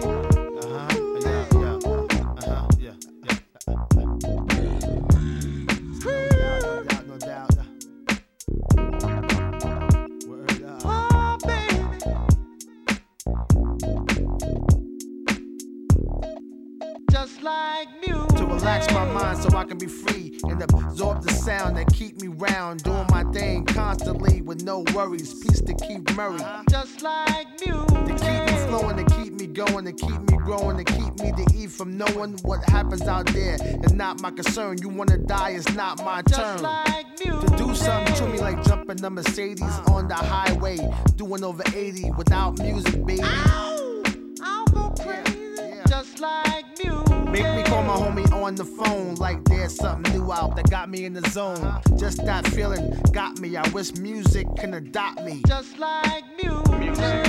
Just like music. To relax my mind so I can be free and absorb the sound that keep me round, doing my thing constantly with no worries. Peace to Keith Murray. Just like music. To keep me flowing, to keep me going, to keep me growing, to keep me to eat from knowing what happens out there. It's not my concern. You wanna die, it's not my turn. Just like music. To do something to me like jumping a Mercedes on the highway, doing over 80 without music, baby. Ow! I'll go crazy. Yeah. Just like music. Make me call my homie on the phone like there's something new out that got me in the zone. Just that feeling got me. I wish music can adopt me. Just like music. Music.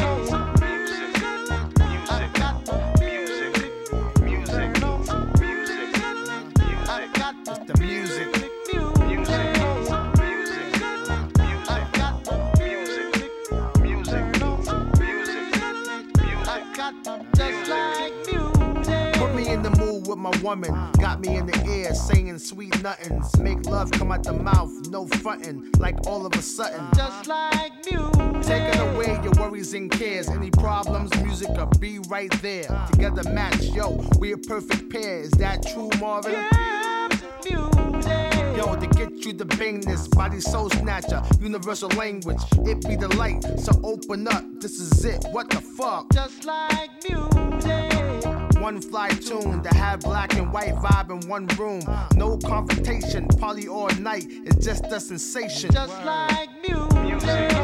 My woman got me in the air saying sweet nothings, make love come out the mouth, no frontin', like all of a sudden, just like music. Taking away your worries and cares, any problems, music will be right there. Together match, yo, we a perfect pair. Is that true, Marvin? Yeah, music. Yo, to get you the bangness, body soul snatcher, universal language, it be the light, so open up, this is it, what the fuck? Just like music. One fly tune to have black and white vibe in one room. No confrontation, party all night. It's just a sensation. Just like music. Music.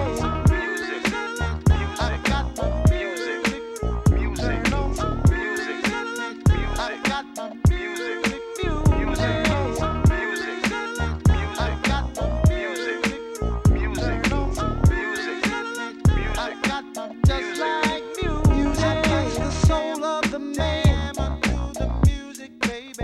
I got the music. Music. I got the music. Music. I got the music. Music. I got the just like music. Music is the soul of the man.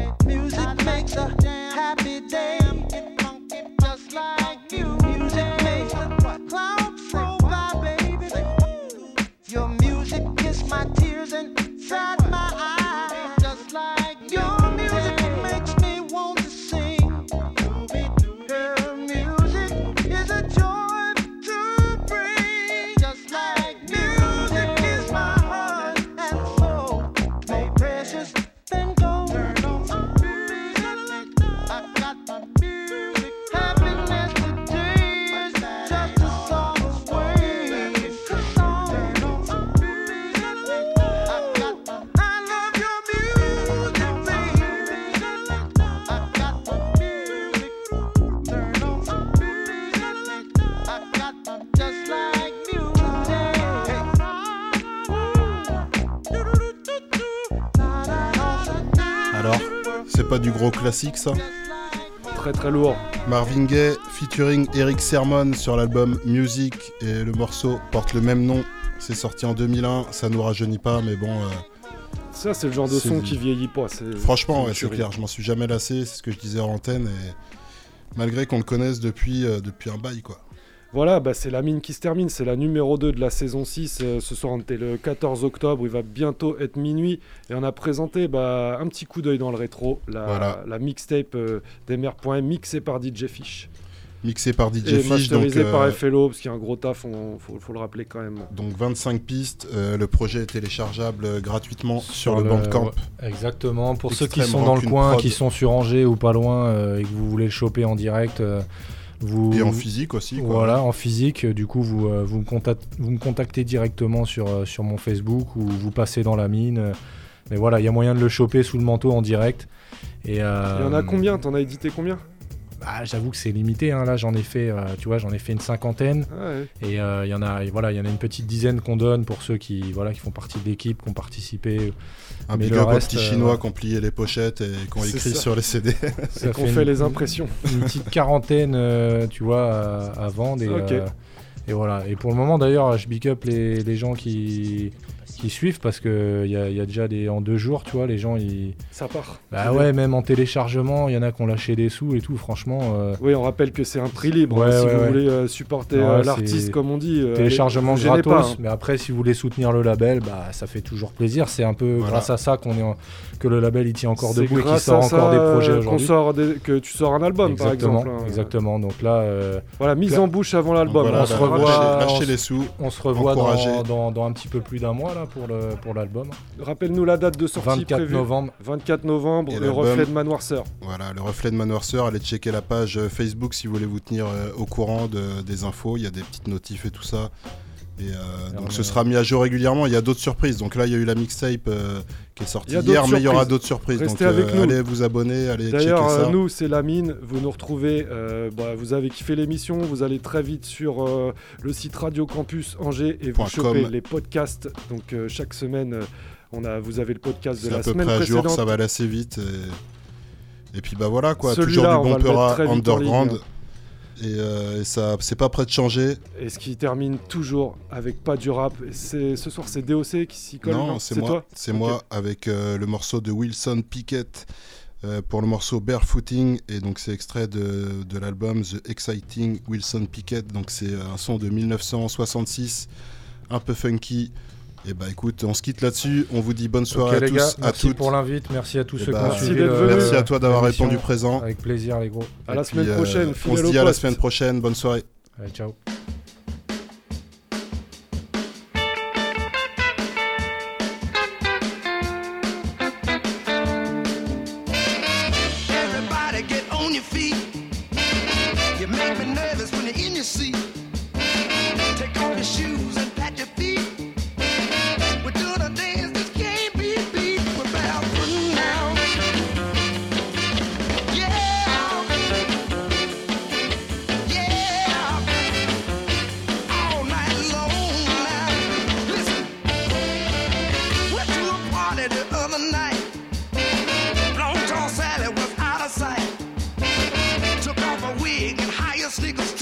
day. Get funky just like you. Music makes the clouds roll by, baby. Your music kiss my tears inside my eyes. Just like your music makes me want to sing. Her music is a joy to bring. Just like music is my heart and soul. More precious than gold. Turn on some music. I got my music. Happiness today is just a song away. It's a song. Turn on some music. I love your music, baby. I got my music. Turn on some music. I got my just like Alors, c'est pas du gros classique ça? Très très lourd. Marvin Gaye featuring Eric Sermon sur l'album Music, et le morceau porte le même nom. C'est sorti en 2001, ça nous rajeunit pas, mais bon. Ça, c'est le genre de son qui vieillit pas. Franchement, c'est clair, je m'en suis jamais lassé, c'est ce que je disais en antenne, et malgré qu'on le connaisse depuis un bail, quoi. Voilà, c'est la mine qui se termine, c'est la numéro 2 de la saison 6. Ce soir, on était le 14 octobre, il va bientôt être minuit. Et on a présenté un petit coup d'œil dans le rétro, la mixtape d'MR.M mixée par DJ Fish. Mixé par DJ et Fish, masterisé par FLO, parce qu'il y a un gros taf, faut le rappeler quand même. Donc 25 pistes, le projet est téléchargeable gratuitement sur le Bandcamp. Ouais, exactement, pour ceux qui sont dans le coin, qui sont sur Angers ou pas loin, et que vous voulez le choper en direct... et en physique aussi, quoi. Voilà, en physique, du coup vous me contactez directement sur mon Facebook, ou vous passez dans la mine. Mais voilà, il y a moyen de le choper sous le manteau en direct. Et, il y en a combien? T'en as édité combien? J'avoue que c'est limité, hein. Là j'en ai fait une cinquantaine. Ah ouais. Et il y en a une petite dizaine qu'on donne pour ceux qui font partie de l'équipe, qui ont participé. Un big up aux petits chinois qui ont plié les pochettes et qui ont écrit sur les CD. Et qu'on fait les impressions. Une petite quarantaine, à vendre. Et voilà. Et pour le moment d'ailleurs, je big up les gens qui suivent, parce que y a déjà en 2 jours, tu vois, les gens ça part. Ouais, même en téléchargement, il y en a qui ont lâché des sous et tout, franchement. Oui, on rappelle que c'est un prix libre, si vous voulez supporter l'artiste, comme on dit. Téléchargement gratos, pas, hein. Mais après, si vous voulez soutenir le label, ça fait toujours plaisir. C'est un peu grâce à ça que le label il tient encore debout et qu'il sort encore des projets aujourd'hui. Que tu sors un album, par exemple. Exactement. Donc là, mise en bouche avant l'album. Voilà, on se revoit. Lâchez les sous. On se revoit dans un petit peu plus d'un mois là pour l'album. Rappelle-nous la date de sortie 24 novembre. 24 novembre, le reflet de Manoirceur. Voilà, le reflet de Manoirceur. Allez checker la page Facebook si vous voulez vous tenir au courant des infos. Il y a des petites notifs et tout ça. Et donc ce sera mis à jour régulièrement. Il y a d'autres surprises. Donc là, il y a eu la mixtape qui est sortie hier, mais il y aura d'autres surprises. Restez donc avec nous. Allez vous abonner, allez checker ça. D'ailleurs, nous, c'est la mine. Vous nous retrouvez. Vous avez kiffé l'émission. Vous allez très vite sur le site Radio Campus Angers et vous chopez les podcasts. Donc chaque semaine, vous avez le podcast de la semaine précédente. C'est à peu près à jour, ça va aller assez vite. Et puis voilà quoi. Toujours du bon Peura underground. Et ça, c'est pas prêt de changer. Et ce qui termine toujours avec pas du rap. Ce soir, c'est DOC qui s'y colle. Non, c'est moi. Toi moi avec le morceau de Wilson Pickett pour le morceau Barefooting. Et donc, c'est extrait de l'album The Exciting Wilson Pickett. Donc, c'est un son de 1966, un peu funky. Et écoute, on se quitte là-dessus. On vous dit bonne soirée à tous, gars, à toutes. Merci pour l'invite, merci à tous ceux qui ont suivi. Merci à toi d'avoir répondu présent. Avec plaisir, les gros. À la semaine prochaine. On se dit à la semaine prochaine. Bonne soirée. Allez, ciao. Everybody get on your feet. You make me nervous when you're in your seat. Take off your shoes and pat your feet. Sneakers